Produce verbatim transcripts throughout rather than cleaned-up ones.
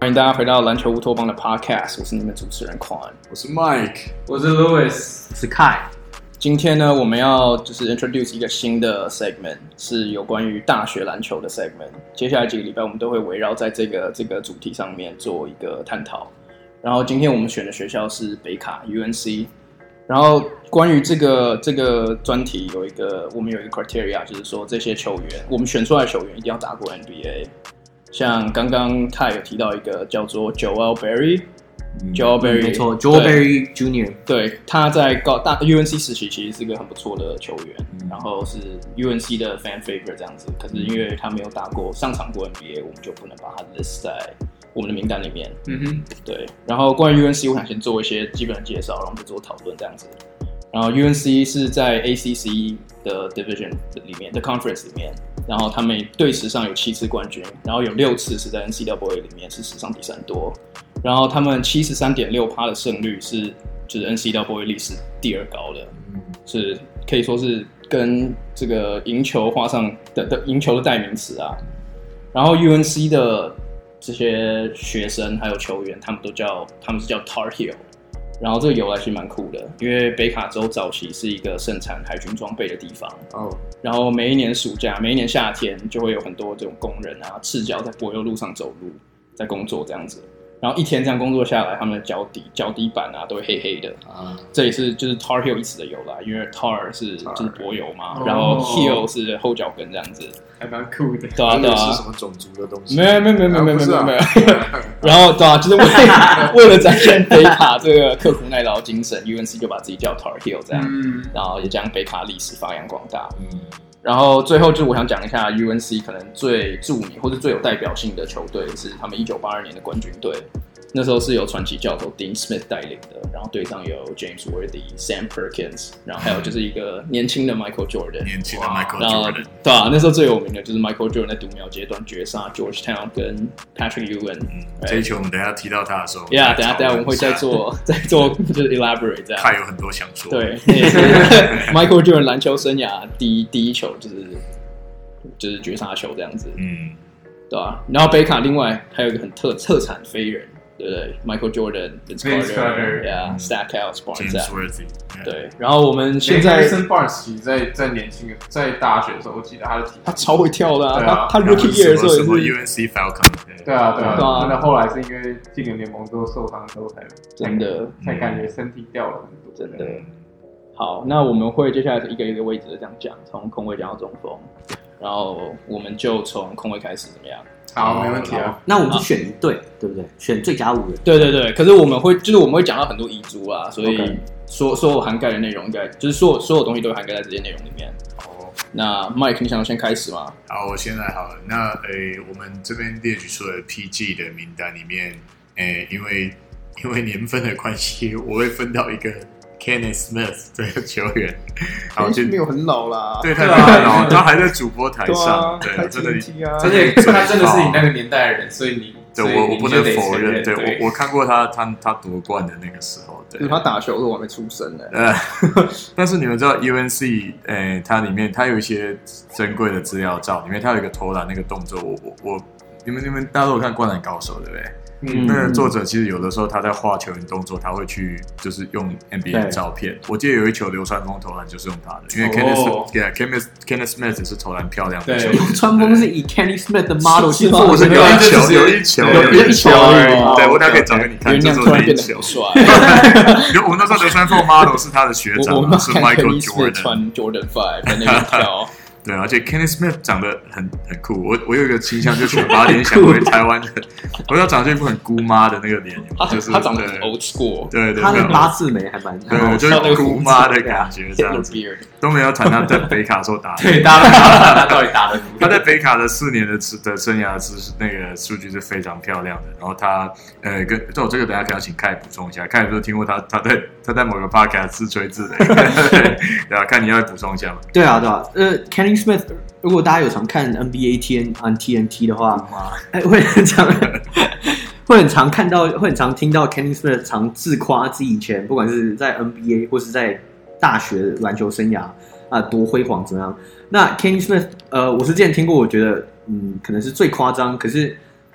歡迎大家回到籃球烏托邦的 Podcast， 我是你們主持人 Quan， 我是 Mike， 我是 Louis， 我是 Kai。 今天呢，我們要就是 introduce 一個新的 segment， 是有關於大學籃球的 segment。接下來幾個禮拜，我們都會圍繞在這個這個主題上面做一個探討。然後今天我們選的學校是北卡 U N C。然後關於這個這個專題有一個我們有一個 criteria， 就是說這些球員我們選出來的球員一定要打過 N B A。像剛剛他有提到一個叫做 Joel Berry。Joel Berry，、嗯、 沒錯 ，Joel Berry Junior 對，他在高大 U N C 時期其實是一個很不錯的球員，嗯、然後是 U N C 的 fan favorite 這樣子。可是因為他沒有打過上場過 N B A， 我們就不能把他 list 在我們的名單裡面。嗯哼，對。然後關於 U N C， 我想先做一些基本的介紹，然後我們再做討論這樣子。然後 U N C 是在 A C C 的 division 裡面的 conference 裡面，然後他們隊史上有七次冠軍，然後有六次是在 N C double A 裡面是史上第三多。然後他們 百分之七十三點六 的勝率是就是 N C double A 歷史第二高的，是可以說是跟這個贏球畫上的的贏球的代名詞啊。然後 U N C 的這些學生還有球員，他們都叫他們是叫 Tar Heel。然後這個由來其實蠻酷的，因為北卡州早期是一個盛產海軍裝備的地方。哦。然後每一年暑假、每一年夏天，就會有很多這種工人啊，赤腳在柏油路上走路，在工作這樣子。然後一天這樣工作下來，他們的腳底、腳底板啊都會黑黑的。啊。這也是就是 Tar Heel 一詞的由來，因為 Tar 是就是柏油嘛，然後 Heel 是後腳跟這樣子。 還蠻酷的。 對啊，對啊。 是什麼種族的東西？ 沒有沒有沒有沒有沒有沒有沒有。然後對啊，就是為了為了展現北卡這個刻苦耐勞精神 ，U N C 就把自己叫 Tar Heel 這樣，嗯、然後也將北卡歷史發揚光大。嗯。然後最後就是我想講一下 U N C 可能最著名或者最有代表性的球隊是他們一九八二年的冠軍隊。那時候是由傳奇教頭 Dean Smith 帶領的，然後隊上有 James Worthy、Sam Perkins， 然後還有就是一個年輕的 Michael Jordan， 年輕的 Michael Jordan， 對啊，那時候最有名的就是 Michael Jordan 在讀秒階段絕殺 Georgetown 跟 Patrick Ewing。嗯， right? 這一球我們等一下提到他的時候 ，Yeah， 等一下等一下我們會再做再做就是 elaborate 這樣。他有很多想說。對， 那也是 Michael Jordan 籃球生涯第一第一球就是就是絕殺球這樣子。嗯，對啊，然後北卡另外還有一個很特特產飛人。對不對 ？Michael Jordan、Vince Carter、Yeah、Stackhouse、Barnes、James Worthy。對，然後我們現在 Harrison Barnes 其實在在年輕在大學的時候，我記得他的體他超會跳的啊！ 啊他他 Rookie Year 的時候也是 U N C Falcon。 對啊對啊，那、啊、後來是因為進了聯盟之後受傷之後才真的才感覺身體掉了很多， 真的。好，那我們會接下來一個一個位置的這樣講，從控衛講到中鋒，然後我們就從控衛開始，怎麼樣？ 好，沒問題啊。 那我們就選一隊，對不對？選最佳五人。 對對對。可是我們會，就是我們會講到很多遺珠啊，所以所所有涵蓋的內容，應該就是所有所有東西都會涵蓋在這些內容裡面。哦。那 Mike， 你想要先開始嗎？ 好，我先來好了。那誒，我們這邊列舉出了 P G 的名單裡面，誒，因為因為年份的關係，我會分到一個 Kenneth Smith 這個球員， 好，就沒有很老啦， 對，他很老，他還在主播台上，對，真的， 真的，他真的是你那個年代的人，所以你， 對我我不能否認，對我我看過他他他奪冠的那個時候，對， 他打球的時候我還沒出生呢， 呃，但是你們知道 U N C，誒，它裡面它有一些珍貴的資料照，裡面它有一個投籃那個動作，我我我，你們你們大家都有看《灌籃高手》對不對？嗯，那個作者其實有的時候他在畫球員動作，他會去就是用 N B A 的照片。我記得有一球流川楓投籃就是用他的，因為 Kenneth yeah Kenneth Kenneth Smith 是投籃漂亮的。對， 流川楓是以 Kenneth Smith 的 model 去做的。 有一球，有一球，有一球而已。對，我大概可以找給你看，就是那一球。我們那時候流川楓 model 是他的學長，是 Michael Jordan， 穿 Jordan Five 在那邊跳。 對，而且 Kenneth Smith 長得很很酷，我我有一個傾向，就全把他聯想為台灣的，我要長這一副很姑媽的那個臉，就是他長得很 old school， 對對， 他的八字眉還蠻， 對，就是姑媽的感覺這樣子。都沒有談他在北卡的時候打的， 對，打他到底打的， 他在北卡的四年的的生涯是那個數據是非常漂亮的。然後他呃跟這我這個等一下可以請凱補充一下，凱有沒有聽過他他在他在某個 podcast 自吹自擂？對啊，看你要補充一下嘛。 對啊對啊，呃 Kenny Smith， 如果大家有常看 N B A T N on T N T 的話，哎，會很常會很常看到，會很常聽到 Kenny Smith 常自誇自己以前不管是在 N B A 或是在大學籃球生涯啊多輝煌怎麼樣？那 Kenny Smith， 呃，我是之前聽過，我覺得嗯可能是最誇張，可是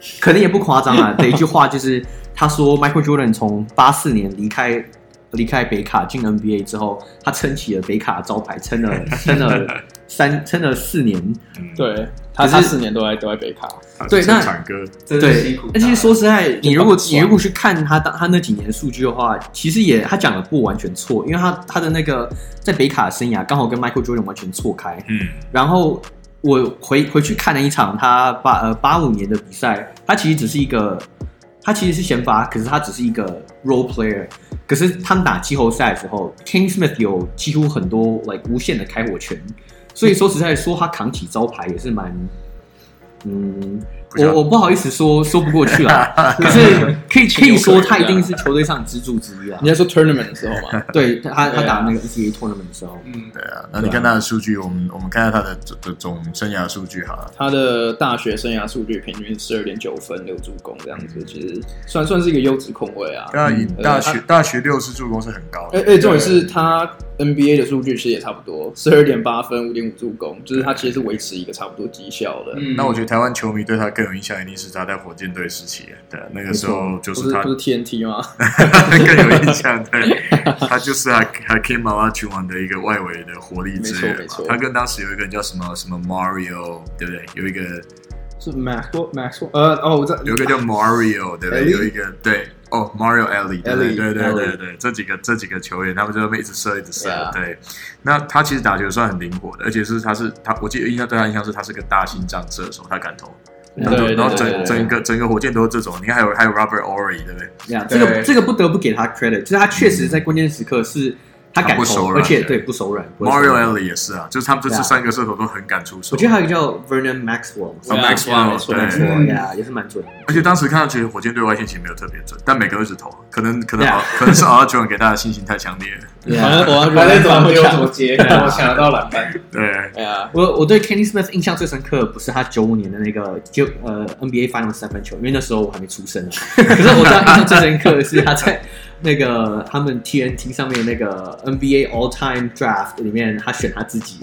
可能也不誇張啊的一句話，就是他說 Michael Jordan 從八四年離開離開北卡進 N B A 之後，他撐起了北卡的招牌，撐了撐了三撐了四年。 對，他他四年都在都在北卡。 對，那真的辛苦。 而且說實在，你如果你如果去看他他那幾年的數據的話，其實也他講的不完全錯，因為他他的那個在北卡的生涯剛好跟 Michael Jordan 完全錯開。嗯，然後我回回去看了一場他八呃八五年的比賽，他其實只是一個。他其實是先發，可是他只是一個 role player。可是他們打季後賽的時候 ，Kenny Smith 有幾乎很多 like 無限的開火權，所以說實在說他扛起招牌也是蠻，嗯，我我不好意思說說不過去啦。可是可以可以說他一定是球隊上支柱之一啊。 你在說 tournament 的時候嗎？ 對，他他打那個 N C A A tournament 的時候， 嗯，對啊。那你看他的數據，我們我們看下他的的總生涯數據好了。 他的大學生涯數據平均十二點九分六助攻這樣子，其實算算是一個優質控衛啊。 对啊，以大學大學六次助攻是很高的。 哎哎，重點是他 N B A 的數據其實也差不多，十二點八分五點五助攻，就是他其實是維持一個差不多績效的。 那我覺得台灣球迷對他更有印象，一定是他在火箭隊時期，對，那個時候就是他不是 T N T 嗎？ 更有印象，对，他就是還還 Hakeem Olajuwon 的一個外圍的活力之源嘛。他跟當時有一個人叫什麼什麼 Mario， 對不對？有一個是 Maxwell Maxwell， 呃哦，我知道有一個叫 Mario， 對不對？有一個對哦 Mario Ellie， 對對對對對對，這幾個這幾個球員，他們就會一直射一直射，對。那他其實打球算很靈活的，而且是他是他，我記得印象對他印象是他是個大心臟射手，他敢投。然後，然後整整個整個火箭都是這種，你看還有還有 Robert Ory， 對不對？ 呀，這個這個不得不給他 credit，就是他確實在關鍵時刻是他敢投，而且對不手軟。 Mario Ellie 也是啊，就是他們這次三個射手都很敢出手。 我覺得還有一個叫 Vernon Maxwell，Maxwell 對呀，也是蠻準。 而且當時看到其實火箭隊外線其實沒有特別準，但每個都一直投，可能可能可能是Olajuwon給大家信心太強烈了。 反正我反正怎麼丟怎麼接，我搶得到籃板。 對， 哎呀， 我我对 Kenny Smith 印象最深刻不是他九五年的那個就呃 N B A Finals 三分球，因為那時候我還沒出生啊。可是我对他印象最深刻的是他在那個他們 T N T 上面那個 N B A All Time Draft 裡面，他選他自己。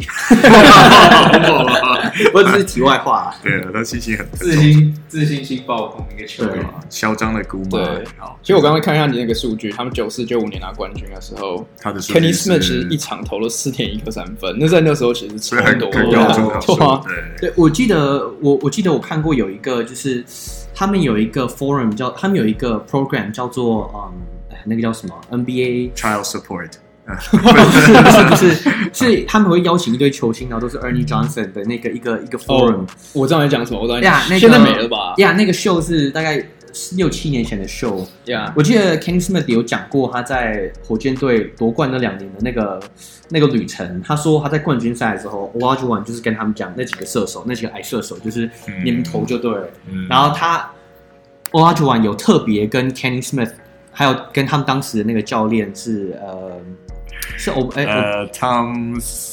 我只是題外話啊。 對，他信心很自信自信心爆棚一個球員， 囂張的姑媽。 對，好。其實我剛剛看一下你那個數據，他們九四九五年拿冠軍的時候， 他的 Kenny Smith 其實一場投了四點一顆三分，那在那時候其實超多， 很高中對對，我記得我我記得我看過有一個，就是他們有一個 forum 叫，他們有一個 program 叫做嗯，那個叫什麼 N B A Child Support。 不是不是不是，是他們會邀請一堆球星，然後都是 Ernie Johnson 的那個一個一個 forum。 我知道你講什麼，我知道你呀，那個現在沒了吧？ 呀，那個 show 是大概六七年前的 show。呀，我記得 Kenny Smith 有講過他在火箭隊奪冠那兩年的那個那個旅程。他說他在冠軍賽的時候 Olajuwon 就是跟他們講那幾個射手，那幾個矮射手就是你們投就對了。嗯、然後他 Olajuwon 有特別跟 Kenny Smith 還有跟他們當時的那個教練是呃。是哦，哎， 呃 ，Tom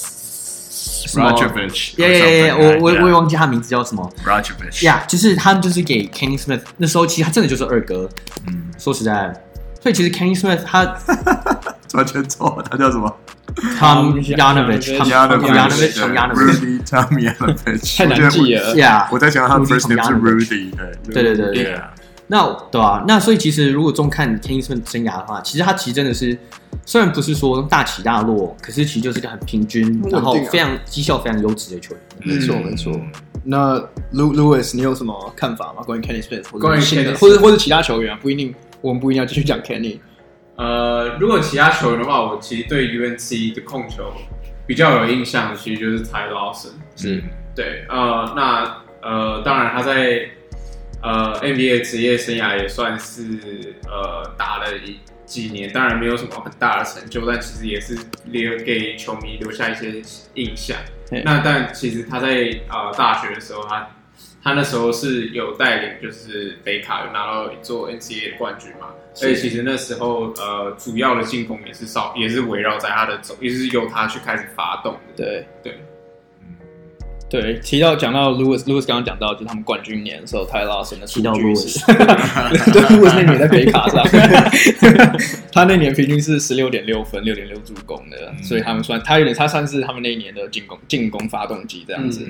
Rajovic， 耶耶耶，我我我也忘記他名字叫什麼 ，Rajovic， 呀，就是他們就是給 Kenny Smith， 那時候其實他真的就是二哥，嗯，說實在，所以其實 Kenny Smith 他完全錯，他叫什麼 ？Tom Yanovich，Tom Yanovich，Tom Yanovich，Rudy，Tom Yanovich， 太難記了， 呀， 我在想他的 first name 是 Rudy， 對對對對，那對啊，那所以其實如果中看 Kenny Smith 生涯的話，其實他其實真的是。雖然不是說大起大落，可是其實就是一個很平均，然後非常績效非常優質的球員。 沒錯沒錯。那 Louis， 你有什麼看法嗎？關於 Kenny Smith， 關於 Kenny， 或者或者其他球員啊，不一定，我們不一定要繼續講 Kenny。 呃，如果其他球員的話，我其實對 U N C 的控球比較有印象的，其實就是 Ty Lawson。是，對，呃，那呃，當然他在呃 N B A 職業生涯也算是呃打了一。幾年當然沒有什麼很大的成就，但其實也是留給球迷留下一些印象。那但其實他在呃大學的時候，他他那時候是有帶領，就是北卡有拿到一座 N C A A 的冠軍嘛。所以其實那時候呃主要的進攻也是少，也是圍繞在他的走，也是由他去開始發動的。 對對。 對，提到講到 Louis，Louis 剛剛講到，就是他們冠軍年的時候 Ty Lawson 的數據是，對 Louis 那年在北卡上，他那年平均是十六點六分，六點六助攻的，嗯、所以他們算他有點，他算是他們那一年的進攻進攻發動機這樣子。嗯、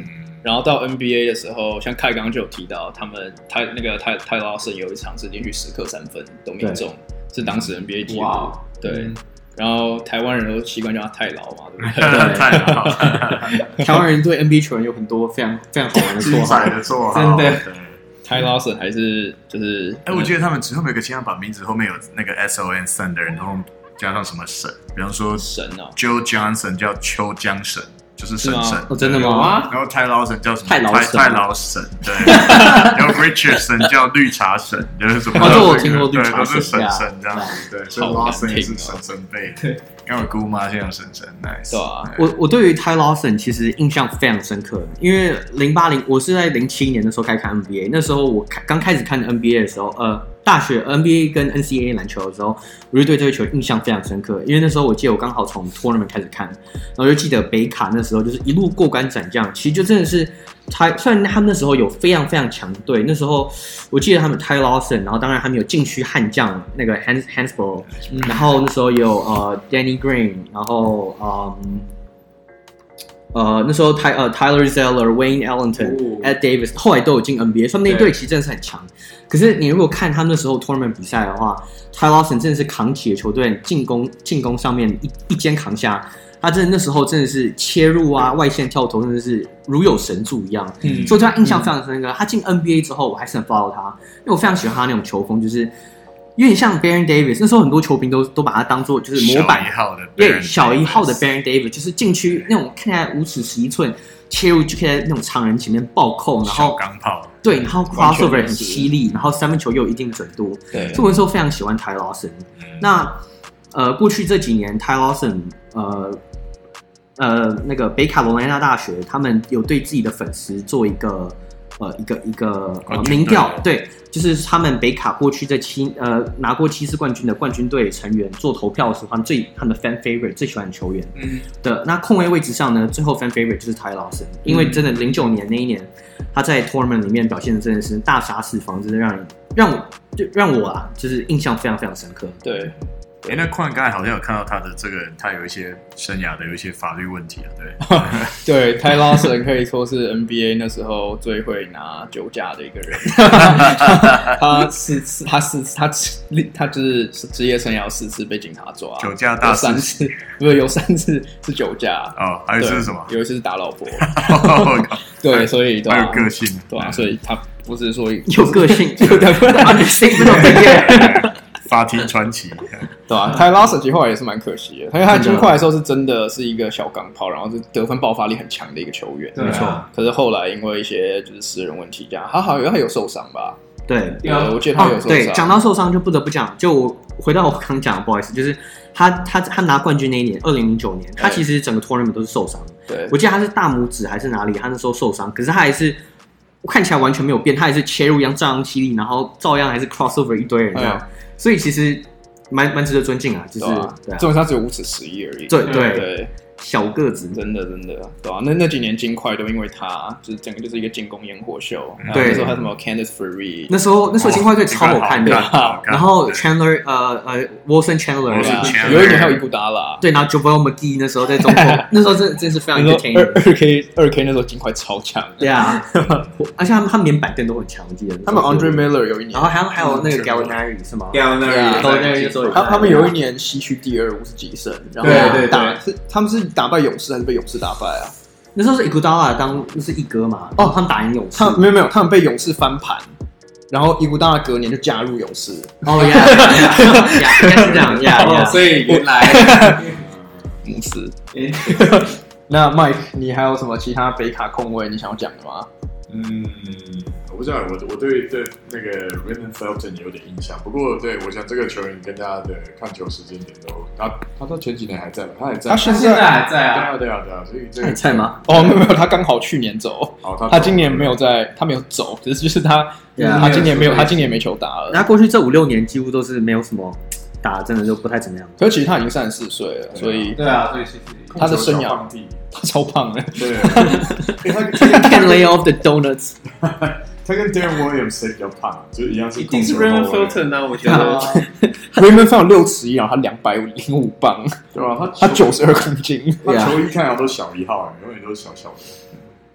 然後到 N B A 的時候，像凱剛剛就有提到，他們泰那個泰泰拉森有一場是連續十顆三分都命中，是當時 N B A 紀錄。對。嗯然後台灣人都習慣叫他太老嘛，對不對？ 太老。 台灣人對 N B A 球員有很多非常非常好玩的綽號， 的綽號，真的。 Ty Lawson 還是就是， 哎，我記得他們之後有一個經常把名字後面有那個 S O N Thunder，然後加上什麼神，比方說神啊 ，Joe Johnson 叫秋江神。就是神神哦，真的嗎？ 然後泰劳神叫什么？ 泰劳神， 泰劳神，对。然後 Richardson 叫綠茶神，就是什麼？ 哦，這我聽過綠茶神， 都是神神這樣子，對。所以 Lawson 也是神神輩，對。因為我姑媽現在有神神 ，nice。 對啊， 我我對於 Ty Lawson 其實印象非常深刻，因為零八零我是在零七年的時候開始看 N B A， 那時候我剛開始看 N B A 的時候，呃。大學 N B A 跟 N C A A 籃球的時候，我就對這個球印象非常深刻，因為那時候我記得我剛好從 tournament 開始看，然後就記得北卡那時候就是一路過關斬將，其實就真的是他，雖然他們那時候有非常非常強隊，那時候我記得他們 Ty Lawson，然後當然他們有禁區悍將那個 Hans Hansbrough，、嗯、然後那時候有呃 Danny Green， 然後嗯。呃，那時候 Ty 呃 Tyler Zeller、Wayne Ellington、Ed Davis 後來都有進 N B A， 所以那一隊其實真的是很強。可是你如果看他們那時候 tournament 比賽的話 ，Ty Lawson 真的是扛起了球隊進攻進攻上面一一肩扛下，他真的那時候真的是切入啊、外線跳投，真的是如有神助一樣。嗯，所以對他印象非常深刻。嗯、他進 N B A 之後，我還是很 follow 他，因為我非常喜歡他那種球風，就是有點像 Baron Davis。那時候很多球評都都把他當做就是模板， 小一號的， 對，小一號的 Baron Davis， 就是禁區那種看起來五尺十一寸切入就可以在那種長人前面暴扣，然後鋼炮， 對，然後 crossover 很犀利，然後三分球又有一定準度。对，所以我那時候非常喜歡 Ty Lawson。嗯、那呃，過去這幾年 Ty Lawson 呃呃那個北卡羅來納大學，他們有對自己的粉絲做一個。呃，一個一個呃民調，對，就是他們北卡過去這七呃拿過七次冠軍的冠軍隊成員做投票的時候，他們最他們的 fan favorite 最喜歡的球員嗯的那控衛位置上呢，最後 fan favorite 就是 Ty Lawson，因為真的零九年那一年他在 tournament 裡面表現的真的是大殺四方，真的讓人讓我就讓我啊就是印象非常非常深刻。 對。 哎、欸，那礦剛才好像有看到他的這個人，他有一些生涯的有一些法律問題啊，對。對，Ty Lawson可以說是 N B A 那時候最會拿酒駕的一個人。他四次，他四次，他他就是職業生涯四次被警察抓，酒駕大三次，不是有三次是酒駕哦，還有一次是什麼？有一次是打老婆。對，所以還有個性，對啊，所以他不是說有個性，有的不能法庭傳奇， 對吧？Ty Lawson其實後來也是蠻可惜的，因為他金塊的時候是真的是一個小鋼炮，然後是得分爆發力很強的一個球員，沒錯。可是後來因為一些就是私人問題，這樣他好像他有受傷吧？對，對，我記得他有受傷。對，講到受傷就不得不講，就我回到我剛講的，不好意思，就是他他他拿冠軍那一年，二零零九年，他其實整個 tournament 都是受傷。對，我記得他是大拇指還是哪裡，他那時候受傷，可是他還是看起來完全沒有變，他還是切入一樣照樣犀利，然後照樣還是 crossover 一堆人這樣。所以其實蠻蠻值得尊敬啊，就是，重點他只有五尺十一而已，對對對，小個子，真的真的，對吧？那那幾年金塊都因為他，就是整個就是一個進攻煙火秀。對，那時候還有什麼 Candace Free，那時候那時候金塊隊超好看的，然後 Chandler 呃呃 Wilson Chandler， 有一年還有伊古達拉，對，然後 JaVale McGee 那時候在中鋒，那時候真真是非常 entertaining。二 K 二 K 那時候金塊超強，對啊，而且他們他們連板凳都很強，我記得他們 Andre Miller 有一年，然後還有還有那個 Gallinari 是嗎 ？Gallinari，他他們有一年西區第二五十幾勝，然後打是他們是打敗勇士還是被勇士打敗啊？那時候是伊古達拉當那是一哥嘛？哦，他們打贏勇士，他沒有沒有，他們被勇士翻盤，然後伊古達拉隔年就加入勇士。哦呀，應該是這樣呀，所以原來勇士。那 Mike， 你還有什麼其他北卡控衛你想要講的嗎？ 嗯，我不知道，我我對對那個 Raymond Felton 有點印象，不過對我想這個球員跟他的看球時間點都，他他到前幾年還在嗎？他還在，他現在還在啊，對啊對啊，所以這個還在嗎？哦，沒有沒有，他剛好去年走，哦、他, 他今年沒有在，他沒有走，只是就是他，就是他今年沒有，他今年沒球打了。他過去這五六年幾乎都是沒有什麼打，真的就不太怎麼樣。可是其實他已經三十四歲了，所以對啊，所以其實他的生涯。他超胖的，對，他 can lay off the donuts。他跟 Darren Williams 誰比較胖？就是一樣是。一定是 Raymond Felton 啊，我覺得。Raymond Felton 六尺一啊，他兩百零五磅，對吧？他他九十二公斤，他球衣看起來都小一號，永遠都是小小的。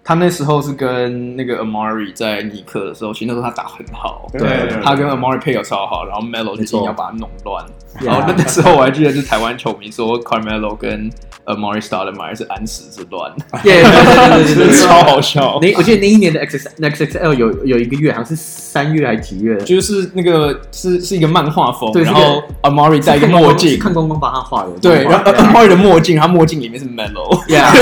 他那時候是跟那個 Amari 在尼克的時候，其實那時候他打很好， 對，對對他跟 Amari 配合超好，然後 Melo 就硬要把他弄亂。然後那那時候我還記得，是台灣球迷說 Carmelo 跟 Amari Stoudemire 是安史之亂， 對對對對， 超好笑。 那我記得那一年的 X X X L 有有一個月，好像是三月還是幾月？ 就是那個是是一個漫畫風， 對， 然後 Amari 戴一個墨鏡， 看光光幫他畫的。 對，然後 Amari 的墨鏡，他墨鏡裡面是 Melo。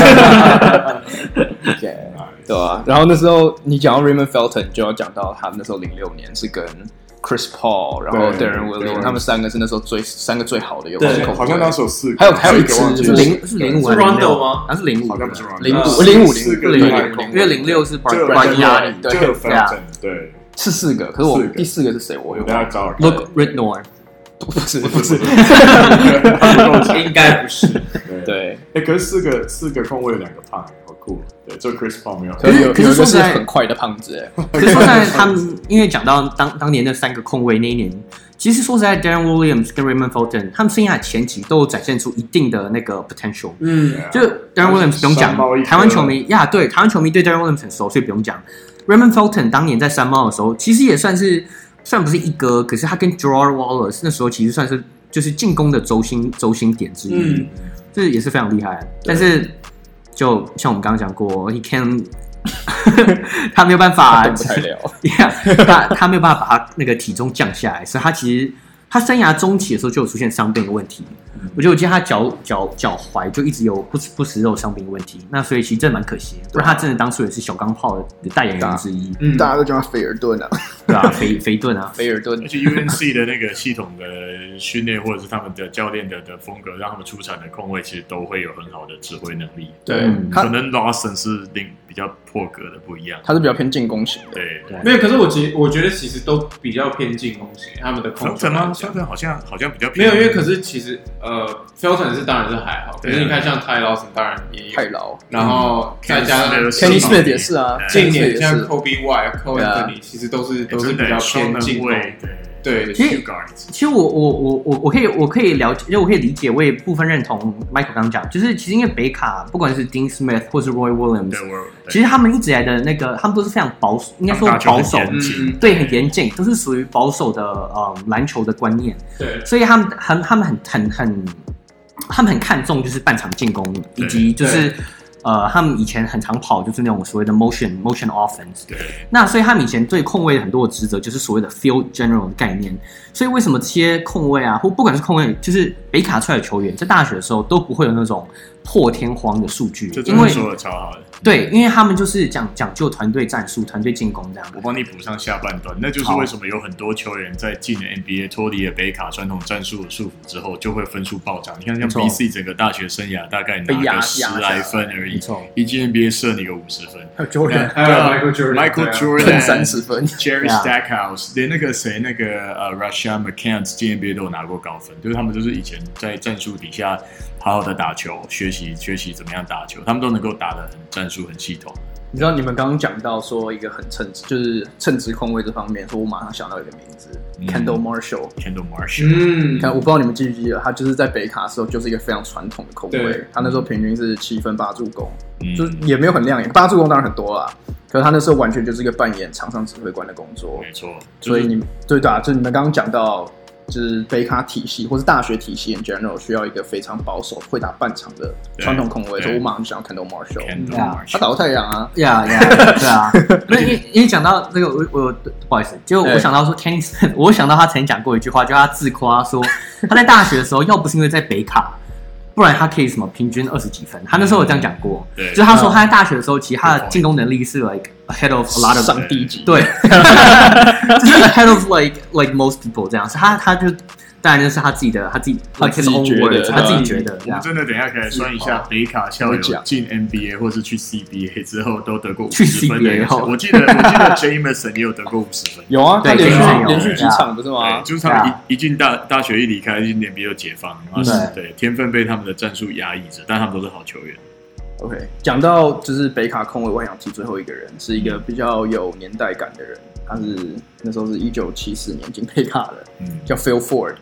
對啊，然後那時候你講到 Raymond Felton，就要講到他那時候零六年是跟 Chris Paul， 然後 Darren Williams， 他們三個是那時候最三個最好的有對，好像那時候四個， 還有還有一支是零是零五是 Rondo 嗎？ 好像是零五， 好像不是 Rondo， 零五零五零零零，因为零六是 Bargnani， 对，Felton， 对， 是四個，可是我第四個是誰？我有大家找 Luke Ridnour， 不是不是， 應該不是， 對， 哎，可是四個四個控衛有兩個胖，好酷。對，就 Chris Paul 沒有， 可是有可是說實在很快的胖子哎。 可是說實在，他們因為講到當當年那三個控衛那一年，其實說實在 ，Darren Williams 跟 Raymond Felton 他們生涯前期都有展現出一定的那個 potential。嗯，就 Darren Williams 不用講，台灣球迷呀，對，台灣球迷對 Darren Williams 很熟，所以不用講。Raymond Felton 當年在三貓的時候，其實也算是雖然不是一哥，可是他跟 Gerard Wallace 那時候其實算是就是進攻的軸心軸心點之一，嗯，這也是非常厲害。但是就像我們剛剛講過 ，He can 他沒有辦法， 動不太了 yeah, 他他沒有辦法把他那個體重降下來，所以他其實他生涯中期的時候就有出現傷病的問題。嗯、我覺得我記得他腳腳腳踝就一直有不不食肉傷病的問題，那所以其實真的蠻可惜的，不然他真的當初也是小鋼炮的代言人之一。 嗯，大家都叫他菲爾頓啊， 對啊，肥肥頓啊， 菲爾頓。 而且 U N C 的那個系統的訓練或者是他們的教練的的風格，讓他們出場的控衛其實都會有很好的指揮能力。 對， 嗯、 可能 Lawson 是另比較破格的不一樣， 他是比較偏進攻型的。 對，對沒有，可是我其我覺得其實都比較偏進攻型，他們的控球嗎 ？Felton 好像好像比較偏沒有，因為可是其實呃 Felton 是當然是還好，可是你看像 Ty Lawson 當然也有太老， 然後再加上 Kenny Smith 也是啊， 近年像 Kobe White、Cole Anthony 其實都是都是比較偏進攻。對， 其實其實我我我我我可以我可以了解，因為我可以理解，我也部分認同 Michael 剛剛講，就是其實因為北卡不管是 Dean Smith 或是 Roy Williams， 其實他們一直以來的那個，他們都是非常保守，應該說保守，嗯、對，很嚴謹，都是屬於保守的呃籃球的觀念。對，所以他們很他們很很很他們很看重就是半場進攻，以及就是。呃，他們以前很常跑，就是那種所謂的 motion motion offense。對。那所以他們以前對控衛很多的職責，就是所謂的 field general 的概念。所以為什麼這些控衛啊，或不管是控衛，就是北卡出來的球員，在大學的時候都不會有那種破天荒的數據，因為說的超好的。 對，因為他們就是講講究團隊戰術、團隊進攻這樣。 我幫你補上下半段，那就是為什麼有很多球員在進了 N B A 脫離了北卡傳統戰術的束縛之後，就會分數暴漲。你看，像 B C 整個大學生涯大概拿個十來分而已，一進 N B A 射你個五十分。 還有 Jordan， 還有 Michael Jordan，Michael Jordan 三十分 ，Jerry Stackhouse， 連那個誰，那個呃 Rashad McCants 進 N B A 都有拿過高分，就是他們就是以前在戰術底下好好的打球，學習學習怎麼樣打球，他們都能夠打得很戰術很系統。 你知道你們剛剛講到說一個很稱職，就是稱職控衛這方面，說我馬上想到一個名字、嗯、，Kendall Marshall。Kendall Marshall， 嗯，看我不知道你們記不記得，他就是在北卡的時候就是一個非常傳統的控衛，他那時候平均是七分八助攻，嗯、就是也沒有很亮眼，八助攻當然很多啦，可是他那時候完全就是一個扮演場上指揮官的工作， 沒錯。 所以你對的、啊，就你們剛剛講到。就是北卡體系或是大學體系 in general 需要一個非常保守、會打半場的傳統控衛，所以我馬上就想要看到 Marshall， yeah, 他打過太陽啊， 呀呀，對啊。那因為因為講到這個，我我不好意思，就我想到說 Kenny Smith， 我想到他曾經講過一句話，就他自誇說他在大學的時候，要不是因為在北卡，不然他可以什麼平均二十幾分。他那時候有這樣講過，嗯、就是他說他在大學的時候，其實他的進攻能力是 like ahead of a lot of 上低級， 對，就是 ahead of like like most people 這樣。是他他就當然那是他自己的，他自己他自己覺得， 他自己覺得。 我們真的等一下可以算一下北卡校友進 N B A 或是去 C B A 之後都得過五十分的。我記得我記得 Jameson 也有得過五十分， 有啊，他連續連續幾場不是嗎？ 就是他們一一進大大學一離開，進 N B A 就解放，然後對天分被他們的戰術壓抑着，但他們都是好球員。 OK， 講到就是北卡控衛，我想提最後一個人，是一個比較有年代感的人，他是那時候是一九七四年進北卡的，嗯，叫 Phil Ford。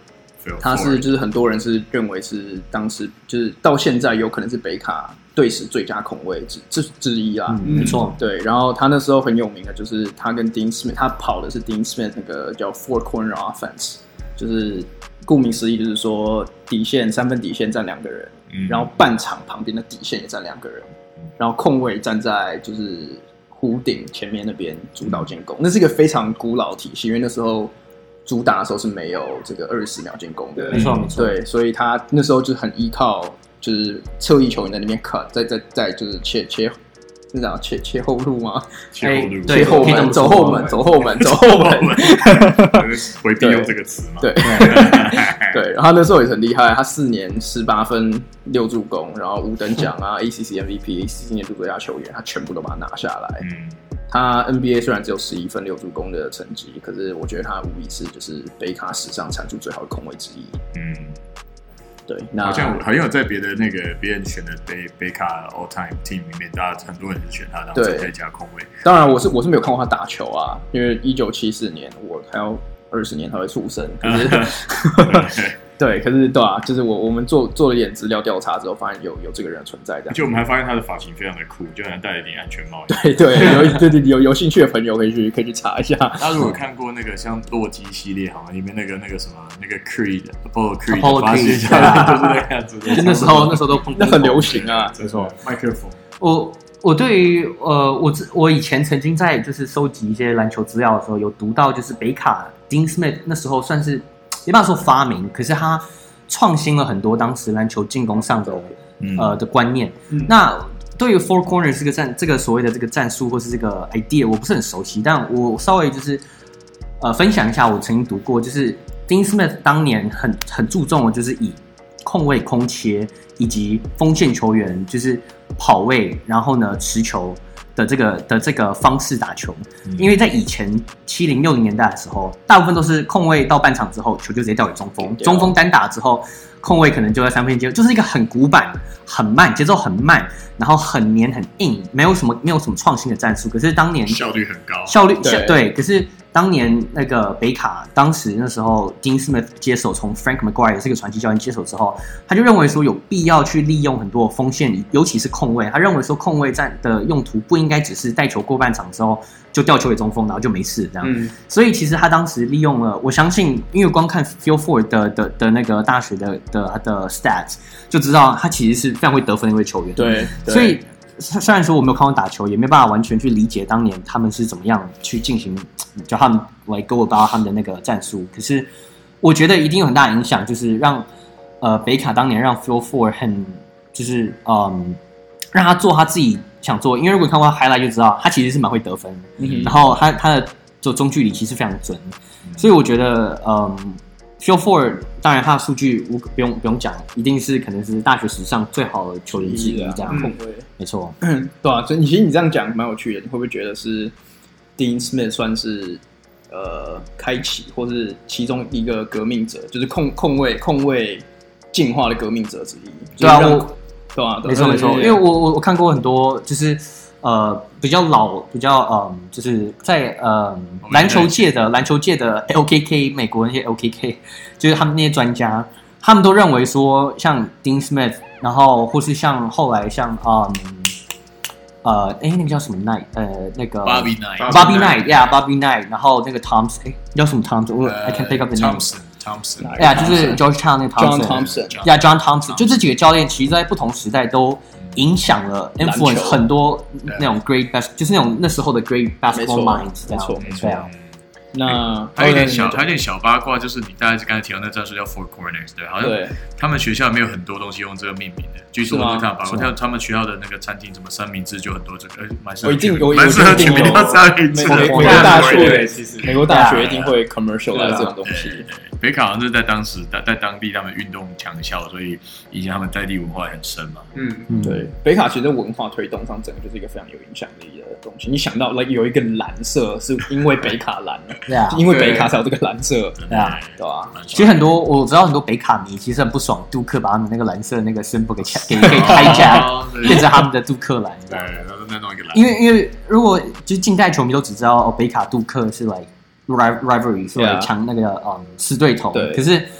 他是就是很多人是認為是當時就是到現在有可能是北卡隊史最佳控衛之之之一啦， 嗯，沒錯， 對。然後他那時候很有名的就是他跟 Dean Smith， 他跑的是 Dean Smith 那個叫 Four Corner Offense， 就是顧名思義就是說底線三分底線站兩個人，嗯，然後半場旁邊的底線也站兩個人，然後控衛站在就是弧頂前面那邊主導進攻，那是一個非常古老的體系，因為那時候主打的時候是沒有這個二十秒進攻的， 沒錯沒錯， 對，所以他那時候就很依靠就是側翼球員在那邊 cut， 再再再就是切切，是這樣切切後路嗎？ 切後路， 切後門，走後門，走後門，走後門， 回避用這個詞嘛？ 對對，然後他那時候也很厲害，他四年十八分六助攻，然後五等獎啊 ，A C C M V P，A C C 年度最佳球員，他全部都把它拿下來。嗯，他 N B A 雖然只有十一分六助攻的成績，可是我覺得他無疑是就是北卡史上產出最好的控衛之一。嗯。對，那好像好像有在別的那個別人選的北北卡 All Time Team 裡面，大家很多人是選他當最佳控衛。 當然，我是我是沒有看過他打球啊，因為一九七四年我還要二十年才會出生，可是對，可是對啊，就是我我們做做了一點資料調查之後，發現有有這個人存在的， 而且我們還發現他的髮型非常的酷，就好像戴了一點安全帽。 對對，有對對有有興趣的朋友可以去可以去查一下。 他如果看過那個像洛基系列，好像裡面那個那個什麼那個 Creed Apollo Creed ，Apollo Creed 就是那樣子的。 就那時候那時候都那很流行啊， 没錯，麥克風。 我我對於呃我我以前曾經在就是收集一些籃球資料的時候，有讀到就是北卡 Dean Smith 那時候算是沒辦法說發明，可是他創新了很多當時籃球進攻上的、嗯、呃的觀念。嗯、那對於 Four Corner 這個戰這個所謂的這個戰術或是這個 idea， 我不是很熟悉，但我稍微就是呃分享一下我曾經讀過，就是 Dean Smith 當年很很注重的就是以控衛空切以及鋒線球員就是跑位，然後呢持球的這個的這個方式打球，嗯、因為在以前七零六零年代的時候，大部分都是控衛到半場之後，球就直接掉給中鋒，中鋒單打之後，控衛可能就在三分線，就是一個很古板、很慢、節奏很慢，然後很黏、很硬，沒有什麼沒有什麼創新的戰術。可是當年效率很高， 效率對，對，可是當年那個北卡，當時那時候 Dean Smith 接手，從 Frank McGuire 這個傳奇教練接手之後，他就認為說有必要去利用很多鋒線，尤其是控衛。他認為說控衛戰的用途不應該只是帶球過半場之後就掉球給中鋒，然後就沒事這樣。嗯、所以其實他當時利用了，我相信，因為光看 Phil Ford 的的的那個大學的的的 stats 就知道，他其實是非常會得分的一位球員。 對，對所以。雖然說我沒有看過打球，也沒辦法完全去理解當年他們是怎麼樣去進行，叫他們來 go about 他們的那個戰術。可是我覺得一定有很大的影響，就是讓呃北卡當年讓 Phil Ford 很就是嗯讓他做他自己想做，因為如果你看過他 highlight 就知道他其實是蠻會得分的，嗯、然後他他的做中距離其實非常準，所以我覺得嗯。Phil Ford 當然他的數據不用不用講，一定是可能是大學史上最好的球員之一，這樣控衛，沒錯， 對啊，所以其實你這樣講蠻有趣的，你會不會覺得是 Dean Smith 算是呃開啟或是其中一個革命者，就是控控衛控衛進化的革命者之一？ 對啊，我對啊， 沒錯沒錯，因為我我我看過很多就是。呃，比較老，比較嗯，就是在呃籃球界的籃球界的 L K K 美國那些 L K K， 就是他們那些專家，他們都認為說，像 Dean Smith， 然後或是像後來像嗯呃，哎，那個叫什麼 Knight， 呃，那個 Bobby Knight，Bobby Knight，Yeah，Bobby Knight， 然後那個 Thompson， 哎，叫什麼 Thompson？ 我 I can't pick up the name。Thompson，Thompson，Yeah， 就是 Georgetown 那個 John Thompson，Yeah，John Thompson， 就這幾個教練，其實在不同時代都。影響了 influence 很多那種 great bas 就是那種那時候的 great basketball minds， 沒錯沒錯。那還有點小，還有點小八卦，就是你大概是剛才提到那戰術叫 Four Corners， 對，好像他們學校沒有很多東西用這個命名的。據說我看八卦，像他們學校的那個餐廳，什麼三明治就很多這個，蠻適合取名，蠻適合取名叫三明治。 美國大學其實美國大學一定會 commercial 來這種東西。 北卡好像是在當時在當地他們運動強校，所以以前他們在地文化也很深嘛。 嗯，對，北卡其實文化推動上整個就是一個非常有影響力的東西。你想到 like 有一個藍色，是因為北卡藍。 對啊， 因為北卡才有這個藍色， 對啊， 對吧？ 其實很多我知道很多北卡迷其實很不爽，杜克把他們那個藍色那個 symbol 給給給開架，變成他們的杜克藍。 對，然後再弄一個藍。 因為因為如果就是近代球迷都只知道哦，北卡杜克是來 rivalry 是來搶那個嗯死對頭，可是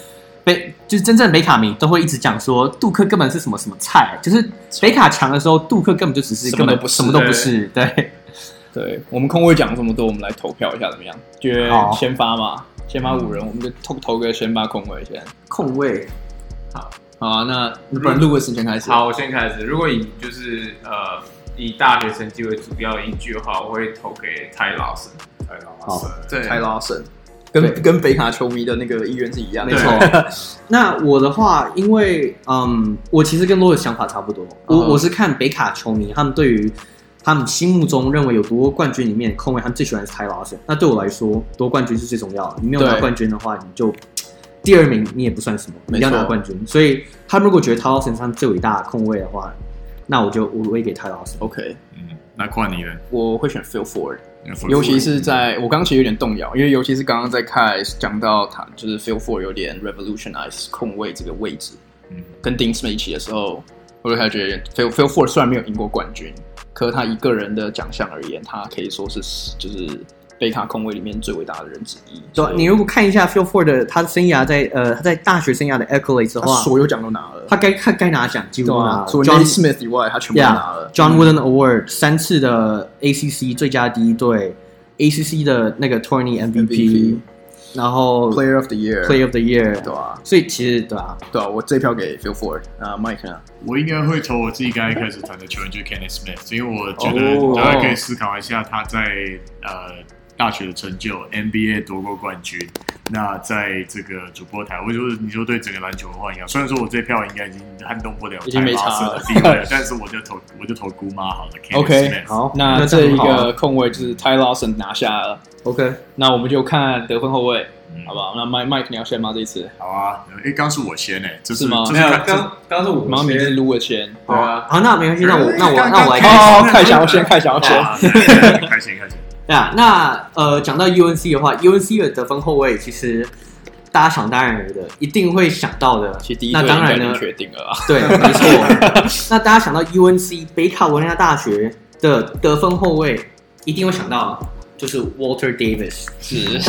北就是真正的北卡迷都會一直講說，杜克根本是什麼什麼菜，就是北卡強的時候，杜克根本就只是根本什麼都不是。對，對， 對我們控衛講這麼多，我們來投票一下怎麼樣？覺得先發嘛，先發五人，我們就投投個先發控衛先。 控衛， 好，好啊，那不然 Louis 先開始。 好，我先開始。如果以就是呃以大學成績為主要依據的話，我會投給 Ty Lawson。 Ty Lawson， 對 ，Ty Lawson。跟跟北卡球迷的那個意願是一樣的， 沒錯。那我的話，因為嗯，我其實跟羅的想法差不多。我、uh-huh. 我是看北卡球迷，他們對於他們心目中認為有奪冠軍裡面控衛，他們最喜歡的是 Ty Lawson。那對我來說，奪冠軍是最重要的。你沒有拿冠軍的話，你就第二名你也不算什麼，你要拿冠軍。所以他們如果覺得 Ty Lawson 是他們最偉大的控衛的話，那我就我會給 Ty Lawson。 OK， 嗯，那換你了， 我會選 Phil Ford。尤其是在我剛其實有點動搖，因為尤其是剛剛在開講到他就是 Phil Ford 有點 revolutionize 控衛這個位置，嗯，跟 Dean Smith 一起的時候，我就開始覺得 Phil Phil Ford 雖然沒有贏過冠軍，可是他以個人的獎項而言，他可以說是就是北卡控衛裡面最偉大的人之一。 對，你如果看一下 Phil Ford 的他的生涯在呃他在大學生涯的 accolades 的話， 所有獎都拿了， 他該他該拿獎幾乎都拿了。 除了 John Smith 以外，他全部都拿了。 Yeah, John Wooden Award、嗯、三次的 A C C 最佳第一隊 ，A C C 的那個 Tourney M V P， 然後 Player of the Year，Player of the Year， 對啊， 所以其實對啊， 對啊，我這票給 Phil Ford， 那 Mike 呢？ 我應該會投我自己剛才開始談的球員，就是 Kenny Smith， 因為我覺得大家可以思考一下他在呃。大學的成就 ，N B A 奪過冠軍。那在這個主播台，我就是你說對整個籃球文化影響。雖然說我這票應該已經撼動不了已經沒差了地位了，但是我就投我就投姑媽好了。 OK， 好，那這一個控衛就是 Ty Lawson 拿下了。OK， 那我們就看得分後衛，嗯、好不好？那 Mike Mike 你要先嗎？這一次？ 好啊，哎，剛是我先誒，這是嗎？ 沒有，剛剛是我先， 媽咪是擼的先。 對啊，好，那沒關係，那我那我那我來開始。看想要先，看想要先， 開心開心。 對啊，那呃，講到 U N C 的話 ，U N C 的得分後衛其實大家想當然的，一定會想到的。 其實第一那當然呢， 確定了啊。 對，沒錯。那大家想到 U N C 北卡羅來納大學的得分後衛，一定會想到就是 Walter Davis。 是，是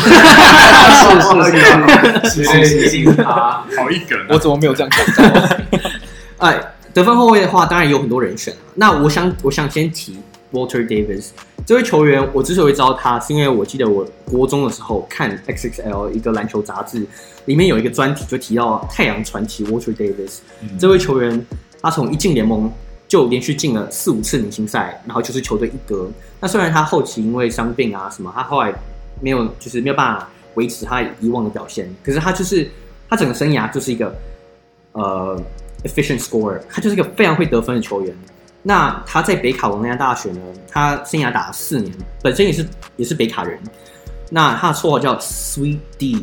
是是是是是他， 好一梗。 我怎麼沒有這樣想到？ 哎，得分後衛的話，當然有很多人選。那我想，我想先提 Walter Davis。這位球員，我之所以知道他，是因為我記得我國中的時候看 X X L 一個籃球雜誌，裡面有一個專題就提到太陽傳奇 Walter Davis、嗯。這位球員，他從一進聯盟就連續進了四五次明星賽，然後就是球隊一哥。那雖然他後期因為傷病啊什麼，他後來沒有就是沒有辦法維持他以往的表現，可是他就是他整個生涯就是一個呃 efficient scorer， 他就是一個非常會得分的球員。那他在北卡羅來納大學呢，他生涯打了四年，本身也是也是北卡人。那他的綽號叫 Sweet D，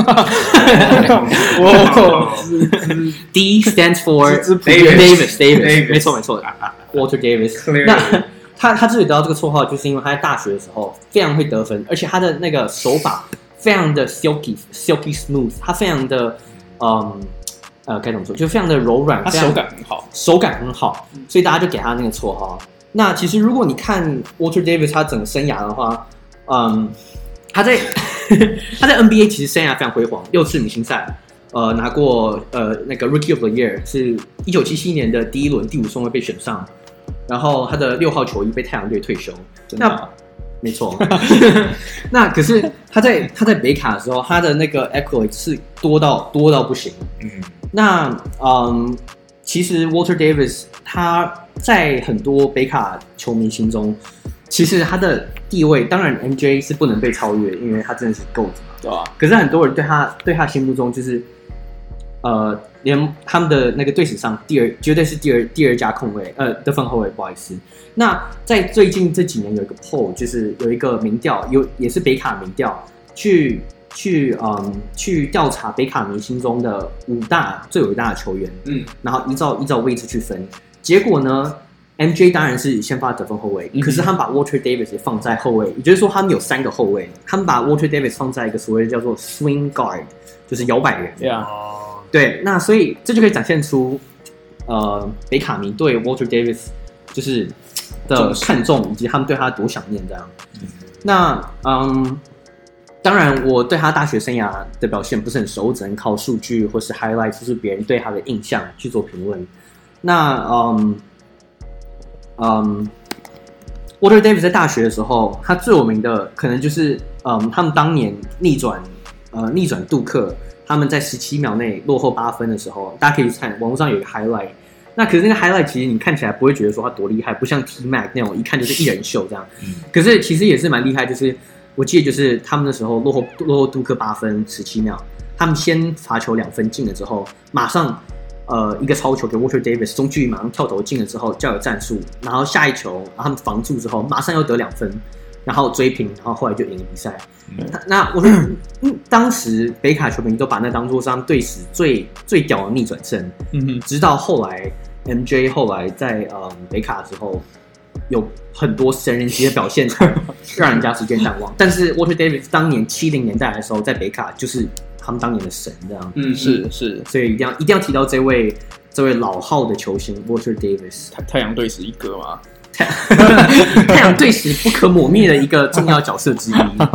D stands for Davis Davis， 沒錯沒錯 ，Walter Davis。那他他之所以得到這個綽號，就是因為他在大學的時候非常會得分，而且他的那個手法非常的 silky silky smooth， 他非常的嗯。呃，該怎麼說？就非常的柔軟， 他手感很好， 手感很好，所以大家就給他那個綽號。那其實如果你看 Walter Davis 他整個生涯的話，嗯，他在他在 N B A 其實生涯非常輝煌，六次明星賽，呃，拿過呃那個 Rookie of the Year， 是一九七七年的第一輪第五順位被選上，然後他的六號球衣被太陽隊退休。 真的啊？ 沒錯。那可是他在他在北卡的時候，他的那個 accolade 是多到多到不行。嗯。那嗯，其實 Walter Davis 他在很多北卡球迷心中，其實他的地位，當然 M J 是不能被超越，因為他真的是 GOAT 嘛， 對吧？ 可是很多人對他對他心目中就是，呃，連他們的那個隊史上第二，絕對是第二第二家控衛，呃，得分後衛，不好意思。那在最近這幾年有一個 poll， 就是有一個民調，有也是北卡民調去。去嗯去調查北卡迷心中的五大最偉大的球員，嗯，然後依照依照位置去分，結果呢 ，M J 當然是先發得分後衛，嗯，可是他們把 Walter Davis 也放在後衛，也就是說他們有三個後衛，他們把 Walter Davis 放在一個所謂的叫做 swing guard， 就是搖擺人，對啊，對，那所以這就可以展現出呃北卡迷對 Walter Davis 就是的看重，以及他們對他多想念這樣，嗯，那嗯。 當然我對他大學生涯的表現不是很熟，我只能靠數據或是 highlight， 就是別人對他的印象去做評論。那嗯嗯 ，Walter Davis 在大學的時候，他最有名的可能就是嗯，他們當年逆轉呃逆轉杜克，他們在十七秒內落後八分的時候，大家可以去看網絡上有一個 highlight。那可是那個 highlight 其實你看起來不會覺得說他多厲害，不像 T Mac 那種一看就是一人秀這樣。嗯、可是其實也是蠻厲害，就是我記得就是他們那時候落後落後杜克八分十七秒，他們先罰球兩分進了之後，馬上呃一個超球給 Walter Davis 中距離馬上跳投進了之後叫有戰術，然後下一球然後他們防住之後馬上又得兩分，然後追平，然後後來就贏了比賽。嗯、那我覺得、嗯、當時北卡球迷都把那當作是他們隊史最最屌的逆轉勝。嗯哼，直到後來。M J 後來在嗯北卡之後有很多神人級的表現，讓人家時間淡忘。但是 Walter Davis 當年七零年代的時候，在北卡就是他們當年的神，這樣。 嗯，是是， 所以一定要一定要提到這位這位老號的球星 Walter Davis， 太太陽隊史一哥嘛， 太陽隊史不可磨滅的一個重要角色之一。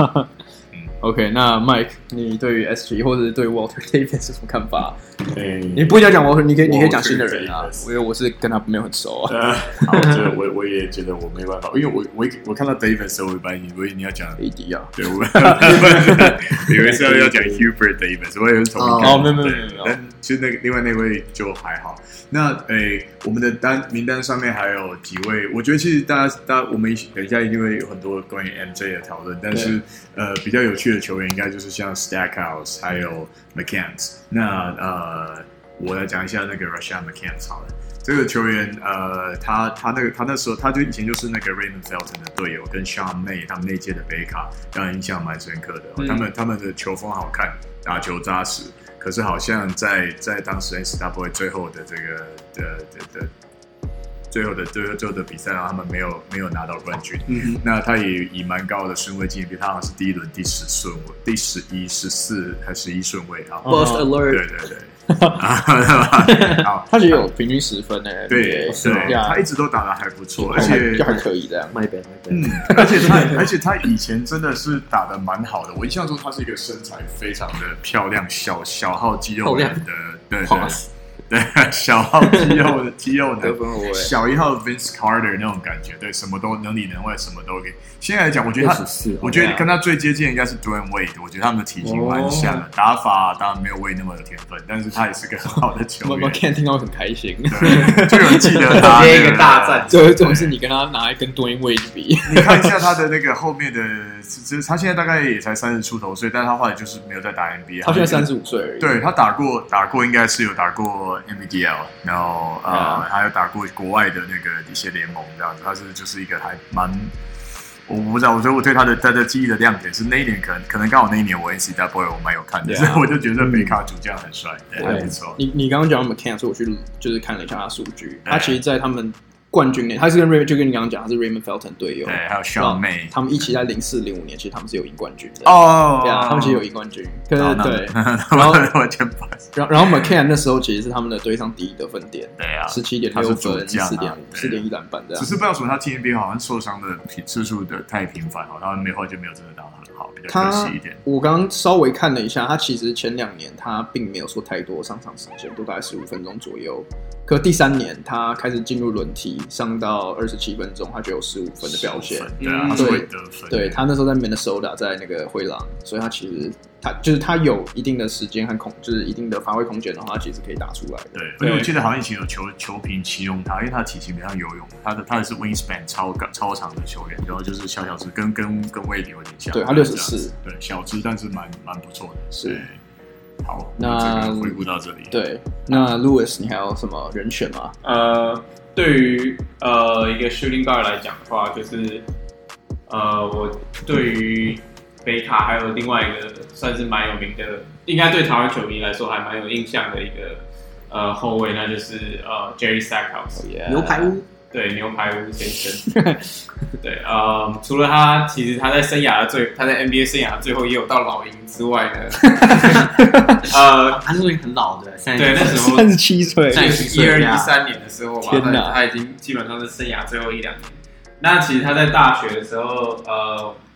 OK， 那 Mike， 你對於 S G 或者是對 Walter Davis 有什麼看法？ 欸、 你不一定要講 Walter， 你可以你可以講新的人啊，因為我是跟他沒有很熟啊。 呃、好，這我我也覺得我沒辦法，因為我我我看到 Davis 的時候，我本來以為你要講 A D 啊， 對，我以為是要要講 Hubert Davis， 我也是同一個。 哦，沒有沒有沒有， 但其實那個另外那位就還好。那誒、欸，我們的單名單上面還有幾位，我覺得其實大家大家我們等一下一定會有很多關於 M J 的討論，但是呃比較有趣的球員應該就是像 Stackhouse 還有 McCants。那呃我來講一下那個 Rashawn McCants 好了，這個球員呃他他那個他那時候他就以前就是那個 Raymond Felton 的隊友，跟 Sean May 他們那屆的北卡讓人印象蠻深刻的。嗯、他們他們的球風好看，打球扎實。可是好像在在當時 N C double A 最後的這個的的的最後的最後最後的比賽，然後他們沒有沒有拿到冠軍。嗯，那他也以蠻高的順位進，比他好像是第一輪第十順位，第十一、十四還十一順位啊。 Post alert， 對對對。好， 他也有平均十分誒。 對對，他一直都打得還不錯，而且就還可以這樣。 My bad, my bad。 嗯，而且他而且他以前真的是打得蠻好的，我印象中他是一個身材非常的漂亮、小小號肌肉人的，對對。對，小號肌肉的肌肉的小一號 Vince Carter 那種感覺，對，什麼都能裡能外，什麼都給。現在來講，我覺得他，我覺得跟他最接近的應該是 Dwayne Wade， 我覺得他們的體型蠻像的，哦、打法當然沒有 Wade 那麼有天分，但是他也是個很好的球員。 我看聽到很開心， 對，就有人記得他接一個大戰， 最後總是你跟他拿來跟 Dwayne Wade 比。 你看一下他的那個後面的，其實他現在大概也才三十出頭歲，但是他後來就是沒有再打 N B A。 他現在三十五歲而已。對， 他打過打過，應該是有打過 N B L。然後呃，嗯、還有打過國外的那個一些聯盟這樣子，他是就是一個還蠻，我不知道，我覺得我對他的他的記憶的亮點是那一年，可能可能剛好那一年我 N C double A 我蠻有看的，所以、啊、我就覺得北卡主將很帥，對，對還不錯。 你你剛剛講 McCants，所以我去就是看了一下他數據，他其實，在他們冠軍年，他是跟 Raymond 就跟你剛剛講，他是 Raymond Felton 隊友， 對，還有 Sean May， 他們一起在零四零五年，其實他們是有贏冠軍的哦， 對啊，他們其實有贏冠軍，可是對， 然後然後然後 McCann 那時候其實是他們的隊上第一得分點， 對啊， 十七點六分，四點五，四點一籃板這樣。 只是不知道為什麼他 T N B A 好像受傷的次數的太頻繁，好像沒後來就沒有真的打得很好，比較可惜一點。 我剛剛稍微看了一下，他其實前兩年他並沒有說太多上場時間，都大概十五分鐘左右。可第三年他開始進入輪替，上到二十七分鐘，他就有十五分的表現。 對啊，他是會得分。 對，他那時候在 Minnesota， 在那個灰狼，所以他其實他就是他有一定的時間和空，就是一定的發揮空間的話，他其實可以打出來的。 對，而且我記得好像以前有球球評形容他，因為他的體型比較游泳，他的他的是 wingspan 超超長的球員，然後就是小小只，跟跟跟威迪有點像。 對，他六十四， 對，小只但是蠻蠻不錯的。 是。 好， 那回顧到這裡。 對，那 Louis， 你還有什麼人選嗎？ 呃，對於呃一個 shooting guard 來講的話，就是呃我對於北卡還有另外一個算是蠻有名的，應該對台灣球迷來說還蠻有印象的一個呃後衛，那就是呃 Jerry Stackhouse， yeah. 牛排屋。 對，牛排屋先生。對，呃，除了他，其實他在生涯的最，他在 N B A 生涯的最後也有到老鷹之外呢，呃， 他那時候很老的， 對，那時候三十七歲， 一二一三年的時候吧，天哪，他已經基本上是生涯最後一兩年。那其實他在大學的時候，呃，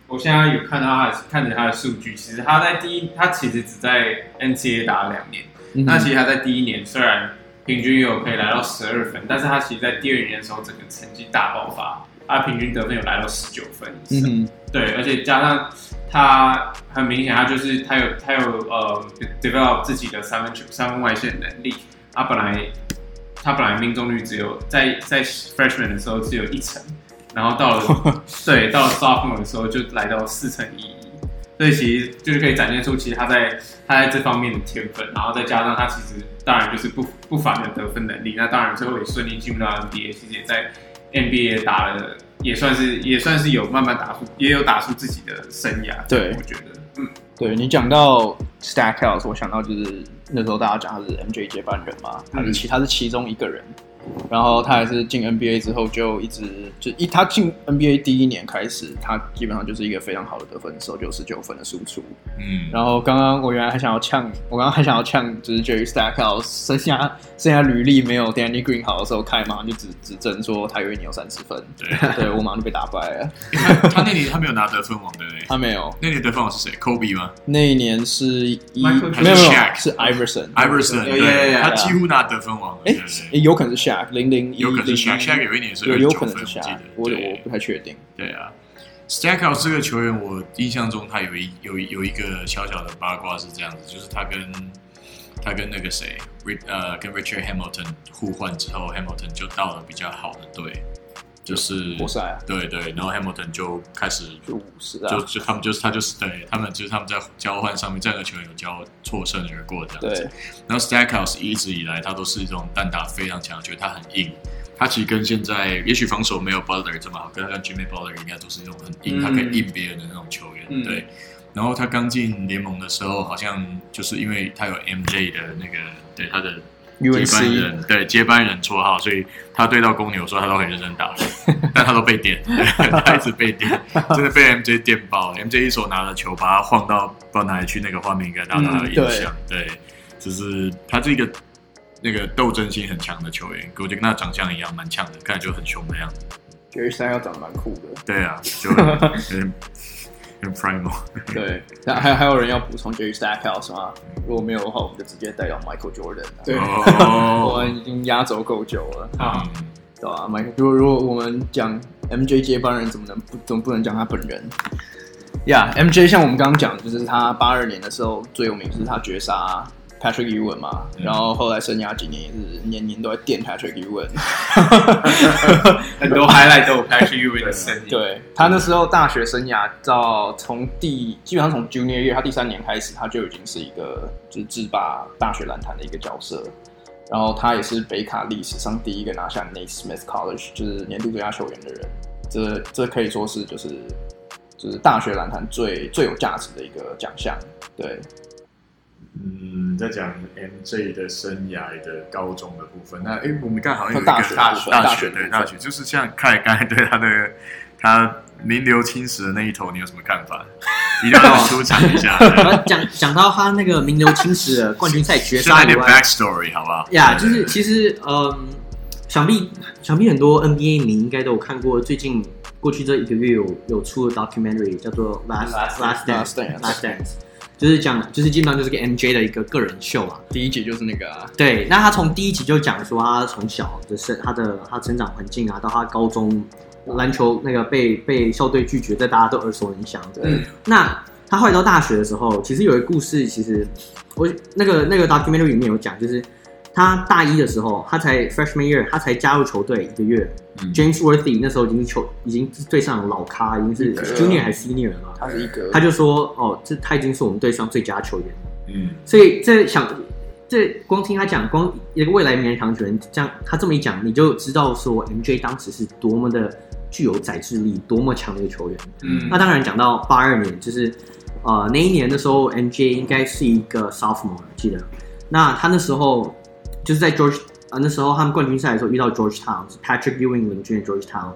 我現在有看到他看着他的數據，其實他在第一，他其實只在 N C A A 打了兩年。嗯、那其實他在第一年雖然平均有可以來到十二分，但是他其實在第二年的時候整個成績大爆發，他平均得分有來到十九分以上。嗯、對，而且加上他很明顯，他就是他有他有呃 develop 自己的三分球三分外線能力。他本來他本來命中率只有在在 freshman 的時候只有一成。然後到了對，到了 sophomore 的時候就來到四成一一，所以其實就是可以展現出其實他在他在這方面的天分，然後再加上他其實當然就是不不凡的得分能力，那當然最後也順利進入到 N B A， 其實也在 N B A 打了，也算是也算是有慢慢打出，也有打出自己的生涯。 對， 我覺得，嗯， 對你講到 Stackhouse， 我想到就是那時候大家講他是 M J 接班人嘛，他是其他是其中一個人。然後他還是進 N B A 之後就一直就一他進 N B A 第一年開始，他基本上就是一個非常好的得分手，九十九分的輸出。嗯，然後剛剛我原來還想要嗆，我剛剛還想要嗆，就是 Jerry Stackhouse 剩下剩下履歷沒有 Danny Green 好的時候，開馬上就指指證說他有一年有三十分，對，對我馬上就被打敗了。 他, 他那年他沒有拿得分王，對不對？ 他沒有。 那年得分王是誰 ？Kobe 嗎？ 那一年是一沒有沒有是 Iverson，Iverson， Iverson, 對, 對, 對, 對，他幾乎拿得分王。 哎，有可能是 Shaq， 零零有可能是 Shaq，Shaq 有一年是二十九分，我記得， 我我不太確定。 對啊 ，Stackhouse 這個球員，我印象中他有一有有一個小小的八卦是這樣子，就是他跟他跟那個誰，呃，跟 Richard Hamilton 互換之後 ，Hamilton 就到了比較好的隊。就是活塞啊，對對，然後 Hamilton 就開始就五十啊， 就就他們就是他就是對他們就是他們在交換上面，這個球員有交錯身而過這樣子。對，然後 Stackhouse 一直以來他都是這種單打非常強，覺得他很硬。他其實跟現在也許防守沒有 Butler 這麼好，跟他跟 Jimmy Butler 應該都是那種很硬，嗯、他可以硬別人的那種球員。嗯、對，然後他剛進聯盟的時候，好像就是因為他有 M J 的那個對他的。接班人對接班人綽號，所以他對到公牛的時候，他都很認真打，但他都被電，他一直被電，真的被 M J 電爆。M J 一手拿着球，把他晃到不知道哪裡去，那個畫面應該大家有印象。嗯、對，就是他是一個那個鬥爭性很強的球員，我覺得跟他長相一樣，蠻強的，看起來就很兇的樣子。 Jerry Stackhouse 長得蠻酷的。 對啊，就很很 primal。 對，那還還有人要補充 Jerry Stackhouse 嗎？如果沒有的話，我們就直接帶到 Michael Jordan 了。對，哦、我們已經壓軸夠久了啊，嗯、對吧 ？Michael，如果如果我們講 M J 接班人，怎麼能不怎麼不能講他本人？呀、yeah, ，M J 像我們剛剛講，就是他八二年的時候最有名，就是他絕殺 Patrick Ewing 嘛，嗯、然後後來生涯幾年也是年年都在電 Patrick Ewing， 很多 highlight 都有 Patrick Ewing 的身影。 對，他那時候大學生涯到從第基本上從 Junior Year 他第三年開始，他就已經是一個就是制霸大學籃壇的一個角色。然後他也是北卡歷史上第一個拿下 Naismith College 就是年度最佳球員的人。這這可以說是就是就是大學籃壇最最有價值的一個獎項。對。 嗯，在講 M J 的生涯的高中的部分，那哎，我們剛好像有一個大學大學大學對大學，就是像凱剛才對他的他名留青史的那一頭，你有什麼看法？一定要讓我出場一下。 講講到他那個名留青史的冠軍賽決賽以外， 點 backstory 好不好？ 呀， yeah, 就是其實嗯，想必想必很多 N B A 迷應該都有看過，最近過去這一個月有有出的 documentary 叫做 Last Last Dance Last Dance。就是講，就是基本上就是個 M J 的一個個人秀啊。 第一集就是那個啊。對， 那他從第一集就講說他從小的生，他的他成長環境啊，到他高中籃球那個被被校隊拒絕，這大家都耳熟能詳。嗯。那他後來到大學的時候，其實有一個故事，其實我那個那個 documentary 裡面有講，就是他大一的時候，他才 freshman year， 他才加入球隊一個月。嗯、James Worthy 那時候已經球已經是隊上的老咖，已經是 junior 還是 senior 了嘛？ 他是一個， 他就說哦，這他已經是我們隊上最佳球員了。嗯，所以這想這光聽他講，光一個未來名人堂球員這樣，他這麼一講，你就知道說 M J 當時是多麼的具有宰制力，多麼強的一個球員。嗯，那當然講到八二年，就是呃那一年的時候 ，M J 應該是一個 sophomore， 記得。那他那時候就是在 George。啊，那時候他們冠軍賽的時候遇到 Georgetown， 是 Patrick Ewing 領軍的 Georgetown。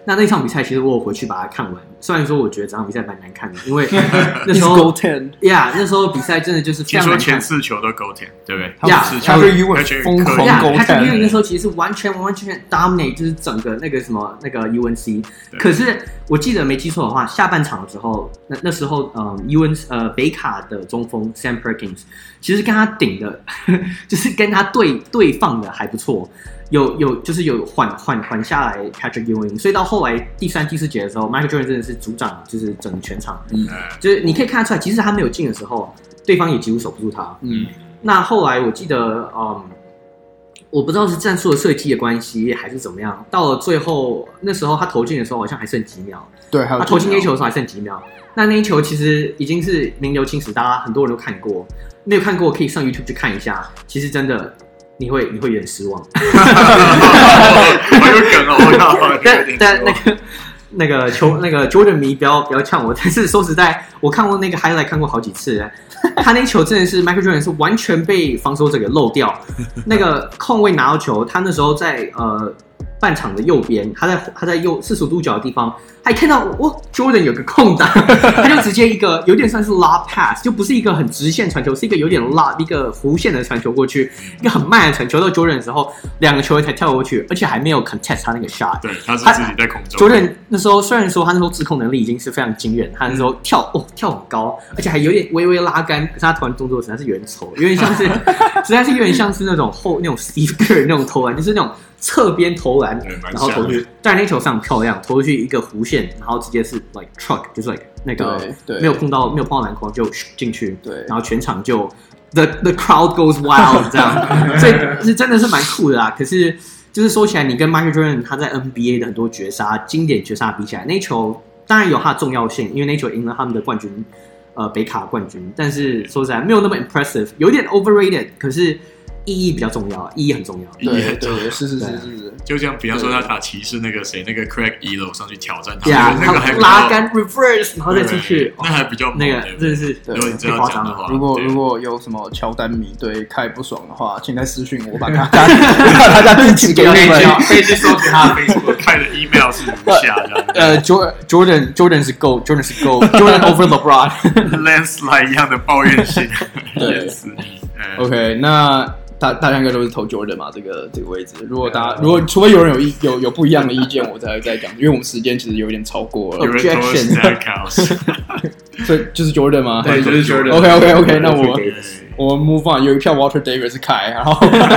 那那場比賽其實我有回去把它看完，雖然說我覺得這場比賽蠻難看的，因為那時候 Go ten， yeah， 那時候比賽真的就是非常難看。 聽說前四球都 Go ten， 對不對？ 呀， 他是 Ewing 瘋狂 Go ten， 他是 Ewing 那時候其實是完全完全 dominate， 就是整個那個什麼那個 U N C。可是我記得沒記錯的話，下半場的時候，那那時候嗯 U N C 呃北卡的中鋒 Sam Perkins 其實跟他頂的，就是跟他對對放的還不錯。有有就是有緩緩緩下來 Patrick Ewing， 所以到後來第三第四節的時候 ，Michael Jordan 真的是主掌，就是整個全場。嗯，就是你可以看得出來，即使他沒有進的時候，對方也幾乎守不住他。嗯，那後來我記得，嗯，我不知道是戰術的設計的關係還是怎麼樣，到了最後那時候他投進的時候好像還剩幾秒。 對，還有他投進那一球的時候還剩幾秒。那那一球其實已經是名留青史，大家很多人都看過，沒有看過可以上 YouTube 去看一下。其實真的。你會你會有點失望， 好有梗哦！ 但但那個那個球那個 Jordan 迷不要不要嗆我，但是說實在，我看過那個 highlight 看過好幾次，他那球真的是 Michael Jordan 是完全被防守者給漏掉，那個控衛拿到球，他那時候在呃半場的右邊，他在他在右四十五度角的地方，還看到哦 Jordan 有個空檔，他就直接一個有點算是 lob pass， 就不是一個很直線傳球，是一個有點 lob 一個弧線的傳球過去，一個很慢的傳球到 Jordan 的時候，兩個球員才跳過去，而且還沒有 contest 他那個 shot。 對，他是自己在空中。 Jordan 那時候雖然說他那時候制控能力已經是非常驚人，他那時候跳哦跳很高，而且還有點微微拉桿，可是他投籃動作實在是有點醜，有點像是實在是有點像是那種後那種 Steve Kerr 那種投籃，就是那種。側邊投籃，然後投去，但那球上很漂亮，投出去一個弧線，然後直接是 like truck， 就是 like 那個沒有碰到沒有碰到籃筐就進去，對，然後全場就 the the crowd goes wild 這樣，所以是真的是蠻酷的啦。可是就是說起來，你跟 Michael Jordan 他在 N B A 的很多絕殺、經典絕殺比起來，那球當然有它的重要性，因為那球贏了他們的冠軍，呃，北卡冠軍。但是說實在沒有那麼 impressive， 有點 overrated， 可是。意義比較重要，意義很重要。 對對對，是是是是是。 就像比方說他打騎士那個誰，那個 Craig Elo 上去挑戰他， yeah, 那個還拉桿 reverse， 然後再出去， 那還比較那個真的是如果你這樣講的話， 如果如果有什麼喬丹迷對凱不爽的話，請在私訊我，把他把他家地址給你們， 可以去搜尋他的 Facebook， 開的 email 是如下這樣。 呃 ，Jordan Jordan 是 Go，Jordan 是 Go，Jordan over LeBron，landslide 一樣的抱怨性。 對 ，OK， 那。大大家應該都是投 Jordan 嘛，這個這個位置。如果大家如果除非有人有意有有不一樣的意見，我才會再講，因為我們時間其實有點超過了。 Objection， 所以就是 Jordan 嗎？ 對，就是 Jordan。 OK OK OK， 那我我們 move on， 有一票 Walter Davis 是凱，然後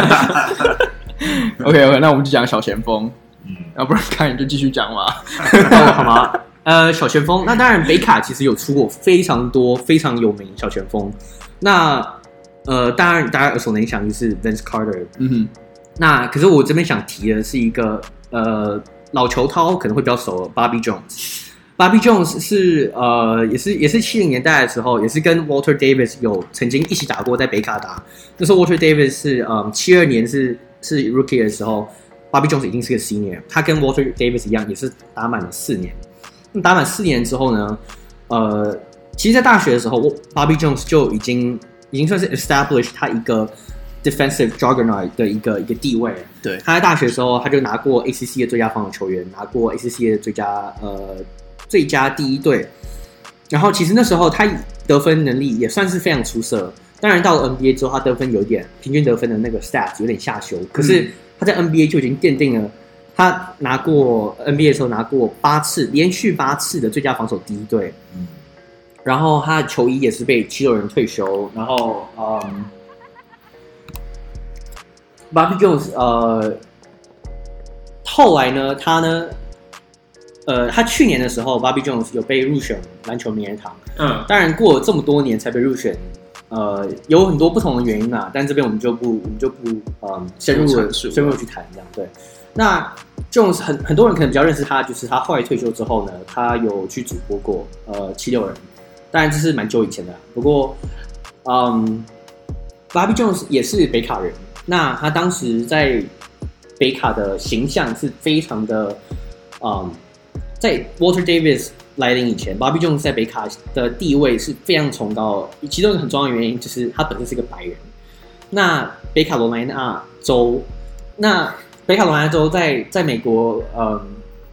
OK OK， 那我們就講小前鋒，嗯，要不然凱你就繼續講嘛， 哦，好嗎？呃，小前鋒，那當然北卡其實有出過非常多非常有名小前鋒，那。呃，當然，大家耳熟能詳就是 Vince Carter。嗯哼，那可是我這邊想提的是一個呃老球濤可能會比較熟 ，Bobby Jones。Bobby Jones 是呃也是也是七零年代的時候，也是跟 Walter Davis 有曾經一起打過，在北卡打。那時候 Walter Davis 是嗯七二年是是 Rookie 的時候 ，Bobby Jones 已經是個 Senior， 他跟 Walter Davis 一樣，也是打滿了四年。那打滿四年之後呢，呃，其實，在大學的時候 ，Bobby Jones 就已經。已經算是 establish 他一個 defensive juggernaut 的一個一個地位了。 對， 他在大學的時候，他就拿過 A C C 的最佳防守球員，拿過 A C C 的最佳呃最佳第一隊。然後其實那時候他得分能力也算是非常出色。當然到了 N B A 之後，他得分有點平均得分的那個 stats 有點下修。可是他在 N B A 就已經奠定了他拿過 N B A 的時候拿過八次連續八次的最佳防守第一隊。嗯。然後他的球衣也是被七六人退休，然後嗯 ，Bobby Jones 呃，後來呢，他呢，呃，他去年的時候 ，Bobby Jones 有被入選籃球名人堂，嗯，當然過了這麼多年才被入選，呃，有很多不同的原因啦，但這邊我們就不，我們就不嗯深入的深入去談這樣，對。那 Jones 很很多人可能比較認識他，就是他後來退休之後呢，他有去主播過呃七六人。當然這是蠻久以前的啦，不過，嗯 ，Bobby Jones 也是北卡人。那他當時在北卡的形象是非常的，嗯，在 Walter Davis 來臨以前 ，Bobby Jones 在北卡的地位是非常崇高的。其中一個很重要的原因就是他本身是一個白人。那北卡羅來納州，那北卡羅來納州在在美國，嗯。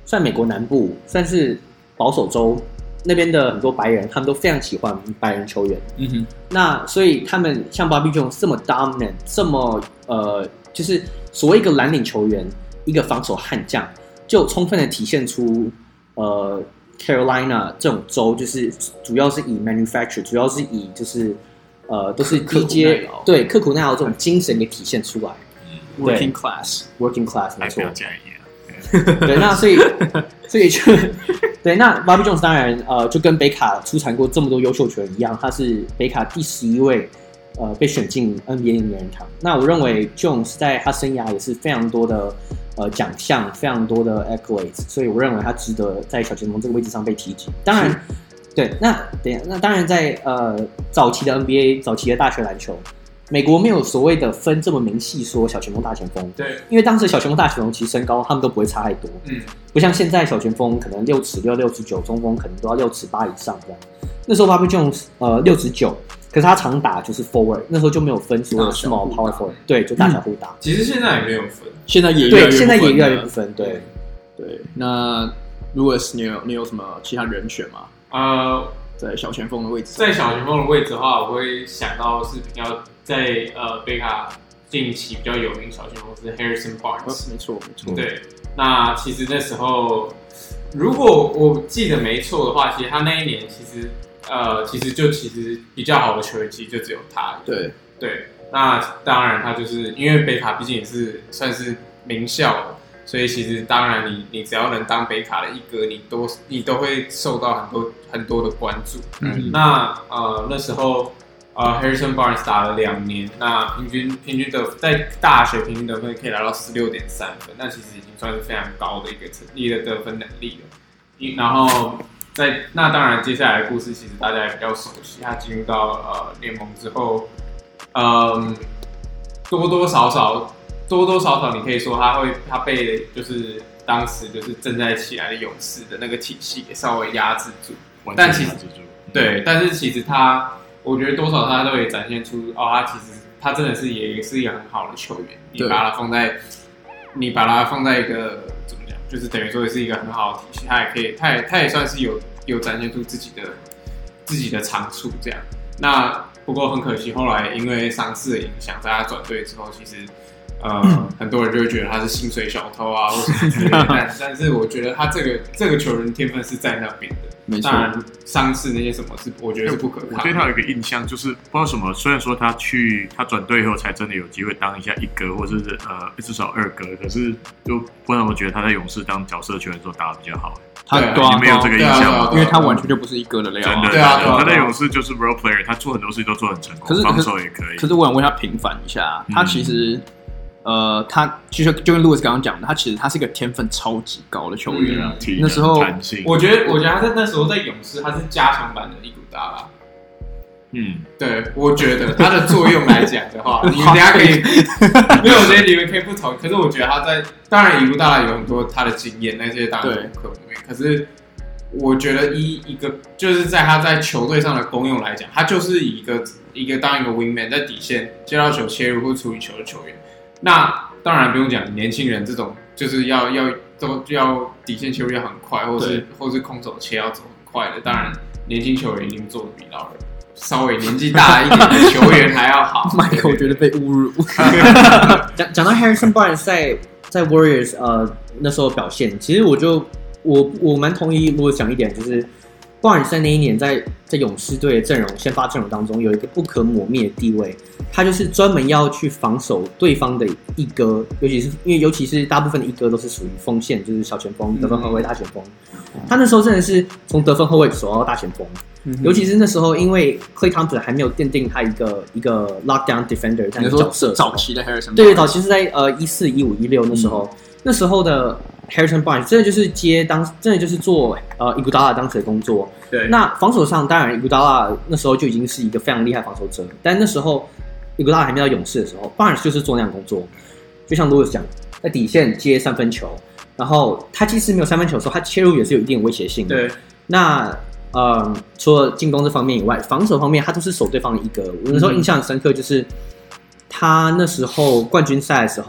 算美國南部，算是保守州那邊的很多白人，他們都非常喜歡白人球員。嗯哼，那所以他們像 Bobby Jones 這麼 dominant， 這麼呃，就是所謂一個藍領球員，一個防守悍將，就充分的體現出呃 Carolina 這種州，就是主要是以 manufacture， 主要是以就是呃都是低階對刻苦耐勞這種精神給體現出來。 Working class, working class， 沒錯。 對， 對，那所以，所以就對，那 Bobby Jones 當然呃，就跟北卡出產過這麼多優秀球員一樣，他是北卡第十一位呃被選進 N B A 的名人堂。那我認為 Jones 在他生涯也是非常多的呃獎項，非常多的 accolades， 所以我認為他值得在小前鋒這個位置上被提及。當然，對，那對，那當然在呃早期的 N B A， 早期的大學籃球。美國沒有所謂的分這麼明細，說小前鋒、大前鋒。 對， 因為當時小前鋒、大前鋒其實身高他們都不會差太多。嗯，不像現在小前鋒可能六尺六、六尺九，中鋒可能都要六尺八以上這樣。那時候 Bobby Jones 呃六尺九，可是他常打就是 forward， 那時候就沒有分所有 small power forward， 對，就大小互打、嗯。 其實現在也沒有分， 現在也越來越對，現在也越來越不分。對， 對。那 Louis， 你有你有什麼其他人選嗎？呃，在小前鋒的位置， 在小前鋒的位置的話，我會想到是比較。在呃，北卡近期比較有名小前鋒是 Harrison Barnes， 沒錯沒錯。 對，那其實那時候，如果我記得沒錯的話，其實他那一年其實呃，其實就其實比較好的球員其實就只有他。 對對，那當然他就是因為北卡畢竟也是算是名校，所以其實當然你你只要能當北卡的一哥，你都你都會受到很多很多的關注。嗯，那呃那時候。呃 ，Harrison Barnes 打了兩年，那平均平均得在大學平均得分可以達到十六點三分，那其實已經算是非常高的一個成績的得分能力了。然後在那當然接下來的故事其實大家也比較熟悉，他進入到呃聯盟之後，嗯，多多少少多多少少你可以說他會他被就是當時就是正在起來的勇士的那個體系給稍微壓制住，但其實對，但是其實他。我覺得多少他都會展現出哦，他其實他真的是也是一個很好的球員。你把他放在，你把他放在一個怎麼講，就是等於說是一個很好的體系，他也可以，他也他也算是有有展現出自己的自己的長處這樣。那不過很可惜，後來因為傷勢的影響，在他轉隊之後，其實呃很多人就會覺得他是薪水小偷啊，或什麼之類的。但但是我覺得他這個這個球員天分是在那邊的。當然，傷勢那些什麼是我覺得是不可抗。 我對他有一個印象，就是不知道什麼。雖然說他去他轉隊以後才真的有機會當一下一哥，或者是呃至少二哥，可是就不然我覺得他在勇士當角色球員的時候打得比較好。 他對啊，你沒有這個印象嗎？ 因為他完全就不是一哥的料。 真的， 對啊， 他在勇士就是 role player， 他做很多事情都做很成功，可是防守也可以。 可是我想為他平反一下，他其實。嗯呃，他其實就跟 Louis 剛剛講的，他其實他是一個天分超級高的球員啊。嗯、那時候， 我覺得，我覺得他在那時候在勇士，他是加強版的伊古達拉。嗯，對，我覺得他的作用來講的話，你們等一下可以，沒有，我覺得你們可以不同意。可是我覺得他在，當然伊古達拉有很多他的經驗，那些當然不可磨滅。可是我覺得一一個就是在他在球隊上的功用來講，他就是以一個一個當一個 wingman 在底線接到球切入或處理球的球員。那當然不用講，年輕人這種就是要要都要底線切入要很快，或是或是空手切要走很快的。當然，年輕球員一定做得比老人稍微年紀大一點的球員還要好。 Michael 覺得被侮辱。 講講到 Harrison Barnes 在在 Warriors 呃那時候表現，其實我就我我蠻同意，如果講一點就是 Barnes 在那一年在在勇士隊的陣容先發陣容當中有一個不可磨滅的地位。他就是專門要去防守對方的一哥，尤其是因為尤其是大部分的一哥都是屬於鋒線，就是小前鋒、得分後衛、大前鋒。他那時候真的是從得分後衛守到大前鋒，嗯、尤其是那時候因為 Klay Thompson 還沒有奠定他一個一個 lockdown defender 這樣的角色。 早期的 Harrison Barnes， 對，早期是在呃一四、一五、一六那時候，嗯、那時候的 Harrison Barnes 真的就是接當，真的就是做呃 Iguodala 當時的工作。 對， 那防守上當然 Iguodala 那時候就已經是一個非常厲害防守者，但那時候。伊古達拉還沒到勇士的時候 ，Barnes 就是做那樣工作，就像 Louis 講，在底線接三分球，然後他即使沒有三分球的時候，他切入也是有一定的威脅性的。 對， 那呃，除了進攻這方面以外，防守方面他都是守對方的一個。我那時候印象很深刻，就是他那時候冠軍賽的時候，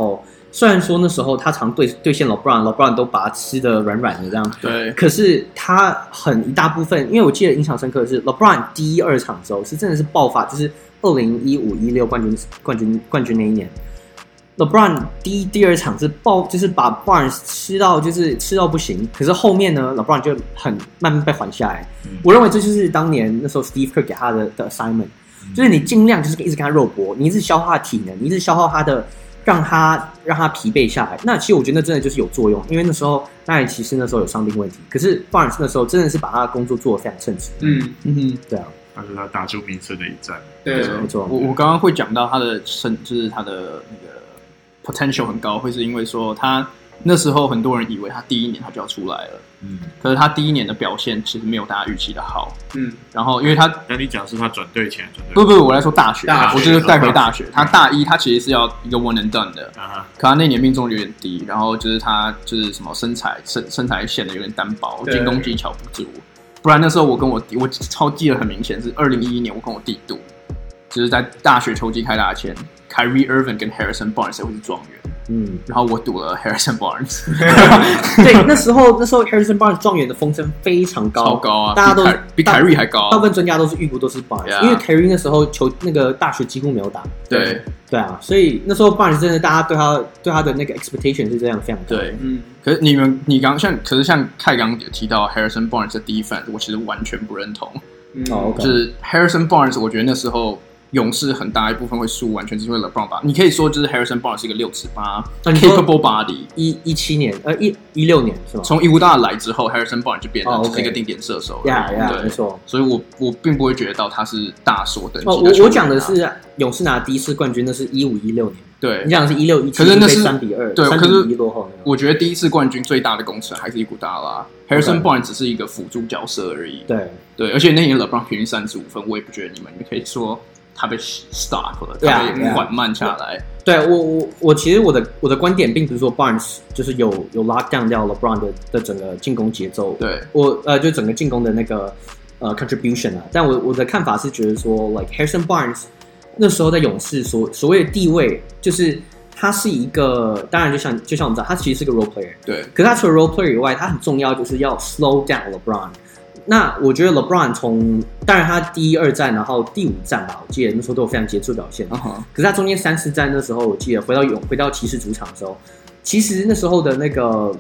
雖然說那時候他常對對線 LeBron，LeBron 都把他吃得軟軟的這樣， 對。 可是他很一大部分，因為我記得印象深刻的是 LeBron 第一二場的時候是真的是爆發，就是二零一五一六冠軍冠軍冠軍那一年 ，LeBron 第一第二場是爆，就是把 Barnes 吃到就是吃到不行。可是後面呢 ，LeBron 就很慢慢被緩下來。嗯、我認為這就是當年那時候 Steve Kerr 給他的的 assignment，、嗯、就是你盡量就是一直跟他肉搏，你一直消耗他的體能，你一直消耗他的。讓他讓他疲憊下來，那其實我覺得那真的就是有作用，因為那時候當然騎士那時候有傷病問題，可是 Barnes 那時候真的是把他的工作做得非常稱職。 嗯嗯哼， 對啊， 那是他打出名聲的一戰。 對， 沒錯。 我我剛剛會講到他的身，就是他的那個 potential 很高，會是因為說他那時候很多人以為他第一年他就要出來了。嗯，可是他第一年的表現其實沒有大家預期的好。嗯，然後因為他， 那你講是他轉隊前轉隊？ 不不不，我來說大學， 大學我就是帶回大學。他大一他其實是要一個 one and done 的，啊、可他那年命中率有點低，然後就是他就是什麼身材身身材顯得有點單薄，進攻技巧不足。不然那時候我跟我弟，我超記得很明顯是二零一一年我跟我弟賭，就是在大學球季開打前 ，Kyrie Irving 跟 Harrison Barnes 會是狀元。嗯，然後我賭了 Harrison Barnes。 對，那時候那時候 Harrison Barnes 狀元的風聲非常高， 超高啊， 大家都比凱瑞還高、啊。 大部分專家都是預估都是 Barnes，、yeah. 因為凱瑞那時候球那個大學幾乎沒有打。 對對啊，所以那時候 Barnes 真的大家對他對他的那個 expectation 是這樣非常高。 對，嗯。可是你們你剛像，可是像凱剛有提到 Harrison Barnes 的 defense， 我其實完全不認同。嗯，哦、okay. 就是 Harrison Barnes， 我覺得那時候。勇士很大一部分會輸，完全是因為 LeBron 吧。你可以說就是 Harrison Barnes 是一個六尺八 capable body。 一一七年，呃，一一六年是嗎？ 從伊烏大來之後 ，Harrison Barnes 就變成就是一個定點射手了。 呀呀， 對， 沒錯。 所以我我並不會覺得到他是大所等級的、啊。 哦，我我講的是勇士拿第一次冠軍，那是一五一六年。 對， 你講的是一六一七，可是那是三比二， 對， 三比一落後。 我覺得第一次冠軍最大的功臣還是伊古達拉 ，Harrison Barnes 只是一個輔助角色而已。 對對，而且那年 LeBron 平均三十五分，我也不覺得你們你可以說。他被 stop 了，他被緩慢下來。 對，我我我其實我的我的觀點並不是說 Barnes 就是有有 lock down 掉 LeBron 的的整個進攻節奏。 對， 我呃就整個進攻的那個呃 contribution 啊，但我我的看法是覺得說 like Harrison Barnes 那時候在勇士所所謂的地位，就是他是一個，當然就像就像我們知道，他其實是個 role player。 對， 可是他除了 role player 以外，他很重要就是要 slow down LeBron。那我覺得 LeBron 從當然他第一二戰，然後第五戰吧，我記得那時候都有非常傑出表現。Uh-huh. 可是他中間三四戰那時候，我記得回到勇回到騎士主場的時候，其實那時候的那個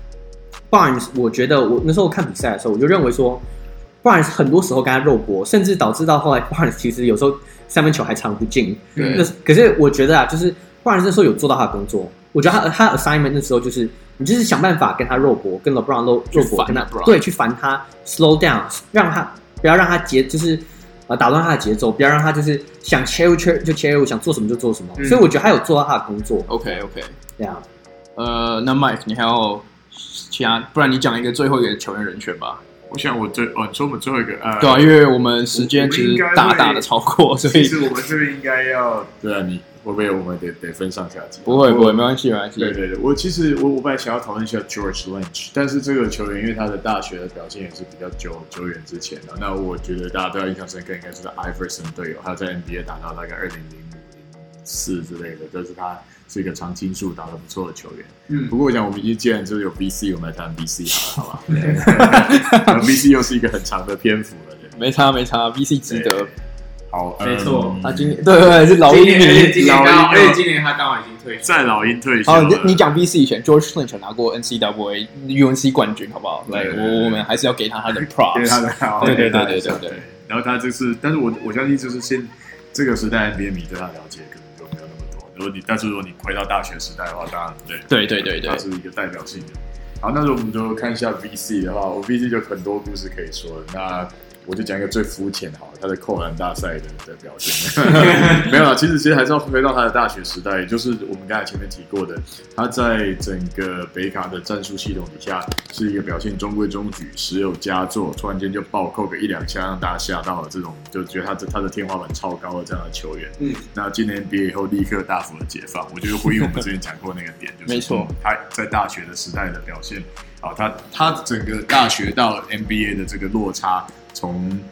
Barnes， 我覺得我那時候看比賽的時候，我就認為說 Barnes 很多時候跟他肉搏，甚至導致到後來 Barnes 其實有時候三分球還藏不進。那可是我覺得啊，就是 Barnes 那時候有做到他的工作。我覺得他他 assignment 那時候就是你就是想辦法跟他肉搏，跟 LeBron 肉肉搏，跟他對去煩他 slow down， 讓他不要讓他節就是呃打亂他的節奏，不要讓他就是想切入切就切入，想做什麼就做什麼。嗯、所以我覺得他有做到他的工作。 OK OK， 對啊。 呃，那 Mike 你還有其他？不然你講一個最後一個球員人選吧。 我想我最哦，你說我們最後一個呃， 對啊，因為我們時間其實大大的超過，所以其實我們這邊應該要對啊你。會不會我們得得分上下集？ 不會不會，沒關係沒關係。 對對對，我其實我我本來想要討論一下 George Lynch， 但是這個球員因為他的大學的表現也是比較久久遠之前的，那我覺得大家對他印象深刻應該是 Iverson 隊友，他在 N B A 打到大概二零零五零四之類的，就是他是一個常青樹，打得不錯的球員。嗯，不過我想我們既然就是有 B C， 我們來談 B C 好了，好吧？B C 又是一個很長的篇幅了，對， 沒差沒差 ，B C 值得。 好， 沒錯、 嗯，他今年對對對是老鷹迷， 而且今年剛，而且今年他剛好已經退休， 在老鷹退休。 好，你講 B C 以前 ，George Lynch 拿過 N C double A U N C 冠軍，好不好？來，我我們還是要給他他的 props，給他的好，對對對對對對。 然後他這次，但是我我相信就是現這個時代 N B A 迷對他了解可能就沒有那麼多。如果你但是如果你回到大學時代的話，當然對對對對對， 他是一個代表性的。好，那如果我們就看一下 B C 的話，我 B C 就很多故事可以說了。那我就講一個最膚淺好了，他的扣籃大賽的的表現沒有啦，其實其實還是要回到他的大學時代，也就是我們剛才前面提過的，他在整個北卡的戰術系統底下是一個表現中規中矩、時有佳作，突然間就暴扣個一兩下，讓大家嚇到了，這種就覺得他的他的天花板超高的這樣的球員。嗯，那今年 N B A 以後立刻大幅的解放，我覺得回應我們之前講過那個點，就是沒錯， 他在大學的時代的表現，好，他他整個大學到 N B A 的這個落差。從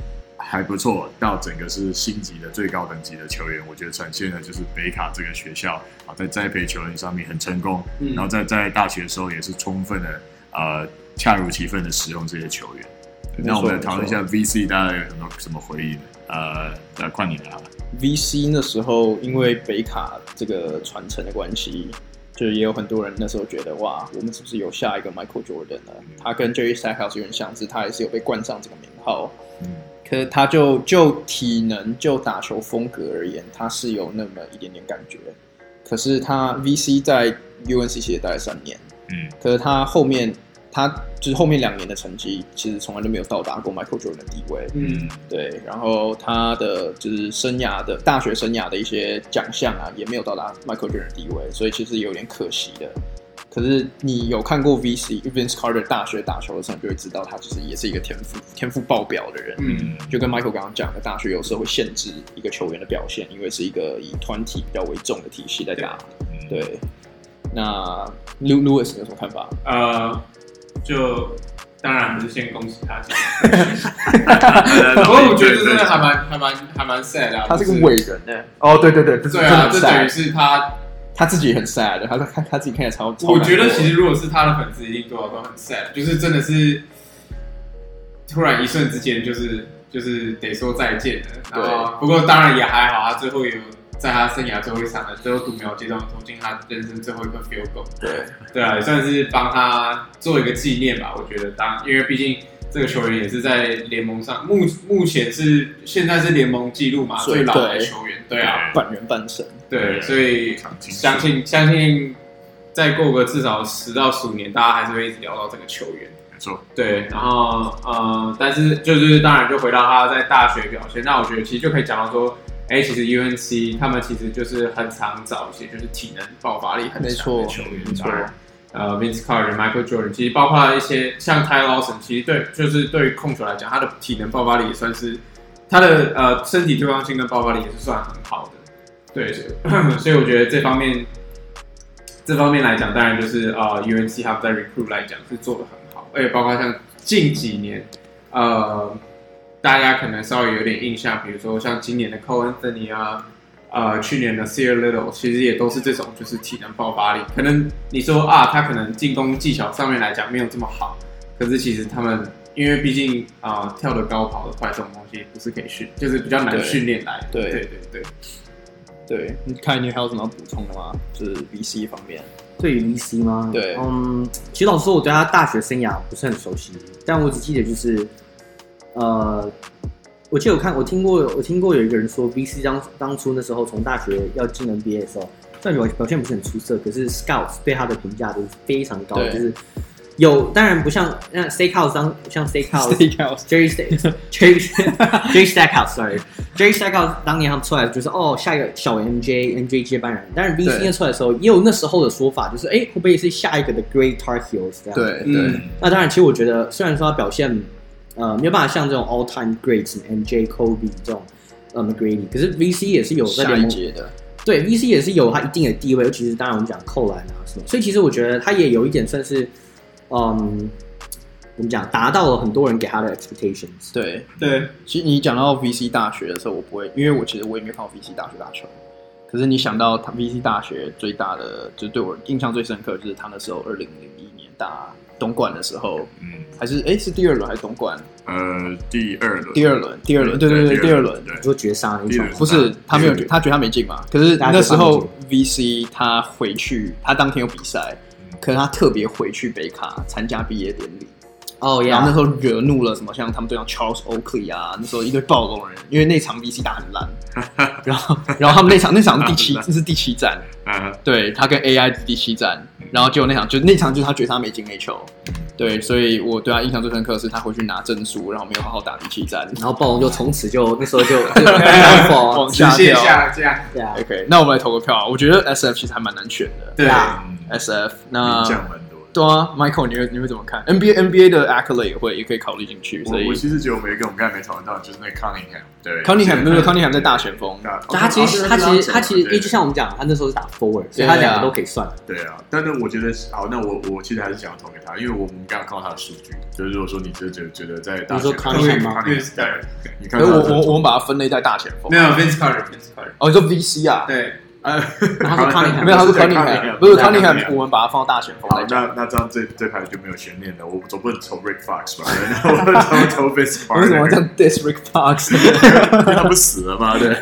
還不錯，到整個是星級的最高等級的球員，我覺得展現的就是北卡這個學校啊，在栽培球員上面很成功，嗯、然後在在大學的時候也是充分的呃恰如其分的使用這些球員。那我們來討論一下 V C， 大家有什麼什麼回憶呢？呃，來換你來。 V C 那時候因為北卡這個傳承的關係，就是也有很多人那時候覺得哇，我們是不是有下一個 Michael Jordan 呢？他跟 Jerry Stackhouse 有點相似，他還是有被冠上這個名號。嗯，可是他就就體能就打球風格而言，他是有那麼一點點感覺。可是他 V C 在 U N C 其實待了三年，嗯，可是他後面他就是後面兩年的成績，其實從來都沒有到達過 Michael Jordan 的地位，嗯，對。然後他的就是生涯的大學生涯的一些獎項啊，也沒有到達 Michael Jordan 的地位，所以其實有點可惜的。可是你有看過 V C Vince Carter 大學打球的時候，你就會知道他其實也是一個天賦天賦爆表的人。嗯，就跟 Michael 剛剛講的，大學有時候會限制一個球員的表現，因為是一個以團體比較為重的體系在打。對，對，那 Lewis 有什麼看法？ 呃，就當然不是先恭喜他，不過我覺得這真的還蠻還蠻還蠻 sad 的、啊。 他是個偉人呢。哦，對對對，這對啊，這等於是他。 他自己也很 sad 的，他他他自己看起來超。超我覺得其實如果是他的粉絲，一定多少都很 sad，就是真的是突然一瞬之間，就是就是得說再見了。然後不過當然也還好，他最後有在他生涯最後一場的最後讀秒階段投進他人生最後一個 field goal。對對啊，也算是幫他做一個紀念吧。我覺得當因為畢竟這個球員也是在聯盟上目目前是現在是聯盟紀錄嘛最老的球員。對啊， 半人半神。 對，所以相信相信再過個至少十到十五年，大家還是會一直聊到這個球員。 沒錯。 對，然後呃，但是就是當然就回到他在大學表現，那我覺得其實就可以講到說，哎，其實 U N C 他們其實就是很常找一些就是體能爆發力很強的球員，沒錯。呃 ，Vince Carter、Michael Jordan， 其實包括一些像 Ty Lawson， 其實對就是對於控球來講，他的體能爆發力也算是他的呃身體對抗性跟爆發力也是算很好的。對，所以我覺得這方面，這方面來講，當然就是呃 U N C 他們在 recruit 來講是做得很好，而且包括像近幾年，呃，大家可能稍微有點印象，比如說像今年的 Cole Anthony 啊，呃，去年的 Nassir Little， 其實也都是這種就是體能爆發力。可能你說啊，他可能進攻技巧上面來講沒有這麼好，可是其實他們因為畢竟啊、呃、跳得高跑得快這種東西不是可以訓，就是比較難訓練來。對對對對。 對，你看你還有什麼要補充的嗎？就是 V C 方面。 對於 V C 嗎？ 對， 嗯，其實老實說，我對他大學生涯不是很熟悉，但我只記得就是，呃，我記得我看我聽過我聽過有一個人說 ，V C 當當初那時候從大學要進 N B A 的時候，雖然表現不是很出色，可是 Scouts 對他的評價都是非常高的，就是有當然不像那 Stackhouse 當像 Stackhouse、Jerry Stack、Jerry Jerry Stackhouse，sorry。Jerry Stackhouse 當年他們出來就是哦，下一個小 M J、M J 接班人。但是 V C 出來的時候，也有那時候的說法，就是哎，會不會是下一個的 Great Tar Heels 這樣？對對、嗯。那當然，其實我覺得，雖然說他表現呃沒有辦法像這種 All Time Greats、M J、Kobe 這種呃 McGrady，可是 V C 也是有在聯盟的。對 ，V C 也是有他一定的地位，尤其是當然我們講扣籃啊什麼，所以其實我覺得他也有一點算是嗯。我們講達到了很多人給他的 expectations。 對對，其實你講到 V C 大學的時候，我不會，因為我其實我也沒有看過 V C 大學打球。可是你想到他 V C 大學最大的，就對我印象最深刻，就是他那時候二零零一年打東冠的時候，嗯，還是哎是第二輪還是東冠？ 呃，第二輪， 第二輪，第二輪，對對對，第二輪， 你說絕殺那一場？ 不是，他沒有，他覺得他沒進嘛。可是那時候 V C 他回去，他當天有比賽，可是他特別回去北卡參加畢業典禮。哦、oh, yeah. 然後那時候惹怒了什麼，像他們隊長 Charles Oakley 啊，那時候一堆暴龍人，因為那場 V C 打很爛，然後然後他們那場那場是第七，這是第七戰，對，他跟 A I 第七戰，然後結果那場就那場就是他覺得他沒進那球，對，所以我對他印象最深刻的是他回去拿證書，然後沒有好好打第七戰， 然後暴龍就從此就那時候就就往下掉， 下這樣， 對啊 ，OK， 那我們來投個票啊，我覺得 S F 其實還蠻難選的， 對啊 ，S F 那。 對啊 ，Michael，你會你會怎麼看 ？N B A N B A 的 accolade 也會也可以考慮進去。所以我我其實覺得我們有一個我們剛才沒討論到，就是那個 Cunningham， 對 ，Cunningham 沒有 Cunningham 在大前鋒， 他其實他其實他其實因為就像我們講，他那時候是打 forward， 所以他兩個都可以算。對啊， 但是我覺得好，那我我其實還是想要投給他，因為我们剛剛看到他的數據，就是如果說你真的覺得覺得在大前鋒， 你說 Cunningham 嗎？ 你看， 我我我們把它分類在大前鋒， 沒有 Vince Carter，Vince Carter， 哦，你說 V C 啊？ 對。 呃，他是 Cunningham， 沒有，他是 Cunningham， 不是 Cunningham， 我們把它放到大前鋒來講。 那那這樣這這排就沒有懸念了，我總不能投 Rick Fox 吧？我投投 Vince Carter。為什麼這樣 diss Rick Fox？ 他不死了嗎？對。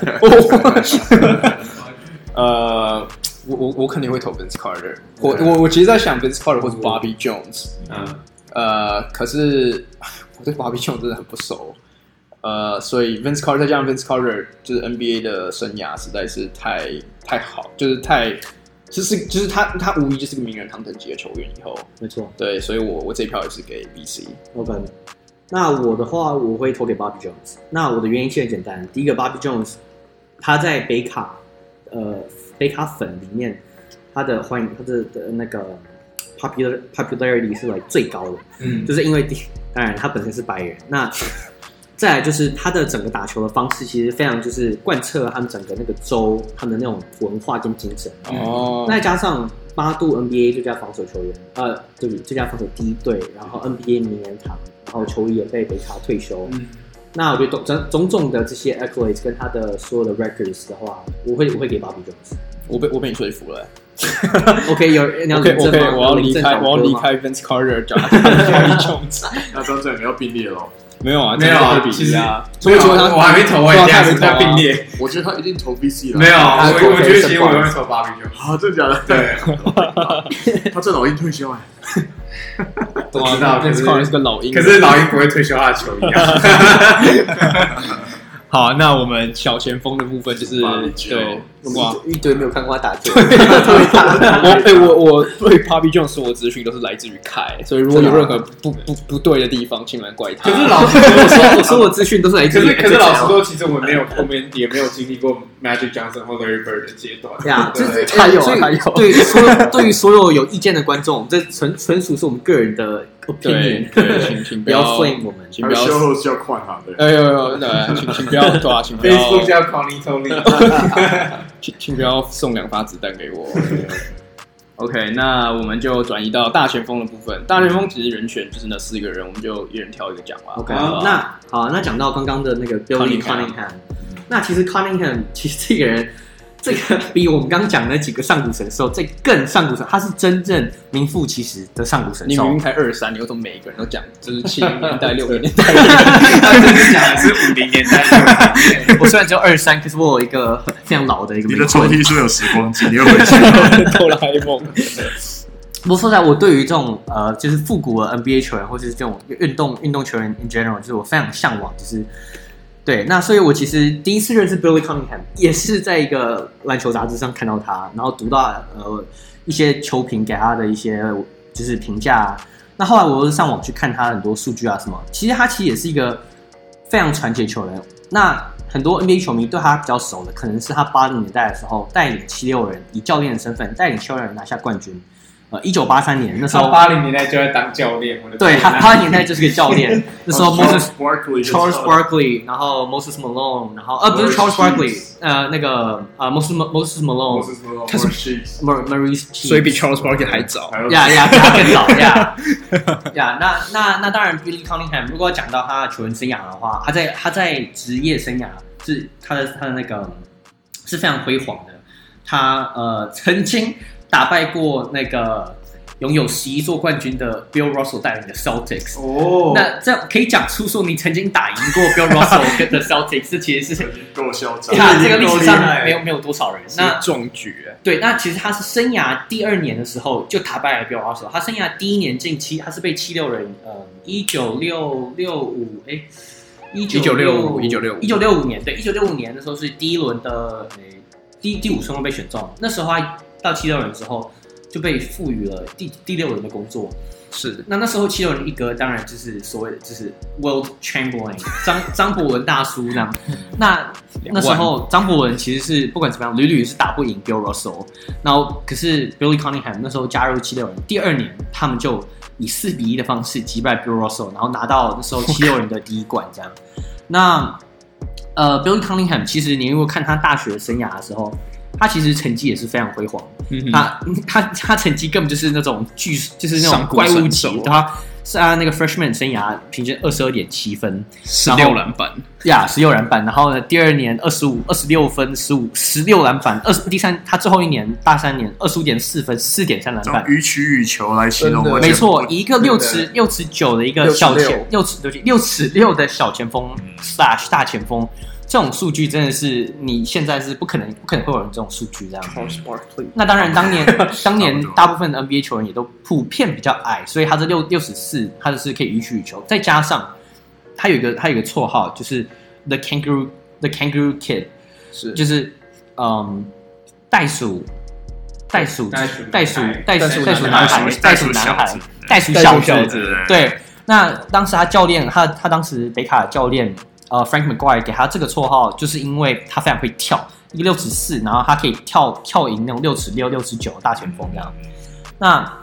呃，我我我肯定會投 Vince Carter。我我我其實在想 Vince Carter 或是 Bobby Jones。嗯。呃，可是我對 Bobby Jones 真的很不熟。呃，所以 Vince Carter 再加上 Vince Carter 就是 N B A 的生涯實在是太太好，就是太就是就是他他無疑就是個名人堂等級的球員。以後沒錯， 對，所以我我這一票也是給 V C。OK， 那我的話我會投給 Bobby Jones。那我的原因其實很簡單，第一個 Bobby Jones 他在北卡呃北卡粉裡面他的歡迎他的的那個 popular popularity 是 like 最高的，嗯，就是因為當然他本身是白人，那。再來就是他的整個打球的方式，其實非常就是貫徹他們整個那個州他們的那種文化跟精神。哦，那再加上八度 N B A 最佳防守球員，呃，對不起，最佳防守第一隊，然後 N B A 名人堂，然後球衣也被北卡退休。嗯，那我覺得种種種的這些 accolades 跟他的所有的 records 的話，我會我會給 Bobby Jones。我被我被你說服了、欸。 OK， 有你要領證嗎？ OK， 我要離開，我要離開 Vince Carter， 找 Bobby Jones。 那張正你要並列咯。 沒有啊， 沒有啊，其實啊， 所以說他我還沒投，我也這樣子在並列。 我覺得他一定投 V C 了。 沒有，我我覺得其實我會投 Bobby Jones。 好，真的假的？對，他這老鷹退休哎。 我知道，可是是個老鷹， 可是老鷹不會退休他的球衣啊。 好，那我們小前鋒的部分就是對， 哇，一堆沒有看過他打球。 我哎，我我對 Bobby Jones 所有資訊都是來自於凱，所以如果有任何不不不對的地方，請來怪他。 可是老實說，我說我所有資訊都是來自於。 可是可是老實說，其實我們沒有後面也沒有經歷過 Magic Johnson 或 Larry Bird 的階段。 呀，這他有他有。 對，所有對於所有有意見的觀眾，這純純屬是我們個人的 opinion。 對，請請不要 flame 我們， 請不要秀后叫快哈的。 哎呦呦，对，請請不要对啊，請不要。 Facebook 叫 Connie Tony。 請請不要送兩發子彈給我。OK， 那我們就轉移到大前鋒的部分。大前鋒其實人選就是那四個人，我們就一人挑一個講吧。 OK，好，那好，那講到剛剛的那個 Billy Cunningham， 那其實 Cunningham 其實這個人。這個比我們剛剛講的那幾個上古神獸，這更上古神，他是真正名副其實的上古神獸。 你明明才二三，你又說每一個人都講，就是七零年代、六零年代，他真的講的是五零年代。 我雖然只有二三，可是我有一個非常老的一個。 你的抽屜說有時光機，你又回去哆啦 A 夢。 不過說實在，我對於這種呃，就是復古的 N B A 球員，或者是這種運動運動球員 in general，就是我非常向往，就是。對，那所以我其實第一次認識 Billy Cunningham 也是在一個籃球雜誌上看到他，然後讀到呃一些球評給他的一些就是評價。那後來我又上網去看他很多數據啊什麼，其實他其實也是一個非常傳奇的球員。那很多 N B A 球迷對他比較熟的，可能是他八零年代的時候帶領七六人以教練的身份帶領七六人拿下冠軍。呃，一九八三年那時候， 八零年代就在當教練。 對，他八零年代就是個教練。那時候 Moses Barkley、Charles Barkley， 然後 Moses Malone， 然後呃不是 Charles Barkley， 呃那個呃 Moses Moses Malone， 他是 Maurice， 所以比 Charles Barkley 還早。 呀呀，比他更早呀呀。那那那當然 ，Billy Cunningham 如果要講到他的球員生涯的話，他在他在職業生涯是他的他的那個是非常輝煌的。他呃曾經。打敗過那個擁有十一座冠軍的 Bill Russell 帶領的 Celtics。哦，那這樣可以講出說你曾經打贏過 Bill Russell 跟的 Celtics， 這其實是夠囂張。 那這個歷史上沒有沒有多少人。那壯舉。 對，那其實他是生涯第二年的時候就打敗了 Bill Russell。他生涯第一年進七，他是被七六人呃一九六六五哎一九六五一九六五一九六五年，對，一九六五年的時候是第一輪的誒第第五順位被選中，那時候他。到七六人之後，就被賦予了第第六人的工作。 是， 那那時候七六人一哥當然就是所謂的就是 Wilt Chamberlain 張張伯倫大叔這樣。那那時候張伯倫其實是不管怎麼樣，屢屢是打不贏 Bill Russell。然後可是 Billy Cunningham 那時候加入七六人，第二年他們就以四比一的方式擊敗 Bill Russell， 然後拿到那時候七六人的第一冠。這樣，那呃 Billy Cunningham 其實你如果看他大學生涯的時候，他其實成績也是非常輝煌。嗯、他他他成績根本就是那種巨，就是那種怪物級，對吧？是啊，那個 freshman 生涯平均二十二點七分， 十六籃板呀，十六籃板。然後呢，第二年二十五二十六分，十五十六籃板。二第三，他最後一年大三年二十五點四分，四點三籃板。 予取予求來形容， 沒錯，以一個六尺六尺九的一個小前六尺对不起六尺六的小前鋒 slash 大前锋。這種數據真的是你現在是不可能，不可能會有人這種數據這樣。那當然，當年當年大部分的 N B A 球員也都普遍比較矮，所以他這六六十四，他就是可以予取予求。再加上他有一個他有一個綽號，就是 The Kangaroo The Kangaroo Kid， 是就是嗯袋鼠袋鼠袋鼠袋鼠袋鼠袋鼠男孩袋鼠男孩袋鼠小子。對，那當時他教練他他當時北卡的教練。呃 ，Frank McGuire 給他這個綽號，就是因為他非常會跳，一個六尺四，然後他可以跳跳贏那種六尺六、六尺九的大前鋒這樣。那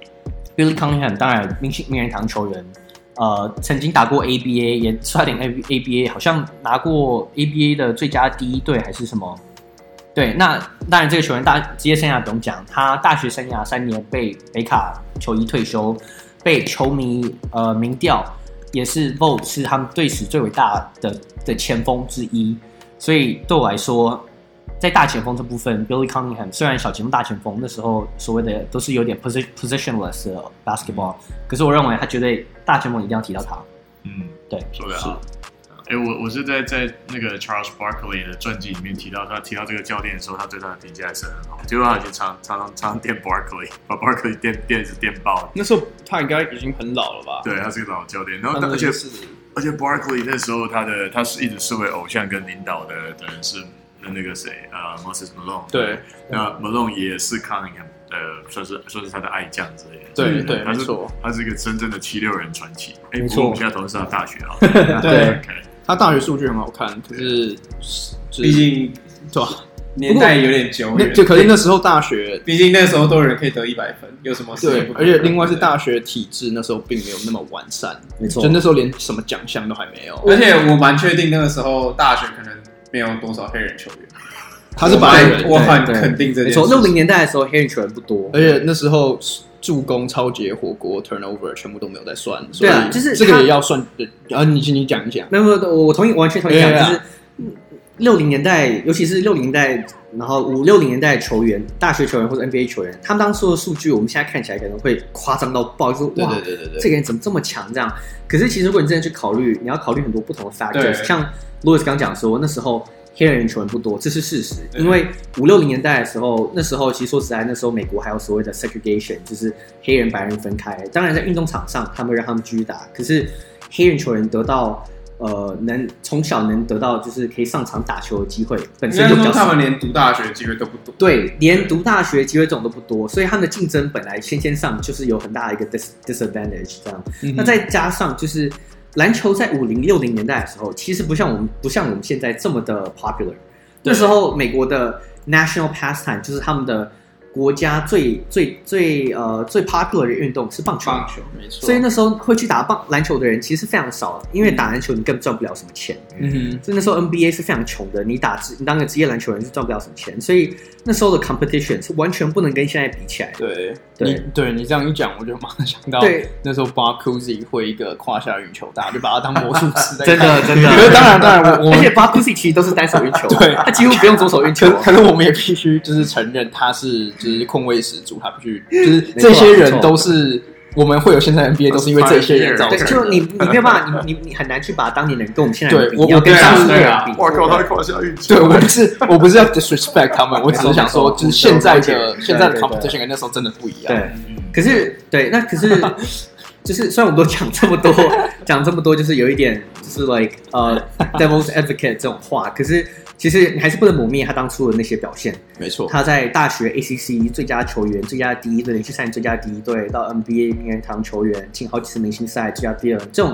Billy Cunningham 當然名名人堂球員，呃，曾經打過 A B A， 也差點 A B A， 好像拿過 A B A 的最佳第一隊還是什麼？對，那當然這個球員大職業生涯不用講，他大學生涯三年被北卡球衣退休，被球迷呃民調。也是 vote 是他們隊史最偉大的的前鋒之一，所以對我來說，在大前鋒這部分 ，Billy Cunningham 雖然小前鋒、大前鋒那時候所謂的都是有點 position positionless 的 basketball， 可是我認為他絕對大前鋒一定要提到他。嗯，對， 說得好。哎、欸，我我是在在那個 Charles Barkley 的傳記裡面提到，他提到這個教練的時候，他對他的評價還是很好。結果他以前常常常常電 Barkley， 把 Barkley 電電是電爆。 那時候他應該已經很老了吧？ 對，他是個老教練。然後而且而且 Barkley 那時候他的他是一直視為偶像跟領導的的人是那個誰啊、呃、Moses Malone。對，那 Malone 也是 Cunningham 的算是算是他的愛將之類的。 對對， 他是沒錯， 他是一個真正的七六人傳奇。哎、欸， 沒錯，我們現在討論是他大學啊。 對。 Okay. 他大學數據很好看，可是畢竟對吧？年代有點久遠， 就可是那時候大學， 畢竟那時候都有人可以得一百分，有什麼事？ 對，而且另外是大學體制那時候並沒有那麼完善， 沒錯， 就那時候連什麼獎項都還沒有。 而且我蠻確定那個時候大學可能沒有多少黑人球員， 他是白人， 我很肯定這件事。 沒錯，六零年代的時候黑人球員不多， 而且那時候助攻、抄截、火鍋、turnover 全部都沒有在算， 對啊，就是這個也要算。然後你請你講一講， 沒有沒有，我同意，完全同意講，就是六零年代，尤其是六零年代，然後五六零年代的球員，大學球員或者 N B A 球員，他們當時的數據，我們現在看起來可能會誇張到爆，就是哇，對對對對，這個人怎麼這麼強這樣？可是其實如果你真的去考慮，你要考慮很多不同的 factors，像 Louis 剛講說，那時候黑人球員不多，這是事實。因為五六零年代的時候，那時候其實說實在，那時候美國還有所謂的 segregation， 就是黑人白人分開。當然在運動場上，他們讓他們繼續打，可是黑人球員得到呃能從小能得到就是可以上場打球的機會，本身就比較少。 他們連讀大學機會都不多。 對，連讀大學機會這種都不多，所以他們的競爭本來先天上就是有很大的一個 dis disadvantage 這樣。嗯、那再加上就是籃球在五零六零年代的時候，其實不像我們不像我們現在這麼的 popular。那時候美國的 national pastime 就是他們的國家最最最呃最 popular 的運動是棒球， 棒球沒錯。 所以那時候會去打棒籃球的人其實是非常少的，因為打籃球你根本賺不了什麼錢。嗯哼，所以那時候 N B A 是非常窮的，你打你當個職業籃球人是賺不了什麼錢，所以那時候的 competition 是完全不能跟現在比起來的。 對， 對你對你這樣一講，我就馬上想到，那時候 Bob Cousy 會一個胯下運球，大家就把他當魔術師在看。 真的真的， 可是當然當然我，我而且 Bob Cousy 其實都是單手運球，對，他幾乎不用左手運球。 可是我們也必須就是承認他是就是控衛十足，他必須就是這些人都是。我們會有現在 N B A 都是因為這些人造成的。 對，就你你沒有辦法，你你你很難去把當年人跟我們現在人比， 對，我要跟當年人比。 我靠，他胯下運球。 對，我不是我不是要 disrespect 他們，我只是想說，就是現在的現在的 competition 跟那時候真的不一樣。 對，可是對，那可是就是雖然我們都講這麼多，講這麼多，就是有一點就是 like 呃 devil's advocate 這種話，可是。其實你還是不能抹滅他當初的那些表現。 沒錯， 他在大學 A C C 最佳球員、最佳第一隊、連續三年最佳第一隊，到 N B A 名人堂球員，進好幾次明星賽最佳第二，這種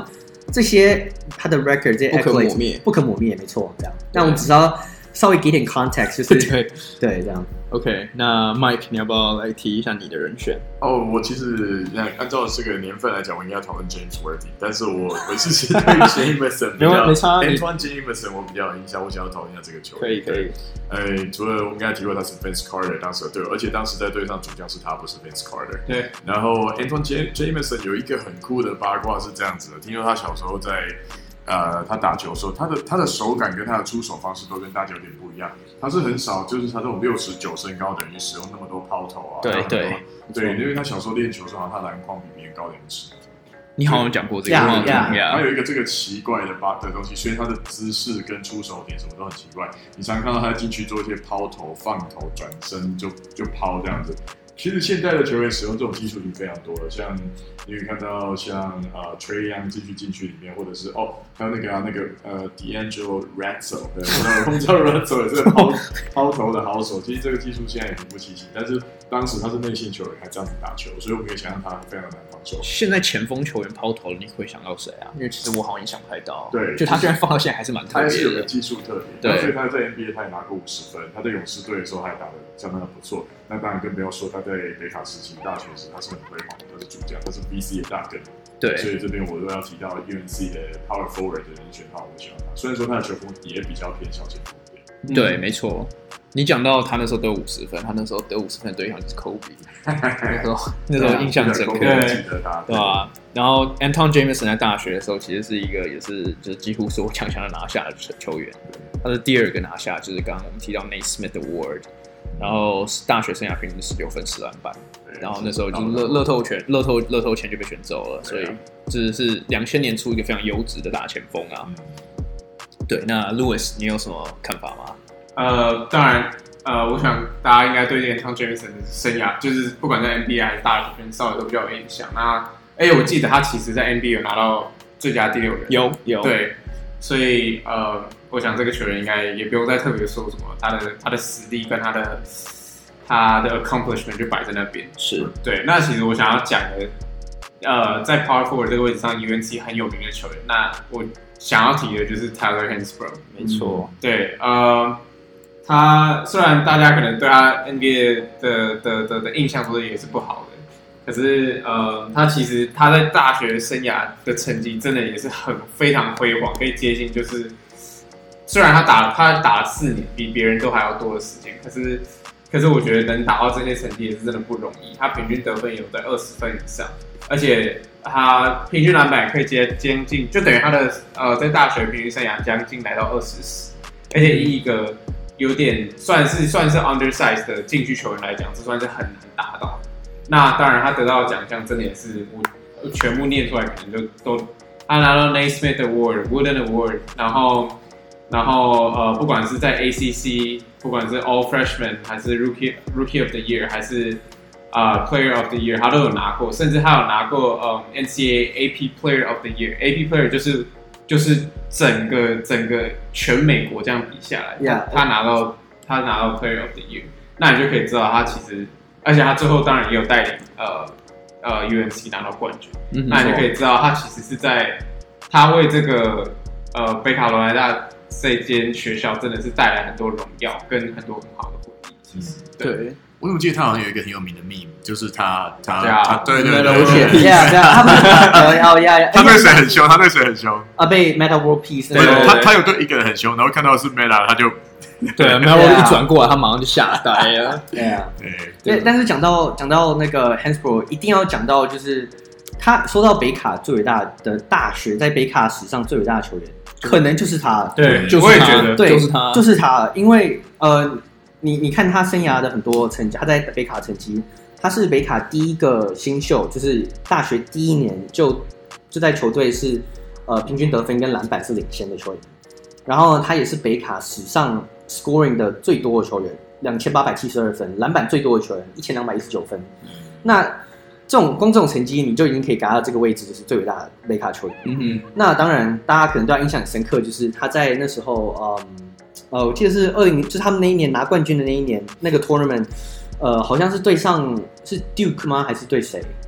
這些他的 record 這些不可磨滅， 不可磨滅，沒錯，這樣。那我們只要稍微給點 context， 就是對對这樣。 OK， 那 Mike， 你要不要來提一下你的人選？ 哦，我其實按照這個年份來講，我應該要討論 James Worthy， 但是我我其實對 Jameson 比較沒差 Antoine Jameson 我比較有印象，我想要討論一下這個球員。 可以可以。 呃，除了我們剛才提過他是 Vince Carter 當時的隊友，而且當時在隊上主將是他，不是 Vince Carter。 對。 然後 Antoine Jameson 有一個很酷的八卦是這樣子的，聽說他小時候在。呃，他打球的時候，他的他的手感跟他的出手方式都跟大家有點不一樣。他是很少，就是他這種六十九身高，等於使用那麼多拋投啊。 對對對，因為他小時候練球的時候，他籃筐比別人高兩尺。 你好像講過這個， yeah, yeah. yeah. 他有一個這個奇怪的把的東西，所以他的姿勢跟出手點什麼都很奇怪。你常常看到他進去做一些拋投、放投、轉身就就拋這樣子。其實現在的球員使用這種技術已經非常多了，像你可以看到像呃 Trae Young 進去禁區裡面，或者是哦還有那個、啊、那個呃 D'Angelo Russell， 對，我們知道 Russell 也是拋拋投的好手。其實這個技術現在也名不其實，但是當時他是內線球員，還這樣子打球，所以我們可以想象他非常難防守。 現在前鋒球員拋投，你會想到誰啊？因為其實我好像也想不太到。 對， 就他居然放到現在還是蠻特別的， 他還是有個技術特別。 對， 所以他在 N B A 他也拿過五十分，他在勇士隊的時候他也打得相當的不錯。那當然更不要說他在北卡時期大學時他是很輝煌的，他是主將，他是 V C 的大根。 對， 所以這邊我都要提到 U N C 的 Power Forward 的人選的話，我喜歡他。雖然說他的球風也比較偏小前鋒一點。 嗯、對，沒錯。你講到他那時候得五十分，他那時候得五十分的對象就是 Kobe， 那時候那時候印象深刻， 對吧？然後 Antoine Jameson 在大學的時候，其實是一個也是就是幾乎所有強強的拿下的球員，他是第二個拿下，就是剛剛我們提到 Nate Smith Award， 然後大學生涯平均十六分十籃板，然後那時候就是樂樂透權樂透樂透錢就被選走了，所以這是兩千年出一個非常優質的大前鋒啊。對，那 Louis 你有什麼看法嗎？ 呃，當然，呃，我想大家應該對這個 Antoine Jameson 的生涯，就是不管在 N B A 還是大學圈，稍微都比較有印象。那，哎、欸，我記得他其實在 N B A 有拿到最佳第六人， 有有對，所以呃，我想這個球員應該也不用再特別說什麼，他的他的實力跟他的他的 accomplishment 就擺在那邊。 是對。那其實我想要講的，呃，在 Power Forward 這個位置上 ，U N C 很有名的球員，那我想要提的就是 Tyler Hansbrough。 沒錯、嗯， 對，呃。他雖然大家可能對他 N B A 的的的的印象都也是不好的，可是呃，他其實他在大學生涯的成績真的也是很非常輝煌，可以接近就是，雖然他打他打了四年，比別人都還要多的時間，可是可是我覺得能打到這些成績也是真的不容易。他平均得分有在二十分以上，而且他平均籃板可以接接近，就等於他的呃在大學平均生涯將近來到二十十，而且以一個有點算是算是 undersize 的禁區球員來講，這算是很難達到。那當然，他得到的獎項真的也是我全部念出來，可能就都他拿到 Nate Smith Award、Wooden Award， 然後然後呃，不管是在 A C C， 不管是 All Freshman 還是 Rookie Rookie of the Year， 還是啊、uh, Player of the Year， 他都有拿過，甚至他有拿過呃、um, N C A A A P Player of the Year。A P Player 就是就是整個整個全美國這樣比下來， yeah, 他拿到他拿到 Player of the Year， 那你就可以知道他其實，而且他最後當然也有帶領呃呃 U N C 拿到冠軍，嗯、那你就可以知道他其實是在他為這個呃北卡羅來納這間學校真的是帶來很多榮耀跟很多很好的回憶。其實、嗯、對。對， 我怎麼記得他好像有一個很有名的 meme， 就是他他對啊， 他對對對， 對對對，他不是哦呀， 他對誰很凶？他對誰很凶？ 啊，被 Meta World Peace， 對，他他有對一個人很凶，然後看到的是 Meta， 他就對 Meta World 一轉過來，他馬上就嚇呆了。 對啊，對，但是講到講到那個 Hansbrough， 一定要講到就是他說到北卡最偉大的大學，在北卡史上最偉大的球員，可能就是他。 對， 就是我也覺得， 對，就是他， 就是他，因為呃。你你看他生涯的很多成績，他在北卡成績，他是北卡第一個新秀，就是大學第一年就就在球隊是呃平均得分跟籃板是領先的球員，然後他也是北卡史上 scoring 的最多的球員，兩千八百七十二分，籃板最多的球員一千兩百一十九分。那這種光這種成績，你就已經可以達到這個位置，就是最偉大的北卡球員。嗯哼，那當然大家可能對他印象很深刻，就是他在那時候嗯。呃，我記得是二零，就是他們那一年拿冠軍的那一年，那個 tournament， 呃，好像是對上是 Duke 嗎？還是對誰？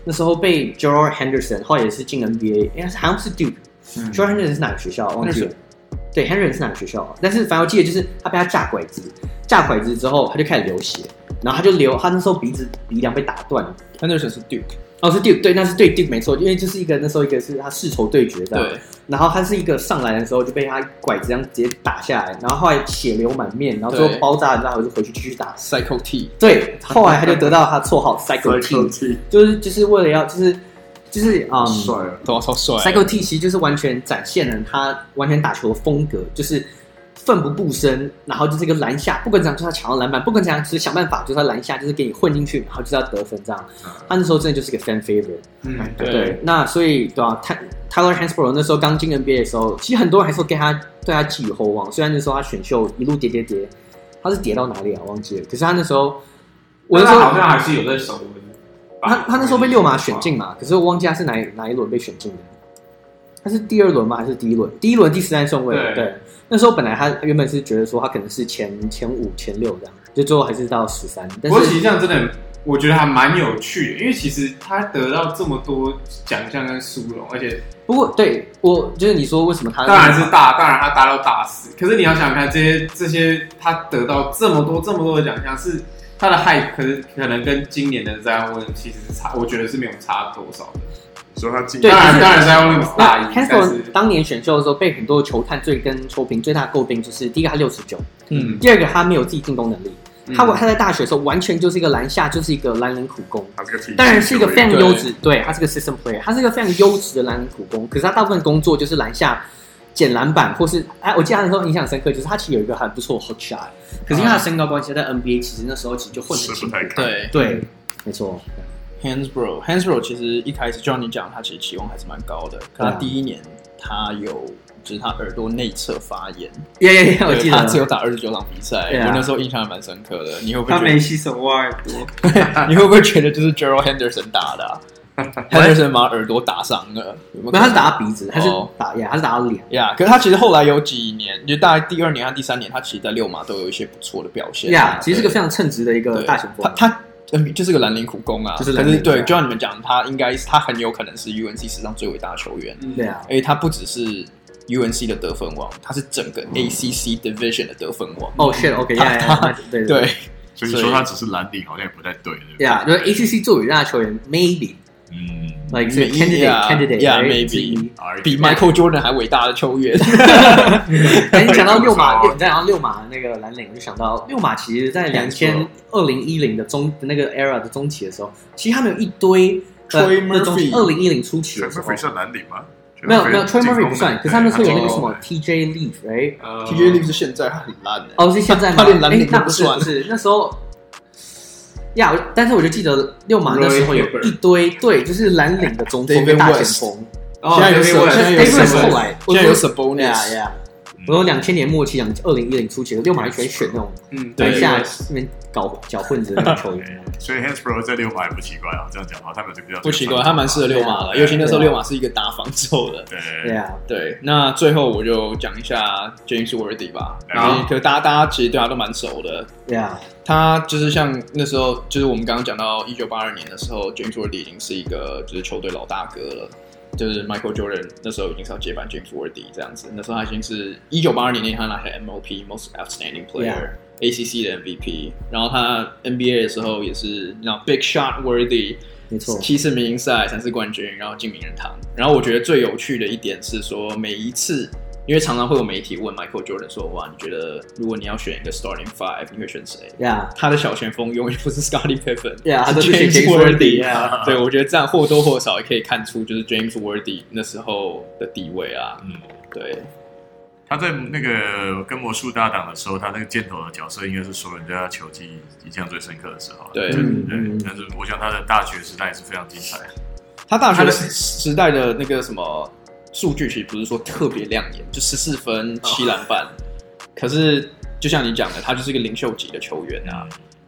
那時候被 Gerald Henderson， 後來也是進 N B A， 哎，好像是 Duke。Gerald Henderson 是哪個學校？忘記了。對 ，Henderson 是哪個學校？但是反正我記得就是他被他架拐子，架拐子之後他就開始流血，然後他就流，他那時候鼻子鼻梁被打斷。 Henderson 是 Duke。 哦，是 Duke， 对，那是對 Duke 沒錯，因為就是一個那時候一個是他世仇對決這樣，對，然後他是一個上來的時候就被他拐子這樣直接打下來，然後後來血流滿面，然後最後爆炸，然後就回去繼續打 Psycho T， 對，後來他就得到他綽號 Psycho T， 就是就是為了要就是就是嗯， 帥啊， 對啊，超帥 ，Psycho T 其實就是完全展現了他完全打球的風格，就是奮不顧身，然後就是一個籃下，不管怎樣就是他搶到籃板，不管怎樣就是想辦法就是他籃下就是給你混進去，然後就是要得分這樣。他那時候真的就是個 fan favorite， 嗯， 對。對那所以對吧、啊、？Tyler Hansbrough 那時候剛進 N B A 的時候，其實很多人還是給他對他寄予厚望。雖然那時候他選秀一路跌跌跌，他是跌到哪裡啊？忘記了。可是他那時候，我那時候好像還是有在守的。 他他那時候被溜馬選進嘛，可是我忘記他是哪哪一輪被選進的。他是第二輪嗎？還是第一輪？第一輪第十三順位。對。對那時候本來他原本是覺得說他可能是前前五前六這樣，就最後還是到十三。不過其實這樣真的，我覺得還蠻有趣的，因為其實他得到這麼多獎項跟殊榮，而且不過對我就是你說為什麼他當然是大，當然他達到大四，可是你要想想看這些這些他得到這麼多這麼多的獎項，是他的 hype 可是可能跟今年的 Zion Williams 其實是差，我覺得是沒有差多少的。 所以他進當然當然 Zion Williams 大一，但是當年選秀的時候被很多球探最跟球評最大詬病就是第一個他六十九， 嗯， 第二個他沒有自己進攻能力。嗯、他他在大學的時候完全就是一個籃下就是一個藍領苦工，當然是一個非常優質，對，他是個 system player， 他是一個非常優質的藍領苦工。可是他大部分工作就是籃下撿籃板，或是哎，我記得他那時候印象深刻，就是他其實有一個還不錯的 hook shot， 可是因為他的身高關係，在 N B A 其實那時候其實就混得很辛苦， 對對，沒錯。 Hansbrough Hansbrough 其實一開始就像你講，他其實期望還是蠻高的。可他第一年他有就是他耳朵內側發炎， 耶耶耶，我記得他只有打二十九場比賽， yeah. 我那時候印象還蠻深刻的。你會不會覺得他沒洗手挖耳朵？ 你會不會覺得就是 Gerald Henderson 打的、啊、？Henderson 把耳朵打傷了，有沒有？ 沒有，他是打到鼻子，他是打呀，他是打到臉呀。Yeah, 可是他其實後來有幾年，就大概第二年和第三年，他其實在六馬都有一些不錯的表現。 呀、yeah, ，其實是個非常稱職的一個大前鋒。 他他。就是個藍領苦工啊，就是可是對，就像你們講，他應該是他很有可能是 U N C 史上最偉大的球員。 對啊， 因為他不只是 U N C 的得分王，他是整個 A C C Division 的得分王。 哦、oh, ，shit，OK，、okay, 他他對對， 所以你說他只是藍領，好像也不太對。 對啊，就是 A C C 最偉大的球員 ，maybe。嗯 ，like candidate candidate yeah maybe 比 Michael Jordan 還偉大的球員。 你講到六馬，你講到六馬那個藍領，我就想到六馬其實，在兩千二零一零的中那個 era 的中期的時候，其實他們有一堆 Troy Murphy， 二零一零初期的時候 ，Troy Murphy 算藍領嗎？ 沒有沒有 ，Troy Murphy 不算，可是他們說有那個什麼 T J Leaf，right？T J Leaf 是現在他很爛的， 哦是現在嗎？ 他連藍領都不算， 不是那時候。呀、yeah, 但是我就記得六馬那時候有一堆對，就是藍領的中鋒跟大前鋒。 現在有現在有 Davis 後來， 現在有 Sabonis 呀呀。我說兩千年末期，二零一零初期的六馬就喜歡選那種嗯，對下那邊搞攪混子的那種球員。 所以 Hansbrough 在六馬也不奇怪啊，這樣講話他們就比較不奇怪，他蠻適合六馬的，尤其那時候六馬是一個打防守的。 對對啊， 對。那最後我就講一下 James Worthy 吧，因為可大家大家其實對他都蠻熟的。 對啊， 他就是像那時候，就是我們剛剛講到一九八二年的時候 ，James Worthy 已經是一個就是球隊老大哥了。就是 Michael Jordan 那時候已經是要接班 James Worthy 這樣子，那時候他已經是一九八二年那年他拿下 M O P Most Outstanding Player、yeah. A C C 的 M V P， 然後他 N B A 的時候也是那 Big Shot Worthy， 沒錯，七次明星賽三次冠軍，然後進名人堂。然後我覺得最有趣的一點是說，每一次因為常常會有媒體問 Michael Jordan 說，哇，你覺得如果你要選一個 Starting Five， 你會選誰？ Yeah. 他的小前鋒永遠不是 Scottie Pippen， yeah, 是 James Worthy。 Yeah. 對，我覺得這樣或多或少也可以看出，就是 James Worthy 那時候的地位啊。嗯，對。 他在那個跟魔術搭檔的時候，他那個箭頭的角色應該是所有人對他球技印象最深刻的時候。 對， 對，嗯嗯、但是我想他的大學時代也是非常精彩。 他大學時代的那個什麼數據其實不是說特別亮眼，就十四分七籃板，可是就像你講的，他就是一個領袖級的球員啊。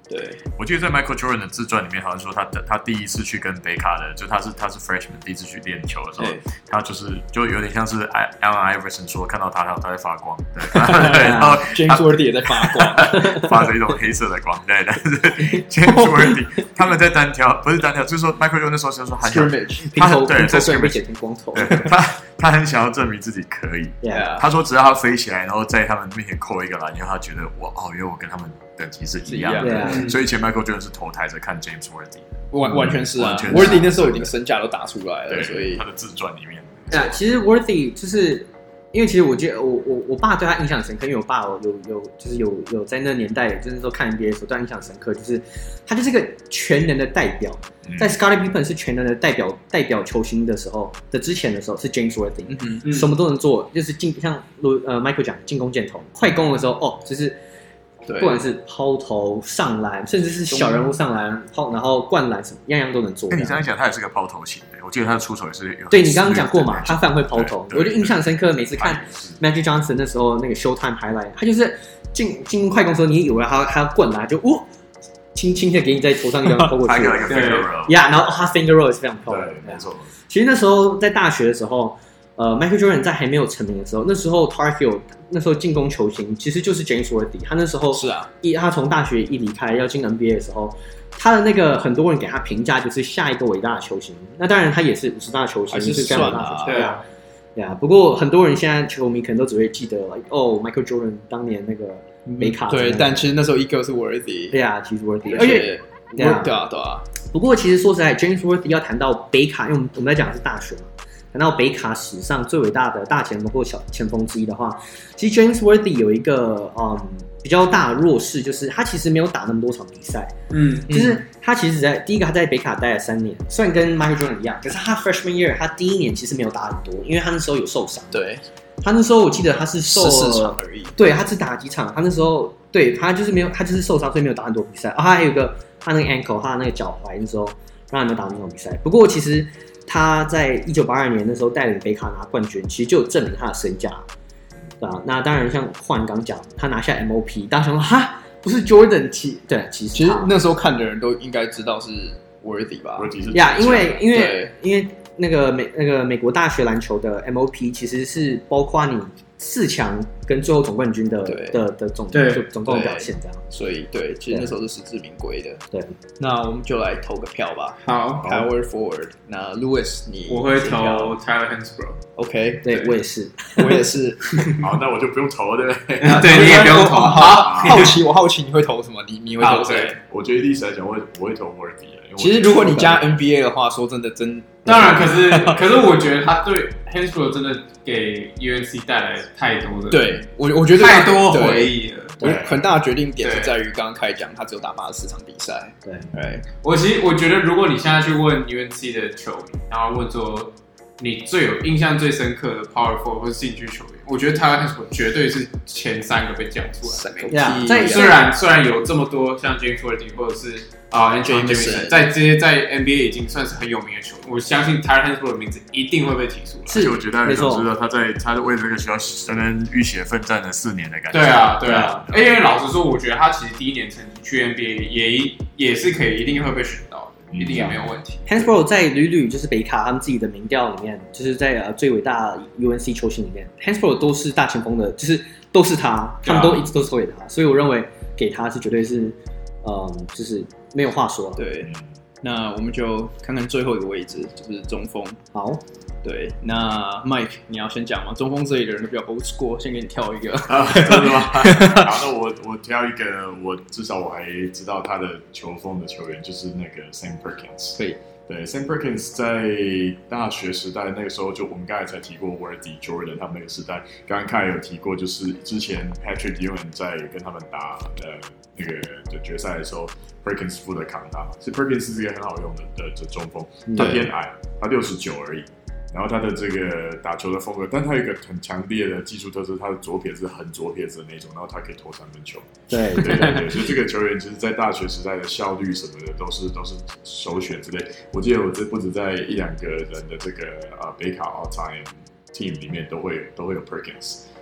對， 我記得在 Michael Jordan 的自傳裡面，好像說他他第一次去跟北卡的，就他是他是 freshman 第一次去練球的時候，他就是就有點像是 Allen Iverson 說看到他，他在發光，對，對然後 James Worthy 也在發光， 發着一種黑色的光，對，但是 James Worthy 他們在單挑，不是單挑，就是說 Michael Jordan 那時候就說很想，他很對在 scrimmage 剃光頭， 他他很想要證明自己可以， yeah. 他說只要他飛起來，然後在他們面前扣一個籃，因為他覺得我哦，因為我跟他們等級是一樣的， 樣所以以前 Michael Jordan 是頭抬着看 James Worthy， 完完全是啊 ，Worthy 那時候已經身價都打出來了，所以他的自傳裡面， 对啊，其實 Worthy 就是因為其實我覺得我我我爸對他印象深刻，因為我爸有有就是有有在那年代，就是說看 N B A 的時候對他印象深刻，就是他就是個全能的代表，嗯、在 Scottie Pippen 是全能的代表代表球星的時候的之前的時候是 James Worthy，、嗯嗯、什麼都能做，就是進像呃 Michael 講進攻箭頭，快攻的時候哦就是。不管是拋投、上籃，甚至是小人物上籃、拋，然後灌籃什麼，樣樣都能做。 那你這樣講，他也是個拋投型的。我記得他的出手也是有。 對你剛剛講過嘛，他非常會拋投，我就印象深刻。每次看 Magic Johnson 那時候那個 Showtime highlight，他就是進進快攻的時候，你以為他他要灌籃，就哦，輕輕的給你在頭上一樣拋過去。 對呀，然後他 finger roll 也是非常漂亮。 對，沒錯。 其實那時候在大學的時候。呃 ，Michael Jordan 在還沒有成名的時候，那時候 Tar Heel 那時候進攻球星其實就是 James Worthy。他那時候是啊， 一他從大學一離開要進 N B A 的時候，他的那個很多人給他評價就是下一個偉大的球星。那當然他也是五十大球星， 是非常偉大的球星。 對啊， 對啊。不過很多人現在球迷可能都只會記得 like, 哦 ，Michael Jordan 當年那個梅卡。 對，但其實那時候一個是 Worthy。 對啊，其實 Worthy， 而且對啊對啊對啊。 不過其實說實在 ，James Worthy 要談到北卡，因為我們我們在講的是大學嘛。談到北卡史上最偉大的大前鋒或小前鋒之一的話，其實 James Worthy 有一個嗯比較大的弱勢，就是他其實沒有打那麼多場比賽。嗯，就是他其實在第一個他在北卡待了三年，雖然跟 Michael Jordan 一樣，可是他 freshman year 他第一年其實沒有打很多，因為他那時候有受傷。 對， 他那時候我記得他是受十四場而已。 對，他只打了幾場，他那時候對他就是沒有，他就是受傷，所以沒有打很多比賽。啊，他還有一個他那個 ankle， 他那個腳踝那時候讓他沒有打那種比賽。不過其實。他在一九八二年那時候帶領北卡拿冠軍，其實就有證明他的身價，對吧？那當然，像煥剛講，他拿下 M O P， 大家想說哈，不是 Jordan 其對，其實其實那時候看的人都應該知道是 Worthy 吧？ 呀， yeah, 因為因為因為那個美那個美國大學籃球的 M O P 其實是包括你四強跟最後總冠軍的的的總總共表現這樣， 所以對，其實那時候是實至名歸的。 對， 那我們就來投個票吧。 好 ，Power Forward。那 Lewis， 你我會投 Tyler Hansbrough。OK， 對我也是， 我也是。 好，那我就不用投了，对不对？ 對，你也不用投。 好，好奇，我好奇你會投什麼？你你會投誰？ 我覺得歷史來講，我會我會投 Worthy。 其實如果你加 N B A 的話，說真的，真當然，可是可是我覺得他對 Hansbrough 真的給 U N C 帶來太多的， 對我我覺得太多回憶了。 我很大的決定點是在於剛剛開講，他只有打八十四場比賽。 對， 對。 我其實我覺得，如果你現在去問 U N C 的球迷，然後問說你最有印象最深刻的 Power Forward 或是興趣球員，我覺得 Tyler Hansbrough 絕對是前三個被講出來的。 Yeah, 在雖然雖然有這麼多像 James Worthy 或者是啊 Anthony Davis 在這些在 N B A 已經算是很有名的球員，我相信 Tyler Hansbrough 的名字一定會被提出來。 是， 我覺得大家都知道他在他為這個學校真的浴血奮戰了四年的感覺。 對啊，對啊。因為老實說，我覺得他其實第一年成績去 N B A 也也是可以，一定會被選到的，一定也沒有問題。 Hansbrough 在屢屢就是北卡他們自己的民調裡面，就是在呃最偉大 U N C 球星裡面 ，Hansbrough 都是大前鋒的，就是都是他，他們都一直都是投給他，所以我認為給他是絕對是，嗯，就是沒有話說。 對，那我們就看看最後一個位置，就是中鋒。 好， 對，那 Mike 你要先講嗎？中鋒這裡的人都比較 old school，先給你挑一個。 啊，真的嗎？好，那我我挑一個，我至少我還知道他的球風的球員，就是那個 Sam Perkins。 對。 对 ，Sam Perkins 在大學時代那個時候，就我們剛才才提過 Worthy、Jordan 他們那個時代，剛剛凱有提過，就是之前 Patrick Ewing 在跟他們打呃那個的決賽的時候 ，Perkins 負責扛他嘛。其實 Perkins 是一個很好用的的的中鋒，他偏矮，他六十九而已。然後他的這個打球的風格，但他有一個很強烈的技術特色，他的左撇子很左撇子的那種，然後他可以投三分球。 對對對對，所以這個球員其實，在大學時代的效率什麼的都是都是首選之類。我記得我這不止在一兩個人的這個啊北卡 All Time Team 裡面都會都會有 Perkins。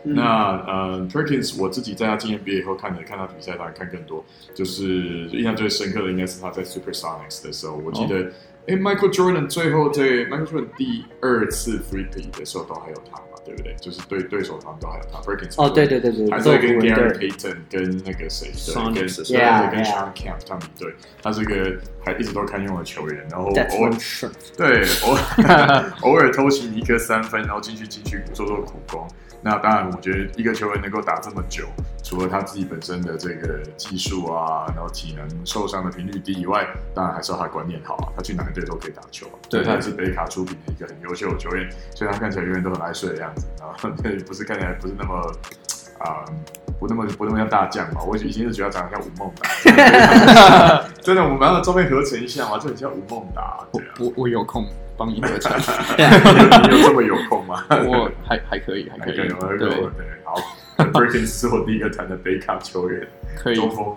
嗯、那呃 Perkins 我自己在他進 N B A 以後看的，看他比賽當然看更多，就是印象最深刻的應該是他在 Supersonics 的時候，我記得，哎、哦、，Michael Jordan 最後在 Michael Jordan 第二次 three-peat 的時候都還有他嘛，對不對？就是對對手他們都還有他 Perkins 哦，對對對對， 還是跟 Gary Payton 跟那個誰對，跟跟 Shawn Kemp 他們對，他是個還一直都堪用的球員，然後偶爾對偶爾偶爾偷襲一顆三分，然後進去進去做做苦工。那當然，我覺得一個球員能夠打這麼久，除了他自己本身的這個技術啊，然後體能受傷的頻率低以外，當然還是要他觀念好啊。他去哪個隊都可以打球啊。對，他也是北卡出品的一個很優秀的球員，所以他看起來永遠都很愛睡的樣子啊。對，不是看起來不是那麼啊、嗯，不那麼不那麼像大將嘛。我以前是覺得他長得像吳孟達，真的，我們把他的照片合成一下嘛，就很像吳孟達。啊、 我我我有空。幫你合成， 你有這麼有空嗎？ 我還還可以，還可以， 還可以對，對，好。Perkins 是我第一個談的北卡球員， 可以。 中鋒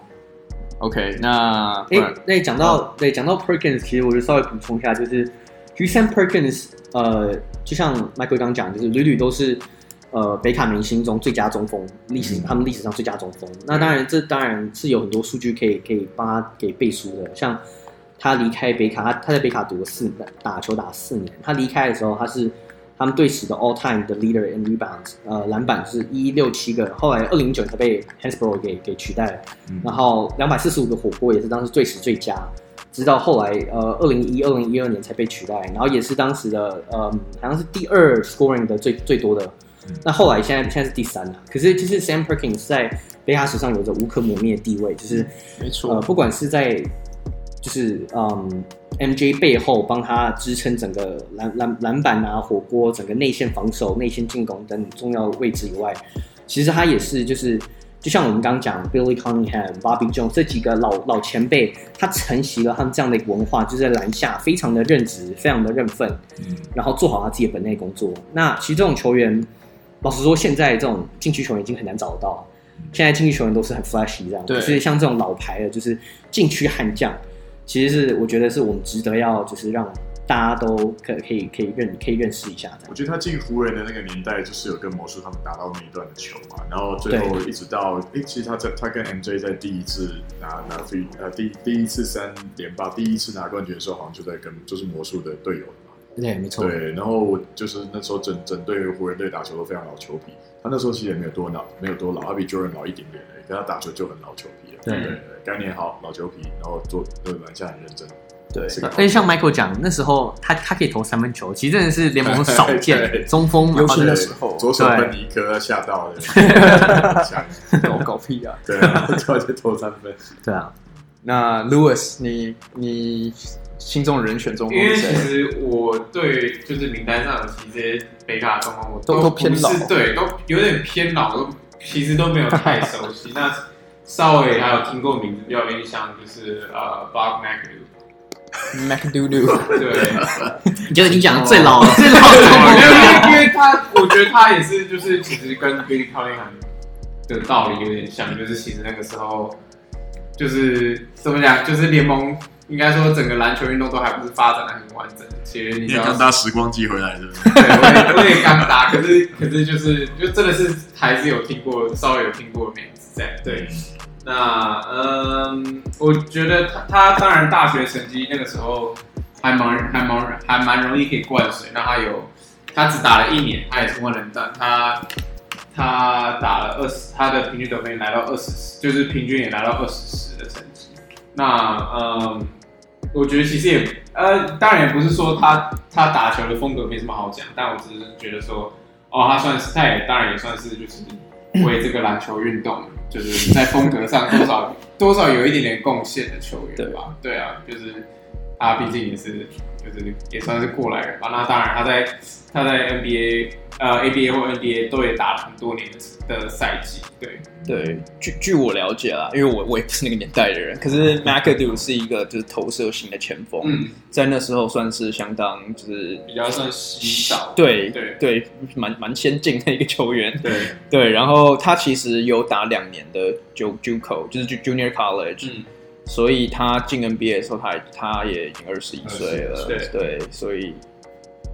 OK， 那哎，那講到對講到 Perkins， 其實我就稍微補充一下，就是其實 Sam Perkins， 呃，就像 Michael 剛講，就是屢屢都是呃北卡明星中最佳中鋒，歷史、嗯、他們歷史上最佳中鋒。那當然，這當然是有很多數據可以可以幫他給背書的，像。他離開北卡，他他在北卡讀了四打球打了四年。他離開的時候，他是他們隊史的 all time 的 leader in rebounds， 呃，籃板是一六七個。後來二零一九才被 Hansbrough 給給取代了。嗯、然後兩百四十五個火鍋也是當時隊史最佳，直到後來呃二零一二零一二年才被取代。然後也是當時的呃好像是第二 scoring 的最最多的。嗯、那後來現在現在是第三了。可是就是 Sam Perkins 在北卡史上有着無可磨滅的地位，就是沒錯， 呃，不管是在就是嗯 ，M J 背後幫他支撐整個籃籃籃板啊、火鍋、整個內線防守、內線進攻等重要位置以外，其實他也是就是就像我們剛剛講 Billy Cunningham、Bobby Jones 這幾個老老前輩，他承襲了他們這樣的一個文化，就是在籃下非常的認職、非常的認分，嗯，然後做好他自己的本內工作。那其實這種球員，老實說，現在這種禁區球員已經很難找得到。現在禁區球員都是很 flashy 這樣，就是像這種老牌的，就是禁區悍將。其實是我覺得是我們值得要就是讓大家都可可以可以認可以認識一下這樣。 我覺得他進湖人的那個年代就是有跟魔術他們打到那一段的球嘛，然後最後一直到哎，其實他在他跟 M J 在第一次拿拿 three 呃第第一次三連霸第一次拿冠軍的時候，好像就在跟就是魔術的隊友嘛。 對，沒錯。 對，然後我就是那時候整整隊湖人隊打球都非常老球皮，他那時候其實也沒有多老，沒有多老，他比 Jordan 老一點點而已，可他打球就很老球皮了。對對對，概念好，老球皮，然後做對籃下很認真。對， 而且像 Michael 講，那時候他他可以投三分球，其實真的是聯盟少見中鋒， 尤其那時候左手噴尼克嚇到了， 搞搞屁啊！ 對啊，突然就投三分。 對啊， 那 Lewis， 你你心中的人選中鋒？ 因為其實我對就是名單上的這些北卡中鋒，我都都偏老， 對，都有點偏老，都其實都沒有太熟悉。那稍微還有聽過名字比較有印象，就是呃 Bob McAdoo。McAdoo， 對， 你觉得你講的最老了，最老的，因為因為他，我覺得他也是，就是其實跟 Billy Cunningham 的道理有點像，就是其實那個時候就是怎麼講，就是聯盟應該說整個籃球運動都還不是發展的很完整。其實你剛搭時光機回來是不是？ 對，我也我也剛搭，可是可是就是就真的是還是有聽過，稍微有聽過的名字這樣，對。那嗯，我覺得他他當然大學成績那個時候還蠻還蠻還蠻容易可以灌水。那他有他只打了一年，他也是萬人彈，他他打了二十，他的平均得分也來到二十，就是平均也來到二十十的成績。那嗯，我覺得其實也呃，當然也不是說他他打球的風格沒什麼好講，但我只是覺得說，哦，他算是他也當然也算是就是為這個籃球運動。就是在風格上多少多少有一點點貢獻的球員吧，對，對啊，就是他畢竟也是就是也算是過來人吧。那當然他在他在 N B A 呃 A B A 或 N B A 都也打了很多年的賽季，對對。據據我了解啦，因為我我也不是那個年代的人，可是 McAdoo 是一個就是投射型的前鋒，嗯，在那時候算是相當就是比較算稀少， 對對對，蠻蠻先進的一個球員， 對对。然後他其實有打兩年的 JUCO， 就是 Junior College，嗯，所以他進 N B A 的時候他，他他也已經二十一歲了，對，對，所以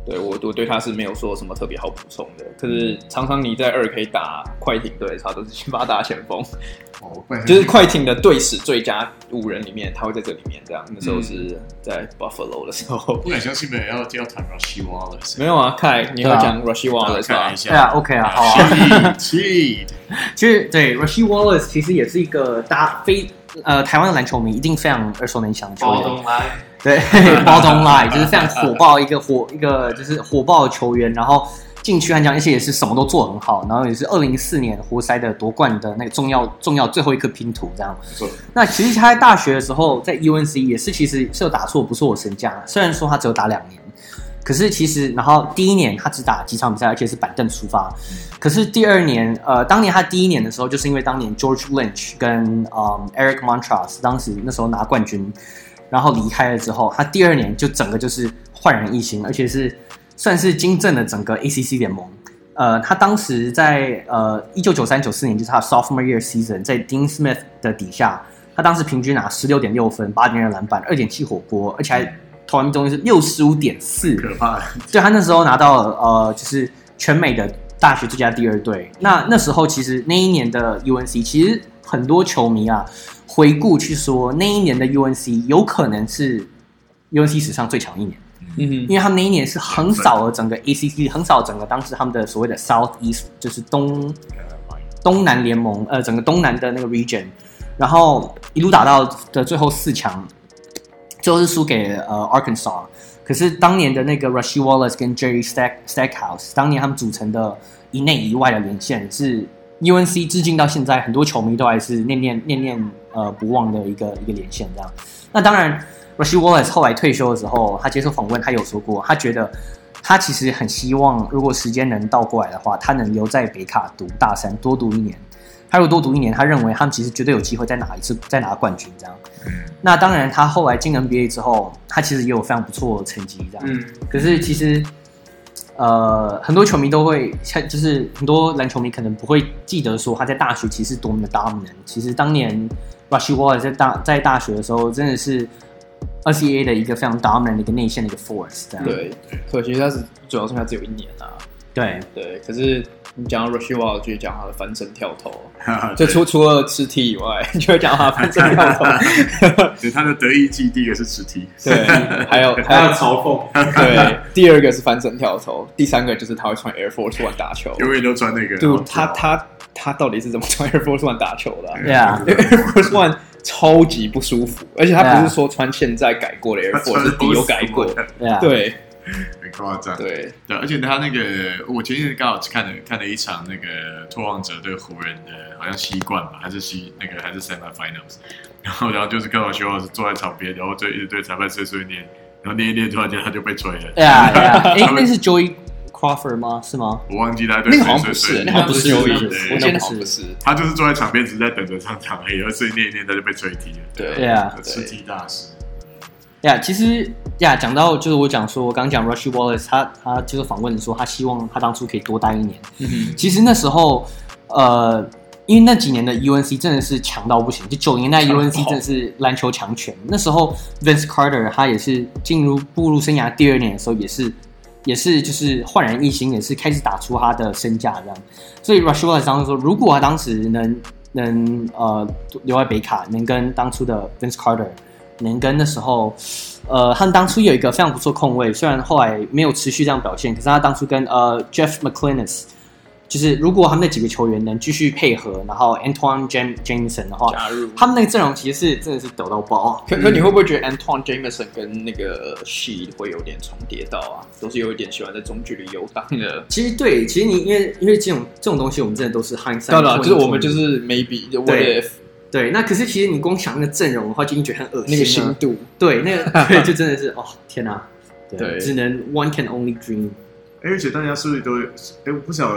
對我我對他是沒有說什麼特別好補充的。可是常常你在二 K 打快艇隊，他都是先把他打前鋒，哦，就是快艇的隊史最佳五人裡面，他会在這裡面這樣。那時候是在 Buffalo 的時候， 不敢相信没有要要談 Rasheed Wallace。 沒有啊，凱，你要講 Rasheed Wallace 吧？ 對啊 ，OK 啊，好啊。其實對 Rasheed Wallace 其實也是一個大非呃台灣的籃球迷一定非常耳熟能詳的球員。對 ，Ball don't lie， 就是非常火爆一個火一個就是火爆的球員，然後進去悍將，而且也是什麼都做很好，然後也是二零一四年活塞的奪冠的那個重要重要最後一顆拼圖這樣。那其實他在大學的時候，在 U N C 也是其實是有打出不錯的身價，雖然說他只有打兩年，可是其實然後第一年他只打幾場比賽，而且是板凳出發。可是第二年，呃，當年他第一年的時候，就是因為當年 George Lynch 跟嗯 Eric Montross 當時那時候拿冠軍。然後離開了之後，他第二年就整個就是煥然一新，而且是算是金正了整個 A C C 聯盟。呃，他當時在呃一九九三九四年，就是他 sophomore year season， 在 Dean Smith 的底下，他當時平均拿十六點六分、八點二籃板、二點七火鍋，而且還投籃命中率是六十五點四， 可怕。 对，他那時候拿到了呃就是全美的大學最佳第二隊。那那時候其實那一年的 U N C， 其實很多球迷啊。回顧去說，那一年的 U N C 有可能是 U N C 史上最強一年，嗯哼，因為他們那一年是橫掃了整個 A C C， 橫掃整個當時他們的所謂的 Southeast， 就是東東南聯盟，呃，整個東南的那個 region， 然後一路打到的最後四強，最後是輸給呃 Arkansas。可是當年的那個 Rasheed Wallace 跟 Jerry Stack Stackhouse， 當年他們組成的一內一外的連線是 U N C 至今到現在，很多球迷都還是念念念念呃不忘的一個一個連線這樣。那當然 ，Rasheed Wallace 後來退休的時候，他接受訪問，他有說過，他覺得他其實很希望，如果時間能倒過來的話，他能留在北卡讀大三，多讀一年。他如果多讀一年，他認為他們其實絕對有機會再拿一次，再拿冠軍這樣。那當然，他後來進 N B A 之後，他其實也有非常不錯的成績這樣。嗯。可是其實。呃，很多球迷都會，就是很多籃球迷可能不會記得說他在大學其實多麼的 dominant。其實當年 Rasheed Wallace 在大在大學的時候，真的是 N C A A 的一個非常 dominant 的一個內線的一個 force。這樣。對， 可惜他是主要是他只有一年啊。 對對，可是你講到 Rasheed Wallace 就講他的翻身跳投，就除除了吃 T 以外，你就會講他的翻身跳投。 對，他的得意技第一個是吃 T， 對，還有還有嘲諷， 對，第二個是翻身跳投，第三個就是他會穿 Air Force One 打球， 永遠都穿那個。 對，他他他到底是怎麼穿 Air Force One 打球的、啊、 ？Yeah， Air Force One 超級不舒服，而且他不是說穿現在改過的 Air Force， 是底有改過。 Yeah. 對。 很誇張， 對對，而且他那個，我前天剛好看了看了一場那個拓荒者對湖人的，好像西冠吧，還是西那個還是 semifinals， 然後然後就是看到徐老師坐在場邊，然後就一直對裁判碎碎念，然後念一念，突然間他就被吹了。 對啊，對啊，哎，那是 Joey Crawford 嗎？是嗎？ 我忘記他對那個好像不是，那個不是 Joey， 我記得好像不是， 他就是坐在場邊，只是在等着上場而已，然後碎念一念，他就被吹踢了。 對對啊， 吃踢大師。 呀，yeah, 其實呀，講、yeah, 到就是我講說，我剛剛講 Rasheed Wallace， 他他就是訪問說，他希望他當初可以多待一年。嗯哼，其實那時候，呃，因為那幾年的 U N C 真的是強到不行，就九零年代 U N C 真的是籃球強權。那時候 Vince Carter 他也是進入步入生涯第二年的時候，也是也是就是煥然一新，也是開始打出他的身價這樣。所以 Rasheed Wallace 當時說，如果他當時能能呃留在北卡，能跟當初的 Vince Carter。能跟那時候，呃，他們當初有一個非常不錯控衛，雖然後來沒有持續這樣表現，可是他當初跟呃 Jeff McClinnis， 就是如果他們那幾個球員能繼續配合，然後 Antoine Jameson 的話，加入他們那個陣容其實是真的是抖到爆。 可可你會不會覺得 Antoine Jameson 跟那個 She 會有點重疊到啊？都是有一點喜歡在中距離遊蕩的。 其實對，其實你因為因為這種這種東西，我們真的都是 hindsight。 對了，就是我們就是 maybe what if。 對，那可是其實你光想那個陣容的話，就已經覺得很惡心了。 那個深度， 對，那個對，就真的是哦，天哪！ 對， 只能 one can only dream。 而且大家是不是都？哎，我不曉得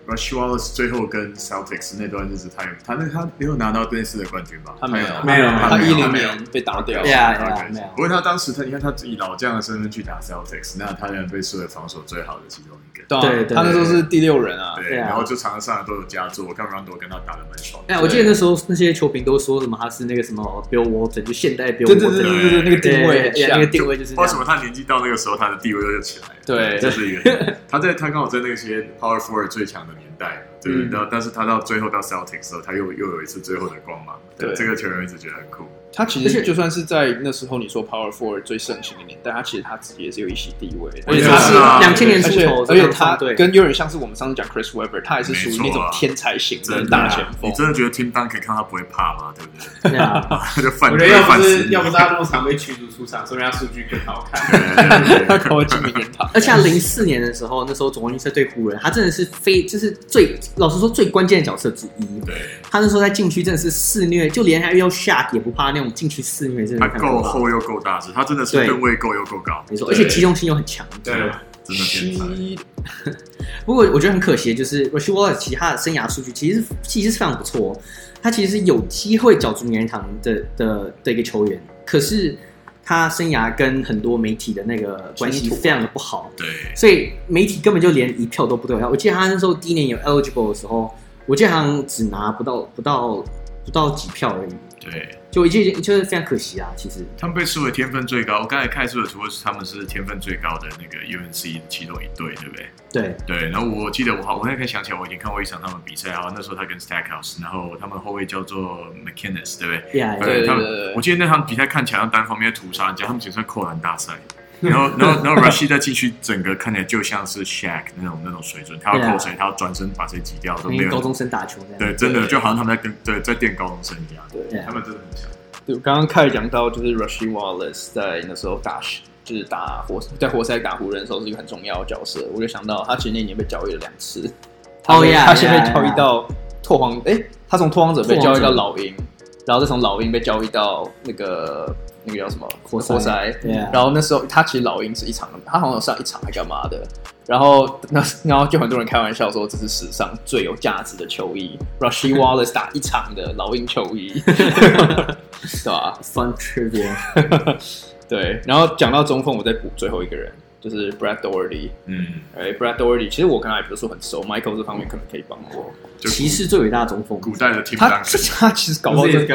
Rasheed Wallace 最後跟 Celtics 那段日子，他有他那他沒有拿到類似的冠軍吧？ 他沒有， 沒有， 他一零年被打掉。 對啊，沒有。 不過他當時他你看他以老將的身份去打 Celtics， 那他仍然被視為防守最好的其中一個。 對，他那時候是第六人啊。 對，然後就場上都有佳作，我看 Rondo 跟他打得蠻爽。 哎，我記得那時候那些球評都說什麼他是那個什麼 Bill Walton， 就現代 Bill Walton。 對對對對對，那個定位， 那個定位就是。 為什麼他年紀到那個時候，他的地位就起來了？ 對， 這是一個。他在他剛好在那些 Power Forward 最強的年代，對，然後但是他到最後到 Celtics 的時候，他又又有一次最後的光芒。對，這個球員一直覺得很酷。 他其實就算是在那時候你說 Power Forward 最盛行的年代，他其實他自己也是有一席地位， 而且他是兩千年出頭， 而且他跟有點像是我們上次講 Chris Webber， 他也是屬於那種天才型的大前鋒。 你真的覺得 Tim Duncan 看他不會怕嗎？對不對？他就犯， 我覺得要不是要不是他那麼常被驅逐出場，說明他數據更好看。 他可能进名人堂。 而且零四年的時候，那时候总冠軍赛对湖人，他真的是非就是最老實說最關鍵的角色之一。 對， 他那時候在禁區真的是肆虐，就連他遇到 Shaq 也不怕那種禁區肆虐。 他夠厚又夠大只，他真的是吨位夠又夠高， 沒錯，而且機动性又很強。 對， 真的天才。 不過我覺得很可惜，就是 Rasheed Wallace 其他的生涯數據其實其實是非常不錯，他其實是有機會角逐名人堂的的的一個球員，可是他生涯跟很多媒體的那個關係非常的不好， 對， 所以媒體根本就連一票都不對他。我記得他那時候第一年有 eligible 的時候，我記得好像只拿不到不到不到幾票而已。 對， 就一件就是非常可惜啊。其實他們被視為天分最高，我剛才看出的除了他們是天分最高的那個 U N C 其中一隊，對不对？ 对对。然後我記得我好，我现在可以想起來，我已經看過一場他們比賽，然後那時候他跟 Stackhouse， 然後他們後衛叫做 McInnes， 對不對？ Yeah, 對，他們我記得那場比賽看起來像單方面屠殺人家，他們只算扣籃大賽。然後，然後，然後 Rasheed 在禁區整個看起來就像是 Shaq 那種那種水準，他要扣誰，他要轉身把誰擠掉，都沒有。 高中生打球這樣。 對，真的就好像他們在跟對在電高中生一樣。 對， 他們真的很強。 对，剛剛開始講到就是 Rasheed Wallace 在那時候打，就是打活在活塞打湖人的時候是一個很重要的角色。我就想到他其實那年被交易了兩次。 哦呀， 他先被交易到拓荒，哎，他從拓荒者被交易到老鷹，然後再從老鷹被交易到那個。那個叫什麼活塞，活塞 yeah. 然後那時候他其實老鷹是一場，他好像有上一場還幹嘛的，然後那然後就很多人開玩笑說這是史上最有價值的球衣 ，Rasheed Wallace 打一場的老鷹球衣，對吧 ？Fun trivia， 對。然後講到中鋒，我再補最後一個人，就是 Brad Daugherty。嗯，哎 ，Brad Daugherty， 其實我跟他也不是說很熟 ，Michael 這方面可能可以幫我。 騎士最偉大的中鋒， 古代的 Tim Duncan， 他其實搞不好是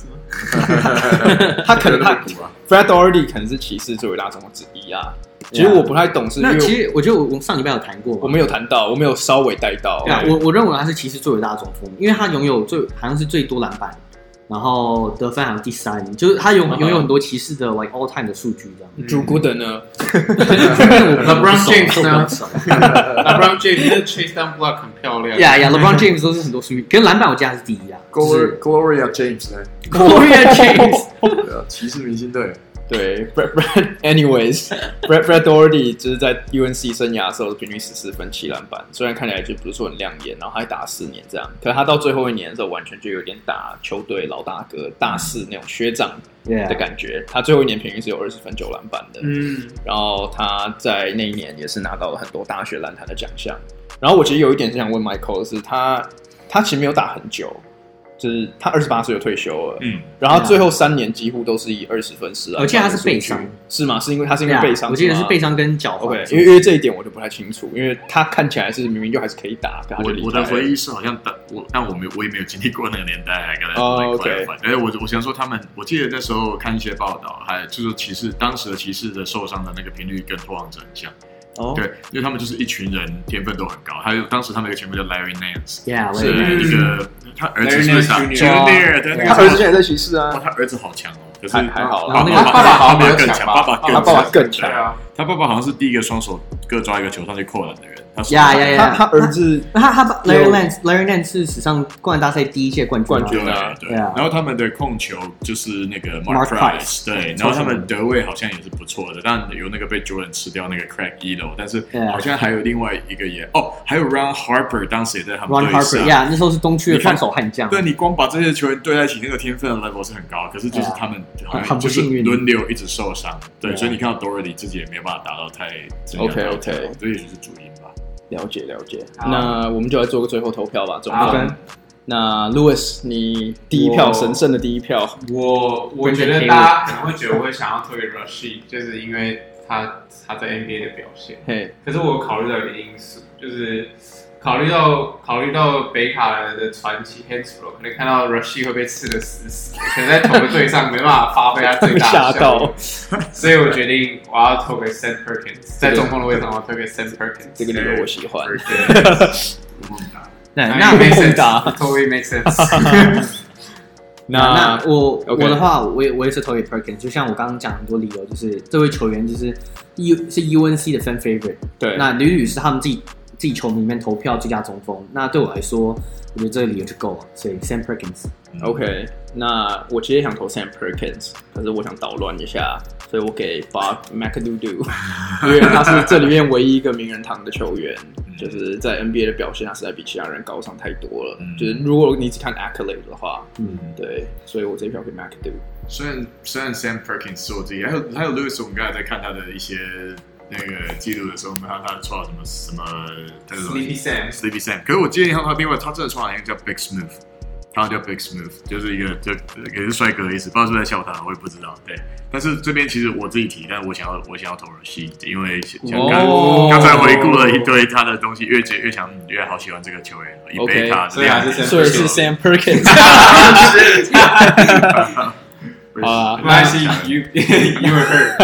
他可能他 Brad Daugherty 可能是騎士最偉大中锋之一啊。其實我不太懂，是因為其實我覺得我們上禮拜有談過， 我沒有談到，我沒有稍微帶到。 對啊，我我認為他是騎士最偉大的中鋒，因為他擁有最好像是最多籃板。然後得分好像第三，就是他擁擁有很多騎士的 like all time 的數據這樣。 Drew Gooden 呢 ？LeBron James 呢 ？LeBron James 那 chase down block 很漂亮。 呀呀 ，LeBron James 都是很多數據，可是籃板我记得他是第一啊。 Gloria James 呢 ？Gloria James， 对啊，骑士明星隊。 对 ，Brad Brad，anyways，Brad Brad Daugherty 就是在 U N C 生涯的時候平均十四分七籃板，雖然看起來就不是說很亮眼，然後他還打了四年這樣，可是他到最後一年的時候，完全就有點打球隊老大哥大四那種學長的感覺。Yeah. 他最後一年平均是有二十分九籃板的，嗯，然後他在那一年也是拿到了很多大學籃壇的獎項。然後我其實有一點是想問 Michael 的是他他其實沒有打很久。就是他二十八歲就退休了，嗯，然後最後三年幾乎都是以二十分十籃板。我記得他是背傷，是嗎？是因為他是因為背傷？我記得是背傷跟腳踝。 OK， 因為因為這一點我就不太清楚，因為他看起來是明明就還是可以打，他就離開了。 我我的回憶是好像我，但我沒有我也沒有經歷過那個年代，還跟他蠻快的。哎，我我想說他們，我記得那時候看一些報道，還就是騎士當時的騎士的受傷的那個頻率跟拓荒者很像。哦，對，因為他們就是一群人，天分都很高。還有當時他們有個前輩叫 Larry Nance，yeah, 是一個他兒子是打 Junior， 對， 他兒子現在在騎士啊。 他兒子好強哦，可是還還好， 他爸爸好像沒有更強，爸爸他爸爸更強啊。他爸爸好像是第一個雙手各抓一個球上去扣籃的人。 呀呀呀！ 他兒子， 他他 Larry Nance Larry Nance 是史上灌籃大賽第一屆冠軍冠軍啊， 對。然後他們的控球就是那個 Mark Price， 对。然後他們得位好像也是不錯的，但有那個被 Jordan 吃掉那個 Craig Ehlo， 但是好像還有另外一個也哦，還有 Ron Harper 當時也在他們隊上。 呀，那時候是東區的防守悍將。 對，你光把這些球員對在一起，那個天分的 level 是很高，可是就是他們好像就是輪流一直受傷，對，所以你看到 Daugherty 自己也沒有辦法達到太 OK OK， 這也就是主因吧。 了解了解。那我們就來做個最後投票吧，總分。那 Louis， 你第一票神聖的第一票， 我我覺得大家可能會覺得我會想要投給 Rashid， 就是因為他他在 N B A 的表現。嘿，可是我考慮到一個因素，就是考慮到考慮到北卡的傳奇 Hansbrough， 可能看到 Rashid 會被吃得死死的，可能在同個隊上沒辦法發揮他最大的效果，所以我決定我要投給 Sam Perkins， 在中鋒的位置上我要投給 Sam Perkins， 這個理由我喜歡。 那那沒答 ，totally make sense 那那我、okay. 我的話，我也我也是投給 Perkins， 就像我剛剛講很多理由，就是這位球員就是 U 是 U N C 的 fan favorite， 對，那屢屢是他們自己自己球迷裡面投票最佳中鋒，那對我來說，我覺得這個理由就夠了，所以 Sam Perkins。OK， 那我其實也想投 Sam Perkins， 可是我想搗亂一下，所以我給 Bob McAdoo， 因為他是這裡面唯一一個名人堂的球員。就是在 N B A 的表現，他實在比其他人高上太多了。嗯、就是如果你只看 accolade 的話，嗯，對，所以我這一票給 McAdoo。 雖然雖然 Sam Perkins 是我自己，還有還有 Louis， 我們剛才在看他的一些那個記錄的時候，我們看他創了什麼什麼 Sleepy Sam，Sleepy Sam。可是我記得他另外他真的創了一個叫 Big Smooth， 他叫 Big Smooth， 就是一個就也是帥哥的意思，不知道是不是在笑他，我也不知道。對。但是這邊其實我自己提，但是我想要我想要投 Rashid， 因為像剛剛才回顧了一堆他的東西，越越想越好喜歡這個球員，一杯他， 所以所以是 Sam Perkins。好啊， 沒關係 ，You You were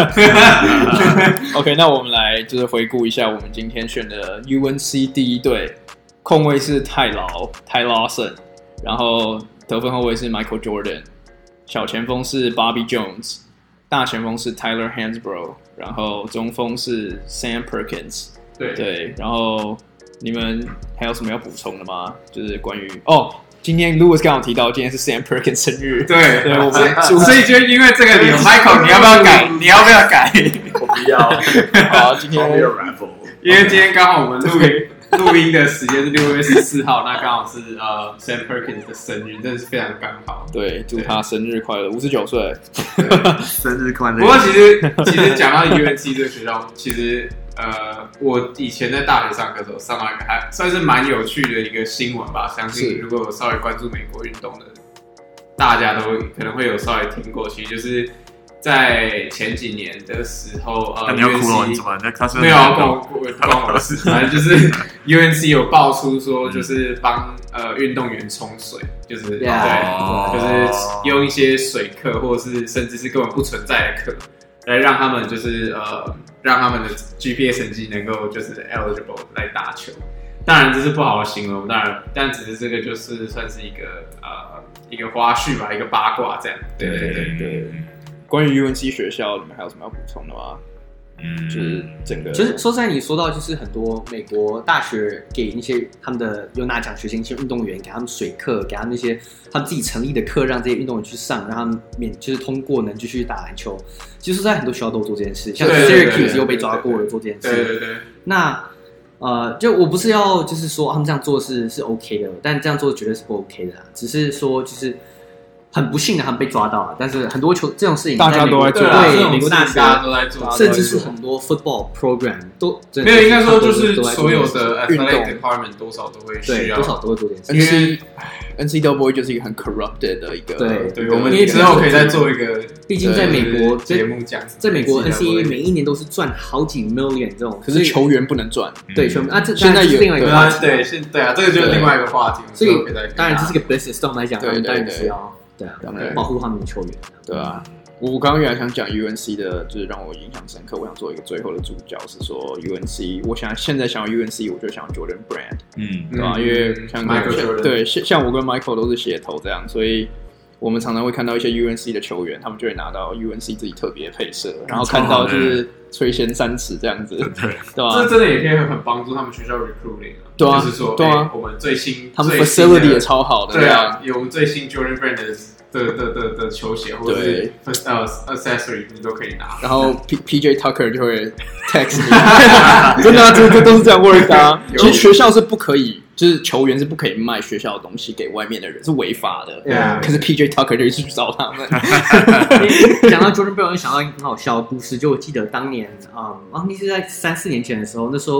hurt。 OK， 那我們來就是回顧一下我們今天選的 U N C 第一隊，控衛是泰勞 Ty Lawson， 然後得分後衛是 Michael Jordan， 小前鋒是 Bobby Jones。大前鋒是 Tyler Hansbrough， 然後中鋒是 Sam Perkins。 對对，然後你們還有什麼要補充的嗎？就是關於哦，今天 Louis 剛好提到今天是 Sam Perkins 生日， 對對，我們所以就因為這個理由，Michael 你要不要改？你要不要改？ 我不要。 好，今天因為今天剛好我們錄音。錄音的時間是六月十四號，那剛好是呃 Sam Perkins 的生日，真的是非常剛好。 對，祝他生日快樂，五十九歲， 生日快樂。 不過其實其實講到 U N C 這個學校，其實呃我以前在大學上課的時候上到一個還算是蠻有趣的一個新聞吧，相信如果有稍微關注美國運動的，大家都可能會有稍微聽過，其實就是。在前幾年的時候，呃， 你要哭了，你怎麼？他是沒有關我關我的事，反正就是 U N C 有爆出說，就是幫呃運動員沖水，就是對，就是用一些水課，或者是甚至是根本不存在的課，來讓他們就是呃讓他們的 G P A 成績能夠就是 eligible 來打球。當然這是不好的形容，當然，但只是這個就是算是一個呃一個花絮吧，一個八卦這樣。對對對對。對關於 U N C 學校，你們還有什麼要補充的嗎？嗯，就是整個， 其實說實在，你說到就是很多美國大學給那些他們的有拿獎學金一些運動員，給他們水課，給他們那些他們自己成立的課，讓這些運動員去上，讓他們免就是通過能繼續打籃球。其實，在很多學校都有做這件事，像 Syracuse 又被抓過了做這件事。 對對對。 那呃，就我不是要就是說他們這樣做是是 OK 的，但這樣做絕對是不 OK 的啦。只是說就是。很不幸的，他們被抓到了。但是很多球這種事情， 大家都在做， 對，美國大學大家都在做， 甚至是很多 football program 都沒有，應該說就是所有的 athletic department 多少都會需要， 多少都會做點事。 因為 N C double A 就是一個很 corrupted 的一個， 對對，我們之後可以再做一個， 畢竟在美國節目講， 在美國 N C A A 每一年都是賺好幾 million 這種， 可是球員不能賺， 對球員啊，這現在有另外一個話題， 對，現對啊，這個就是另外一個話題， 所以當然這是個 business 上來講，當然是要。對啊，保護他們的球員。 對啊，我剛剛原來想講 U N C 的，就是讓我印象深刻。我想做一個最後的注腳，是說 U N C。我想現在想要 U N C， 我就想要 Jordan Brand，嗯，對吧？因為像 Michael， 對，像我跟 Michael 都是血頭這樣，所以我們常常會看到一些 U N C 的球員，他們就會拿到 U N C 自己特別的配色，然後看到就是垂涎三尺這樣子，對對吧？ 這真的也可以很幫助他們學校 recruiting 啊， 對啊， 就是說， 對啊， 我們最新， 他們 facility 也超好的， 對啊，有最新 Jordan Brand 的。的的的的球鞋或者是呃 accessory 你都可以拿， 然後 P P J Tucker 就會 text 你，真的啊，這這都是這樣 work 的啊。其實學校是不可以，就是球員是不可以賣學校的東西給外面的人，是違法的。Yeah. 可是 P J Tucker 就一直去找他們。 講到 Jordan Brand， 我想到一個很好笑的故事，就我記得當年啊，啊，那是在三四年前的時候，那時候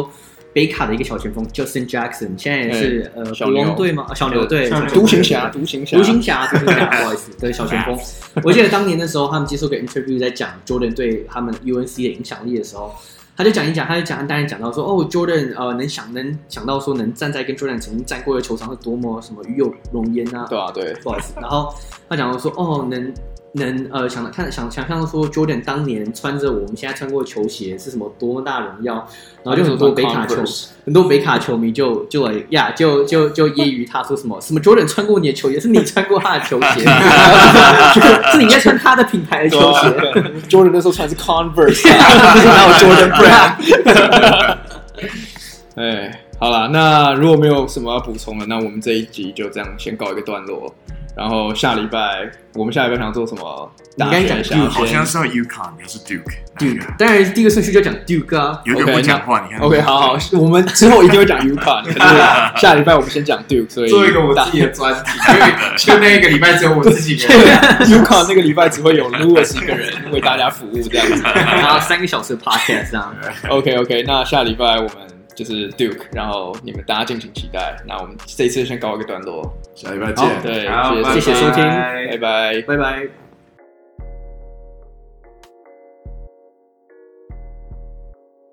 北卡的一個小前鋒 Justin Jackson， 現在也是、欸、呃國王隊嗎？小牛隊， 獨行俠，獨行俠， 獨行俠，獨行俠，不好意思，對，小前鋒。我記得當年的時候，他們接受個 interview 在講 Jordan 對他們 U N C 的影響力的時候，他就講一講，他就講，當然講到說，哦 ，Jordan 呃能想能想到說能站在跟 Jordan 曾經站過的球場是多麼什麼與有榮焉啊， 對啊，對， 不好意思。然後他講到說，哦，能。能呃想看想想象說 Jordan 當年穿着我們現在穿過的球鞋是什麼多麼大榮耀，然後就很多北卡球很多北卡球迷就就來呀就就就揶揄他說什麼什麼 Jordan 穿過你的球鞋，是你穿過他的球鞋，是你在穿他的品牌的球鞋。 Jordan 那時候穿的是 Converse， 哪有 Jordan Brand？ 哎，好啦，那如果沒有什麼要補充的，那我們這一集就這樣先告一個段落。然後下禮拜，我們下禮拜想做什麼？ 你剛才講 Duke， 好像是 UConn， 你是 Duke。Duke， 當然第一個順序就講 Duke 啊。 有點不講話，你看。 OK， 好好，我們之後一定會講 UConn， 可是下禮拜我們先講 Duke， 所以做一個我自己的專題，因為就那一個禮拜只有我自己一個人。 UConn 那個禮拜只會有 Louis 一個人為大家服務這樣子， 然後三個小時的 podcast 這樣。 OK OK， 那下禮拜我們就是 Duke， 然後你們大家敬請期待。那我們這一次先告一個段落， 下禮拜見。 對， 好， 謝謝謝謝收聽， 拜拜， 拜拜。